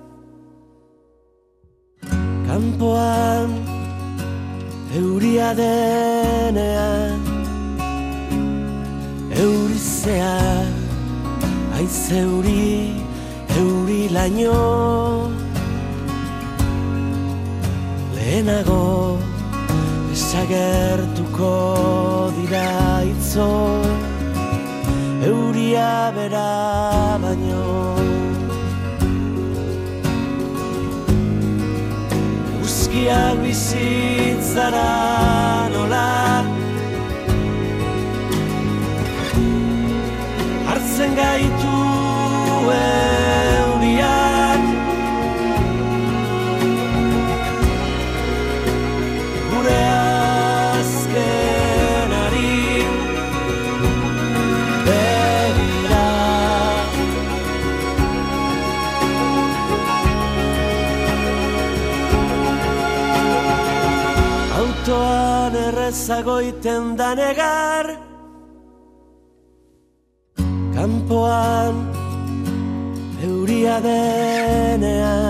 kanpoan euria denean, eurizea, aize euri, euri laino, lehenago desagertuko dira itzo, euria bera baino. Uzkiak bizitzara nola hartzen gaitu euriak, gure azkenari begira. Autoan errezagoiten da negar, kanpoan euria denean,